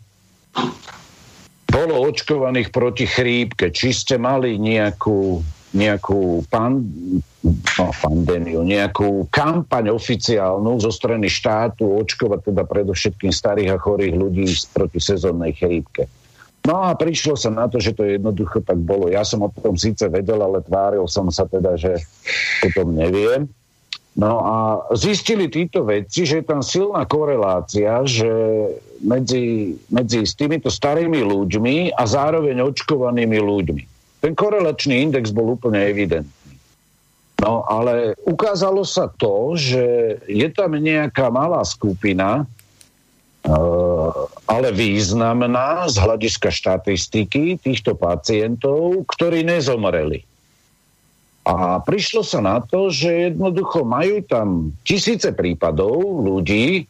bolo očkovaných proti chrípke, či ste mali nejakú nejakú pan, no, pandémiu, nejakú kampaň oficiálnu zo strany štátu očkovať teda predovšetkým starých a chorých ľudí proti sezónnej chrípke. No a prišlo sa na to, že to jednoducho tak bolo. Ja som o tom síce vedel, ale tváril som sa teda, že o tom neviem. No a zistili títo vedci, že je tam silná korelácia, že medzi, medzi s týmito starými ľuďmi a zároveň očkovanými ľuďmi. Ten korelačný index bol úplne evidentný. No ale ukázalo sa to, že je tam nejaká malá skupina, uh, ale významná z hľadiska štatistiky týchto pacientov, ktorí nezomreli. A prišlo sa na to, že jednoducho majú tam tisíce prípadov ľudí,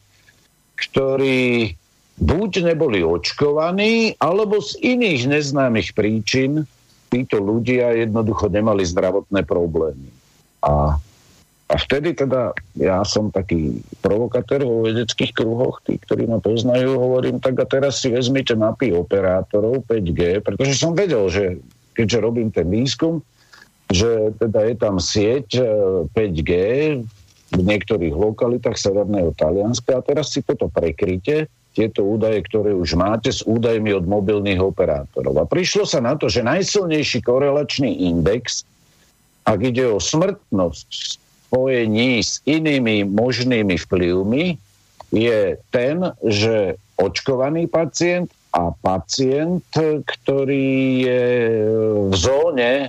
ktorí buď neboli očkovaní, alebo z iných neznámych príčin títo ľudia jednoducho nemali zdravotné problémy. A, a vtedy teda ja som taký provokatér vo vedeckých kruhoch, tí, ktorí ma poznajú, hovorím, tak a teraz si vezmite mapy operátorov päť G, pretože som vedel, že keďže robím ten výskum, že teda je tam sieť päť G v niektorých lokalitách severného Talianska a teraz si toto prekryte, tieto údaje, ktoré už máte s údajmi od mobilných operátorov. A prišlo sa na to, že najsilnejší korelačný index, ak ide o smrtnosť v spojení s inými možnými vplyvmi, je ten, že očkovaný pacient a pacient, ktorý je v zóne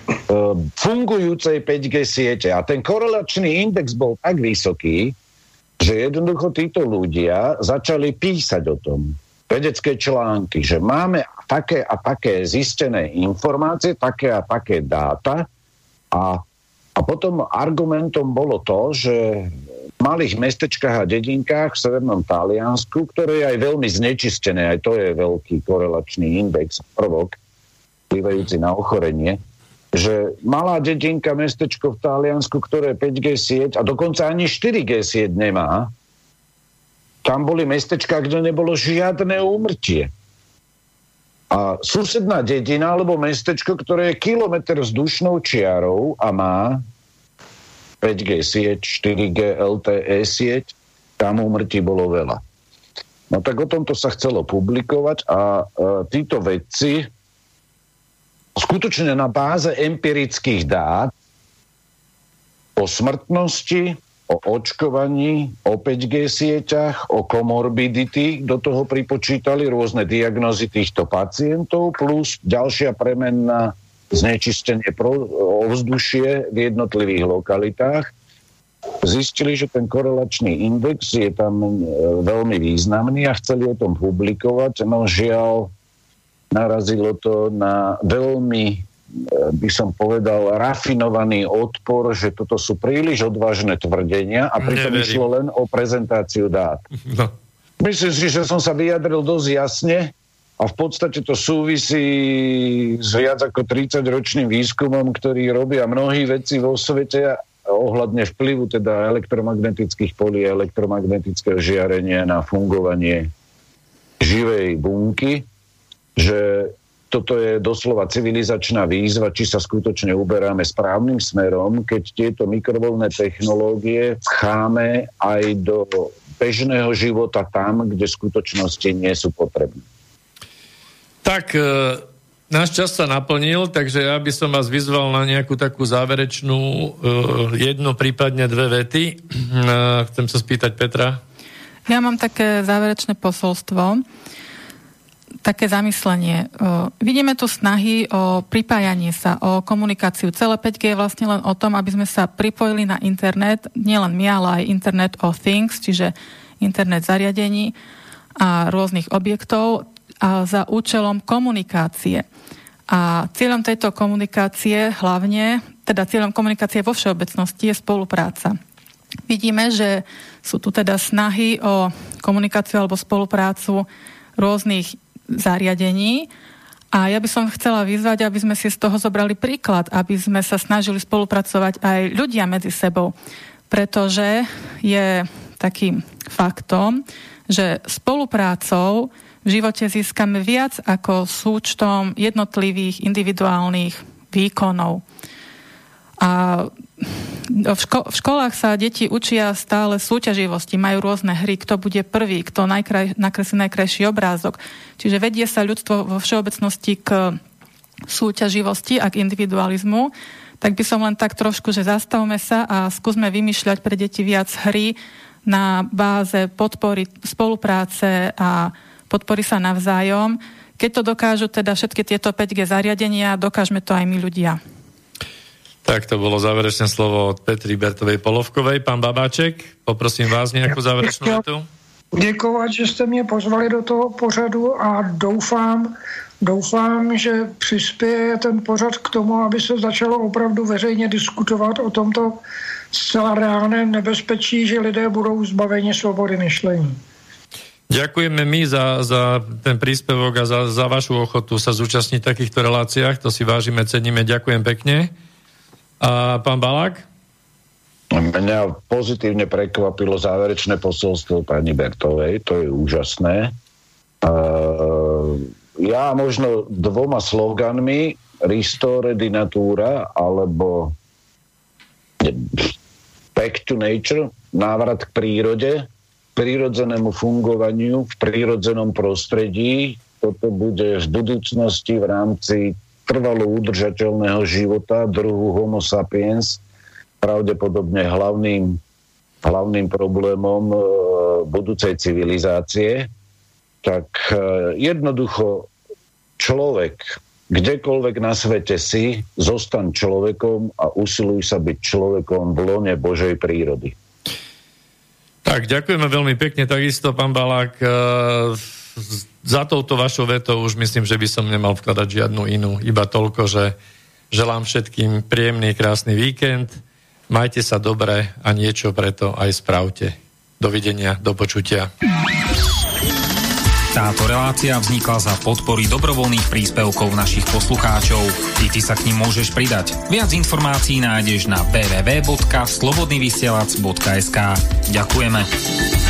fungujúcej päť G siete. A ten korelačný index bol tak vysoký, že jednoducho títo ľudia začali písať o tom. Vedecké články, že máme také a také zistené informácie, také a také dáta a, a potom argumentom bolo to, že v malých mestečkách a dedinkách v severnom Taliansku, ktoré je aj veľmi znečistené, aj to je veľký korelačný index, prvok, vplyvajúci na ochorenie, že malá dedinka, mestečko v Taliansku, ktoré päť G sieť a dokonca ani štyri G sieť nemá, tam boli mestečka, kde nebolo žiadne úmrtie. A susedná dedina alebo mestečko, ktoré je kilometr vzdušnou čiarou a má päť G sieť, štyri G el té é sieť, tam úmrtí bolo veľa. No tak o tomto sa chcelo publikovať a e, títo vedci skutočne na báze empirických dát o smrtnosti, o očkovaní, o päť G sieťach, o komorbidity, do toho pripočítali rôzne diagnózy týchto pacientov, plus ďalšia premenná znečistenie ovzdušie v jednotlivých lokalitách. Zistili, že ten korelačný index je tam veľmi významný a chceli o tom publikovať, no žiaľ narazilo to na veľmi, by som povedal, rafinovaný odpor, že toto sú príliš odvážne tvrdenia a pritom Neverím. išlo len o prezentáciu dát. No. Myslím si, že som sa vyjadril dosť jasne a v podstate to súvisí s viac ako tridsaťročným výskumom, ktorý robia mnohí vedci vo svete ohľadne vplyvu teda elektromagnetických polí a elektromagnetického žiarenia na fungovanie živej bunky, že toto je doslova civilizačná výzva, či sa skutočne uberáme správnym smerom, keď tieto mikrovlnné technológie pcháme aj do bežného života tam, kde v skutočnosti nie sú potrebné. Tak, e, náš čas sa naplnil, takže ja by som vás vyzval na nejakú takú záverečnú e, jednu, prípadne dve vety. E, chcem sa spýtať Petra. Ja mám také záverečné posolstvo, také zamyslenie. O, vidíme tu snahy o pripájanie sa, o komunikáciu. Celé päť G je vlastne len o tom, aby sme sa pripojili na internet, nielen my, ale aj Internet of Things, čiže internet zariadení a rôznych objektov a za účelom komunikácie. A cieľom tejto komunikácie hlavne, teda cieľom komunikácie vo všeobecnosti je spolupráca. Vidíme, že sú tu teda snahy o komunikáciu alebo spoluprácu rôznych zariadení a ja by som chcela vyzvať, aby sme si z toho zobrali príklad, aby sme sa snažili spolupracovať aj ľudia medzi sebou, pretože je takým faktom, že spoluprácou v živote získame viac ako súčtom jednotlivých individuálnych výkonov. A v, ško- v školách sa deti učia stále súťaživosti, majú rôzne hry, kto bude prvý, kto najkraj- nakreslí najkrajší obrázok. Čiže vedie sa ľudstvo vo všeobecnosti k súťaživosti a k individualizmu. Tak by som len tak trošku, že zastavme sa a skúsme vymýšľať pre deti viac hry na báze podpory spolupráce a podpory sa navzájom. Keď to dokážu teda všetky tieto päť G zariadenia, dokážeme to aj my ľudia. Tak to bolo záverečné slovo od Petry Bertovej Polovkovej. Pán Babáček, poprosím vás nejakú záverečnú vetu. děkovat, že jste mě pozvali do toho pořadu a doufám, doufám, že přispěje ten pořad k tomu, aby se začalo opravdu veřejně diskutovat o tomto zcela reálném nebezpečí, že lidé budou zbaveni svobody myšlení. Ďakujeme my za, za ten príspevok a za, za vašu ochotu sa zúčastniť v takýchto reláciách. To si vážime, ceníme. Ďakujem pekne. A pán Balák? Mňa pozitívne prekvapilo záverečné posolstvo pani Bertovej. To je úžasné. Uh, ja možno dvoma sloganmi Restore di natura alebo Back to nature, návrat k prírode, prírodzenému fungovaniu v prírodzenom prostredí. Toto bude v budúcnosti v rámci trvalo udržateľného života druhu Homo sapiens pravdepodobne hlavným, hlavným problémom e, budúcej civilizácie. Tak e, jednoducho človek, kdekoľvek na svete si, zostaň človekom a usiluj sa byť človekom v lone Božej prírody. Tak, ďakujeme veľmi pekne. Takisto, pán Balák, e, za touto vašou vetou už myslím, že by som nemal vkladať žiadnu inú. Iba toľko, že želám všetkým príjemný, krásny víkend. Majte sa dobre a niečo preto aj spravte. Dovidenia, do počutia. Táto relácia vznikla za podpory dobrovoľných príspevkov našich poslucháčov. I ty sa k nim môžeš pridať. Viac informácií nájdeš na w w w bodka slobodnyvysielac bodka es ka. Ďakujeme.